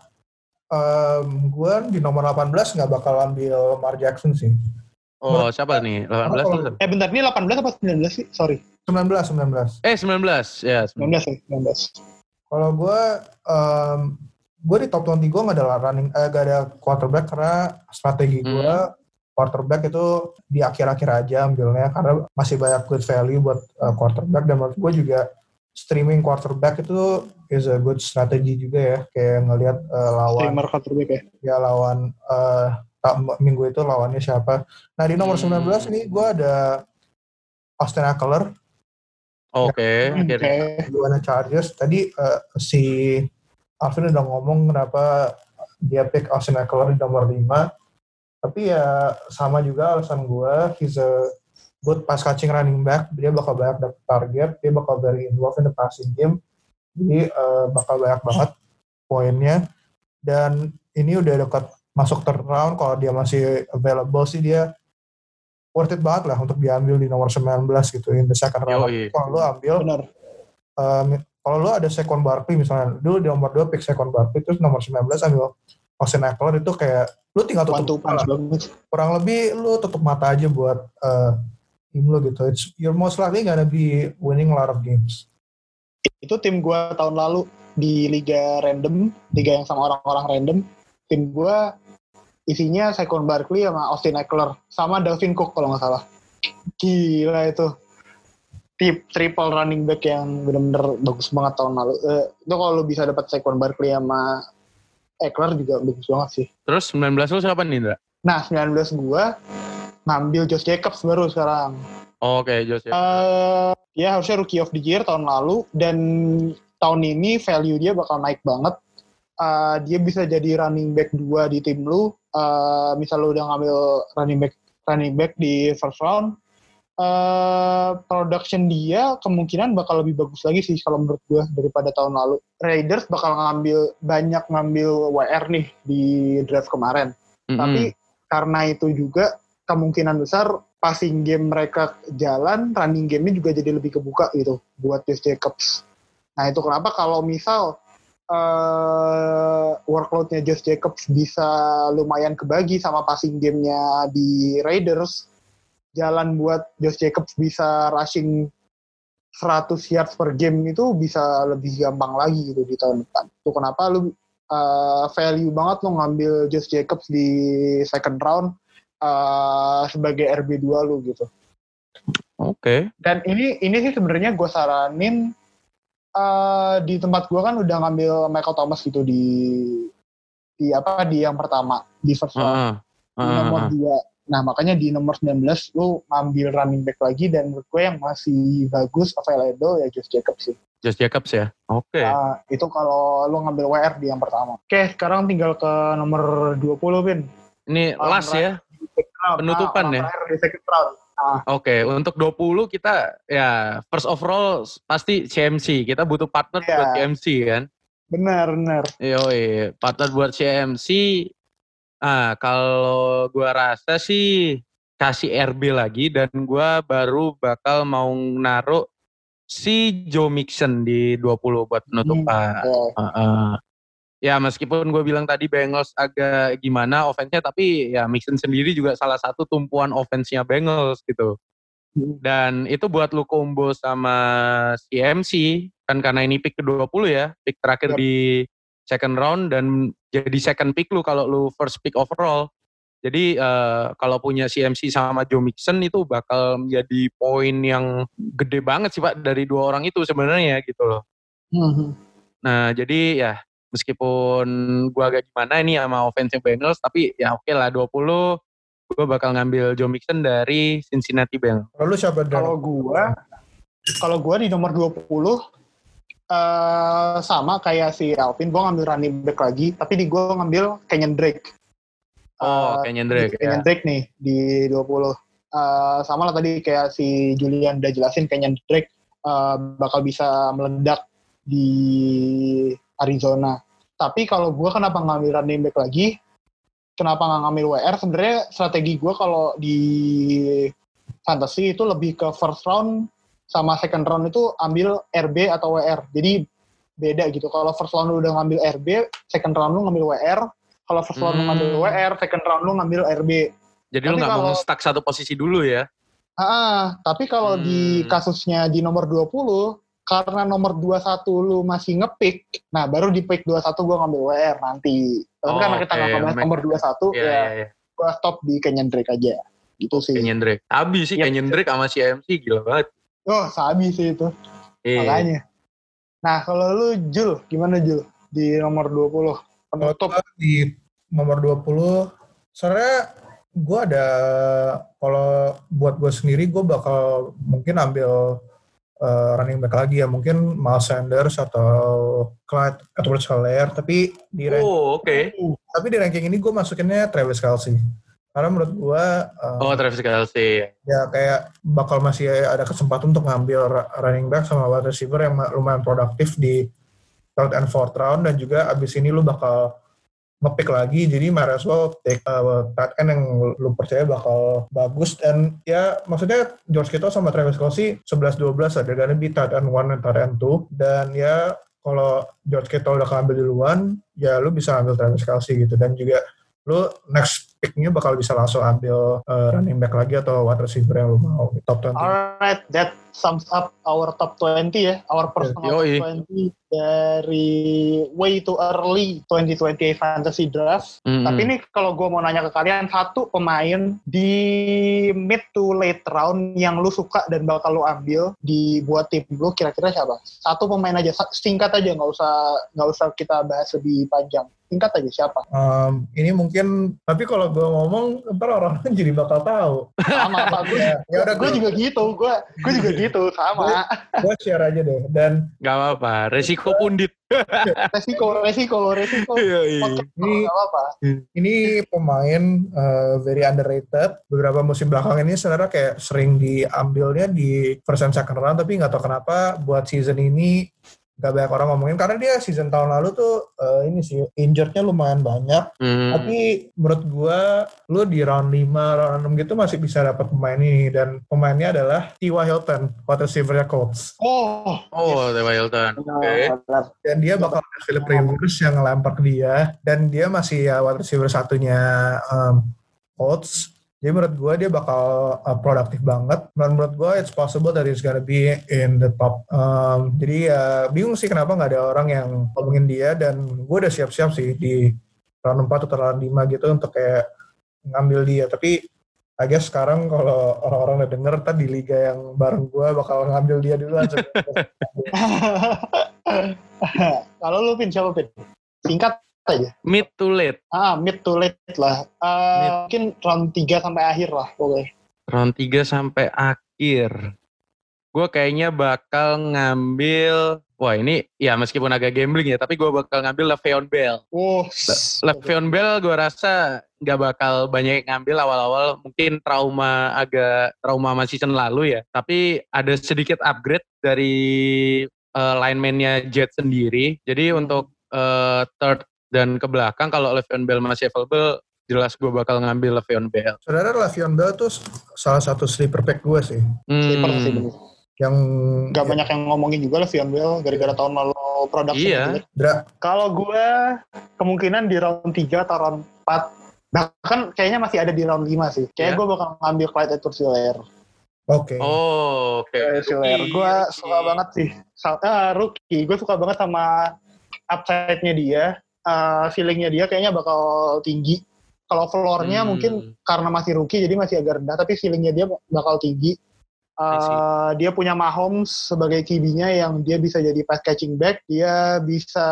um, gue di nomor delapan belas nggak bakal ambil Lamar Jackson sih. Oh, Menurut siapa nih? delapan belas kalau, tuh? Eh bentar, ini delapan belas apa sembilan belas sih? Sorry. sembilan belas, sembilan belas. Eh sembilan belas, ya. sembilan belas ya, sembilan belas. Kalau gue, um, gue di top dua puluh gue nggak ada running, eh, gak ada quarterback karena strategi gue hmm. quarterback itu di akhir-akhir aja ambilnya karena masih banyak good value buat uh, quarterback, dan menurut gue juga streaming quarterback itu is a good strategy juga ya, kayak ngelihat uh, lawan streamer quarterback ya. Ya lawan uh, minggu itu lawannya siapa. Nah di nomor hmm. sembilan belas ini gue ada Austin Ekeler. Oke. Okay. Okay. Gimana Chargers. Tadi uh, si Alvin udah ngomong kenapa dia pick Austin Ekeler di nomor lima. Tapi ya sama juga alasan gue. He's a good pass catching running back. Dia bakal banyak dapet target. Dia bakal very involved in the passing game. Jadi uh, bakal banyak banget poinnya. Dan ini udah dekat masuk third round. Kalau dia masih available sih dia worth it banget lah untuk diambil di nomor sembilan belas gitu, in the second round. Kalau lo ambil, um, kalau lo ada Saquon Barkley misalnya, dulu di nomor dua pick Saquon Barkley, terus nomor sembilan belas ambil Austin Ekeler, itu kayak lo tinggal tutup mata. Kurang lebih lo tutup mata aja buat uh, tim lo gitu. It's, you're most likely gonna be winning a lot of games. Itu tim gue tahun lalu di liga random, liga yang sama orang-orang random. Tim gue isinya Saquon Barkley sama Austin Ekeler sama Dalvin Cook kalau nggak salah. Gila itu tip triple running back yang benar-benar bagus banget tahun lalu. Uh, itu kalau lu bisa dapat Saquon Barkley sama Ekeler juga bagus banget sih. Terus sembilan belas lu siapa nih, Indra? Nah sembilan belas gua ngambil Josh Jacobs baru sekarang. Oh, Oke okay, Josh Jacobs. Uh, ya harusnya Rookie of the Year tahun lalu, dan tahun ini value dia bakal naik banget. Uh, dia bisa jadi running back dua di tim lu. Uh, misal lu udah ngambil running back running back di first round, uh, production dia kemungkinan bakal lebih bagus lagi sih kalau menurut gue daripada tahun lalu. Raiders bakal ngambil banyak ngambil W R nih di draft kemarin, mm-hmm. tapi karena itu juga kemungkinan besar passing game mereka jalan, running game-nya juga jadi lebih kebuka gitu buat Josh Jacobs. Nah itu kenapa kalau misal Uh, workload-nya Josh Jacobs bisa lumayan kebagi sama passing game-nya di Raiders, jalan buat Josh Jacobs bisa rushing seratus yards per game itu bisa lebih gampang lagi gitu di tahun depan. Itu kenapa lu uh, value banget lu ngambil Josh Jacobs di second round uh, sebagai R B dua lu gitu. Oke. Okay. Dan ini ini sih sebenarnya gue saranin. Uh, di tempat gue kan udah ngambil Michael Thomas gitu di di apa di yang pertama di first round, uh, uh, di nomor dua. Nah makanya di nomor sembilan belas lu ngambil running back lagi, dan menurut gue yang masih bagus available ya Josh Jacobs sih. Josh Jacobs ya, oke. Okay. Nah, itu kalau lu ngambil W R di yang pertama. Oke, okay, sekarang tinggal ke nomor dua puluh, Bin. Ini orang last ya, penutupan nah, ya. Di second round. Ah. Oke, okay, untuk dua puluh kita ya first overall pasti C M C. Kita butuh partner yeah. buat C M C kan. Benar, benar. Yoi, partner buat C M C. Ah, kalau gua rasa sih kasih R B lagi, dan gua baru bakal mau naruh si Joe Mixon di dua puluh buat penutupan. Hmm, yeah. uh, uh. Ya meskipun gue bilang tadi Bengals agak gimana offense-nya, tapi ya Mixon sendiri juga salah satu tumpuan offense-nya Bengals gitu. Dan itu buat lu combo sama C M C, kan karena ini pick ke dua puluh ya, pick terakhir yep. di second round dan jadi second pick lu kalau lu first pick overall. Jadi uh, kalau punya C M C sama Joe Mixon itu bakal menjadi poin yang gede banget sih Pak dari dua orang itu sebenarnya gitu loh. Mm-hmm. Nah jadi ya meskipun gue agak gimana ini sama offensive Bengals, tapi ya oke okay lah dua puluh gue bakal ngambil Joe Mixon dari Cincinnati Bengals. Lalu siapa? Kalau gue, kalau gue di nomor dua puluh uh, sama kayak si Alvin, gue ngambil running back lagi, tapi di gue ngambil Kenyan Drake. Oh, uh, Kenyan Drake. Kenyan ya. Drake nih di dua puluh. Uh, sama lah tadi kayak si Julian udah jelasin, Kenyan Drake uh, bakal bisa meledak di Arizona. Tapi kalau gue kenapa ngambil running back lagi, kenapa nggak ngambil W R? Sebenarnya strategi gue kalau di fantasy itu lebih ke first round sama second round itu ambil R B atau W R. Jadi beda gitu. Kalau first round lu udah ngambil R B, second round lu ngambil W R. Kalau first round hmm. lu ngambil W R, second round lu ngambil R B. Jadi tapi lu nggak mau stuck satu posisi dulu ya? Ah, tapi kalau hmm. di kasusnya di nomor dua puluh, karena nomor dua puluh satu lu masih ngepick, nah baru di pick dua puluh satu gue ngambil W R nanti. Tapi oh, karena kita nggak okay. nomor dua puluh satu, yeah, ya yeah, yeah. gue stop di Kenyan Drake aja. Gitu sih. Kenyan Drake. Abis sih yep. Kenyan Drake sama si M C gila banget. Oh, sabi sih itu. Yeah. Makanya. Nah, kalau lu Jul, gimana Jul? Di nomor dua puluh. Penutup. Di nomor dua puluh, sebenarnya gue ada, kalau buat gue sendiri, gue bakal mungkin ambil Uh, running back lagi ya, mungkin Miles Sanders atau Clyde Edwards-Helaire, tapi di ranking, oh, okay. tapi di ranking ini gue masukinnya Travis Kelce, karena menurut gue uh, oh Travis Kelce ya kayak bakal masih ada kesempatan untuk ngambil running back sama wide receiver yang lumayan produktif di third and fourth round, dan juga abis ini lu bakal nge-pick lagi, jadi might as well take uh, tight end yang lu percaya bakal bagus. Dan ya maksudnya George Kittle sama Travis Kelce eleven twelve ada gonna be tight end one dan tight end two, dan ya kalau George Kittle udah ngambil duluan ya lu bisa ambil Travis Kelce gitu, dan juga lu next pick-nya bakal bisa langsung ambil uh, running back lagi atau wide receiver yang lu mau top twenty. Alright, that sums up our top twenty ya, our personal yeah. top twenty dari way too early twenty twenty fantasy draft. Mm-hmm. Tapi ini kalau gue mau nanya ke kalian, satu pemain di mid to late round yang lu suka dan bakal lu ambil di buat tim lu, kira-kira siapa? Satu pemain aja, singkat aja, nggak usah nggak usah kita bahas lebih panjang. Singkat aja siapa? Um, ini mungkin, tapi kalau gue ngomong ntar orang-orang jadi bakal tahu. Sama Pak, gue ya, ya udah gue juga gitu, gue gue juga gitu sama. Gue share aja deh, dan nggak apa-apa, resiko pundit. resiko, resiko, resiko. Ini apa? Ini pemain uh, very underrated. Beberapa musim belakang ini sebenarnya kayak sering diambilnya di first and second round, tapi nggak tahu kenapa buat season ini gak banyak orang ngomongin, karena dia season tahun lalu tuh uh, ini sih injured-nya lumayan banyak. Hmm. Tapi menurut gue lu di round lima, round enam gitu masih bisa dapat pemain ini, dan pemainnya adalah T Y Hilton, wide receiver-nya Colts. Oh, oh T Y Hilton. Oke. Okay. Dan dia bakal ada Philip Rivers yang ngelempar ke dia, dan dia masih ya wide receiver satunya um, Colts. Jadi menurut gue dia bakal uh, produktif banget. Dan menurut gue it's possible that it's gonna be in the top. Um, jadi ya uh, bingung sih kenapa nggak ada orang yang ngomongin dia. Dan gue udah siap-siap sih di round empat atau round lima gitu untuk kayak ngambil dia. Tapi I guess sekarang kalau orang-orang udah denger, tadi di liga yang bareng gue bakal ngambil dia dulu aja. Kalau lu Pin, siapa Pin? Singkat aja. Mid to late. Ah, mid to late lah. Uh, mungkin round tiga sampai akhir lah pokoknya. Round tiga sampai akhir. Gue kayaknya bakal ngambil, wah ini ya meskipun agak gambling ya, tapi gue bakal ngambil Le'Veon Bell. Oh, Le- Le'Veon Bell gue rasa gak bakal banyak yang ngambil awal-awal, mungkin trauma agak trauma sama season lalu ya. Tapi ada sedikit upgrade dari uh, lineman-nya Jet sendiri. Jadi hmm. untuk uh, third dan ke belakang kalau Le'Veon Bell masih available, jelas gue bakal ngambil Le'Veon Bell. Sebenarnya Le'Veon Bell tuh salah satu sleeper pick gue sih. Hmm. Sleeper sih bener. Yang Gak ya, banyak yang ngomongin juga lah Vion Bell gara-gara tahun lalu production. Iya. Gitu. Kalau gue kemungkinan di round tiga atau round empat, bahkan kayaknya masih ada di round lima sih. Kayaknya yeah. gue bakal ngambil Clyde Edwards-Helaire. Oke. Okay. Oh, oke. Okay. Helaire. Gue suka banget sih. Ah, rookie. Gue suka banget sama upside-nya dia. Uh, feeling-nya dia kayaknya bakal tinggi. Kalau floor-nya hmm. mungkin karena masih rookie jadi masih agak rendah, tapi feeling-nya dia bakal tinggi. Uh, dia punya Mahomes sebagai Q B-nya yang dia bisa jadi pass catching back, dia bisa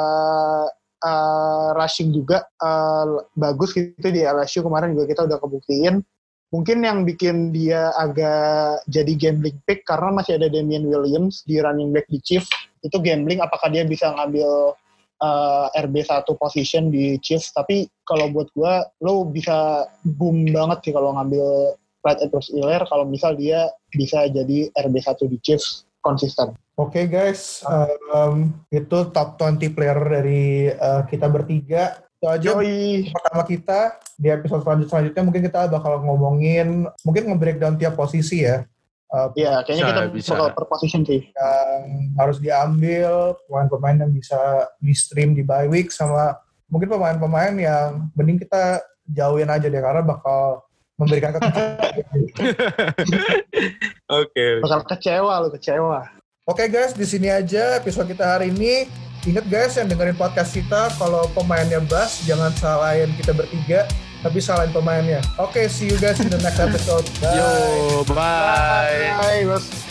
uh, rushing juga uh, bagus gitu di L S U kemarin juga kita udah kebuktiin. Mungkin yang bikin dia agak jadi gambling pick karena masih ada Damian Williams di running back di Chiefs. Itu gambling apakah dia bisa ngambil uh, R B satu position di Chiefs, tapi kalau buat gua lo bisa boom banget sih kalau ngambil Clyde Edwards-Helaire kalau misal dia bisa jadi R B satu di Chiefs konsisten. Oke okay guys, um, itu top dua puluh player dari uh, kita bertiga. Itu aja Yoi. pertama kita. Di episode selanjutnya mungkin kita bakal ngomongin, mungkin nge-breakdown tiap posisi ya. Iya, uh, kayaknya bisa, kita bisa. bakal per position sih. Yang harus diambil, pemain-pemain yang bisa di-stream di bye week, sama mungkin pemain-pemain yang mending kita jauhin aja deh, karena bakal memberikan kekecewaan. Oke. Bakal kecewa lu, kecewa. Oke okay guys, di sini aja episode kita hari ini. Ingat guys yang dengerin podcast kita, kalau pemainnya Bas, jangan salahin kita bertiga, tapi salahin pemainnya. Oke, okay, see you guys in the next episode. Bye. Yo, bye. Bye, Bye.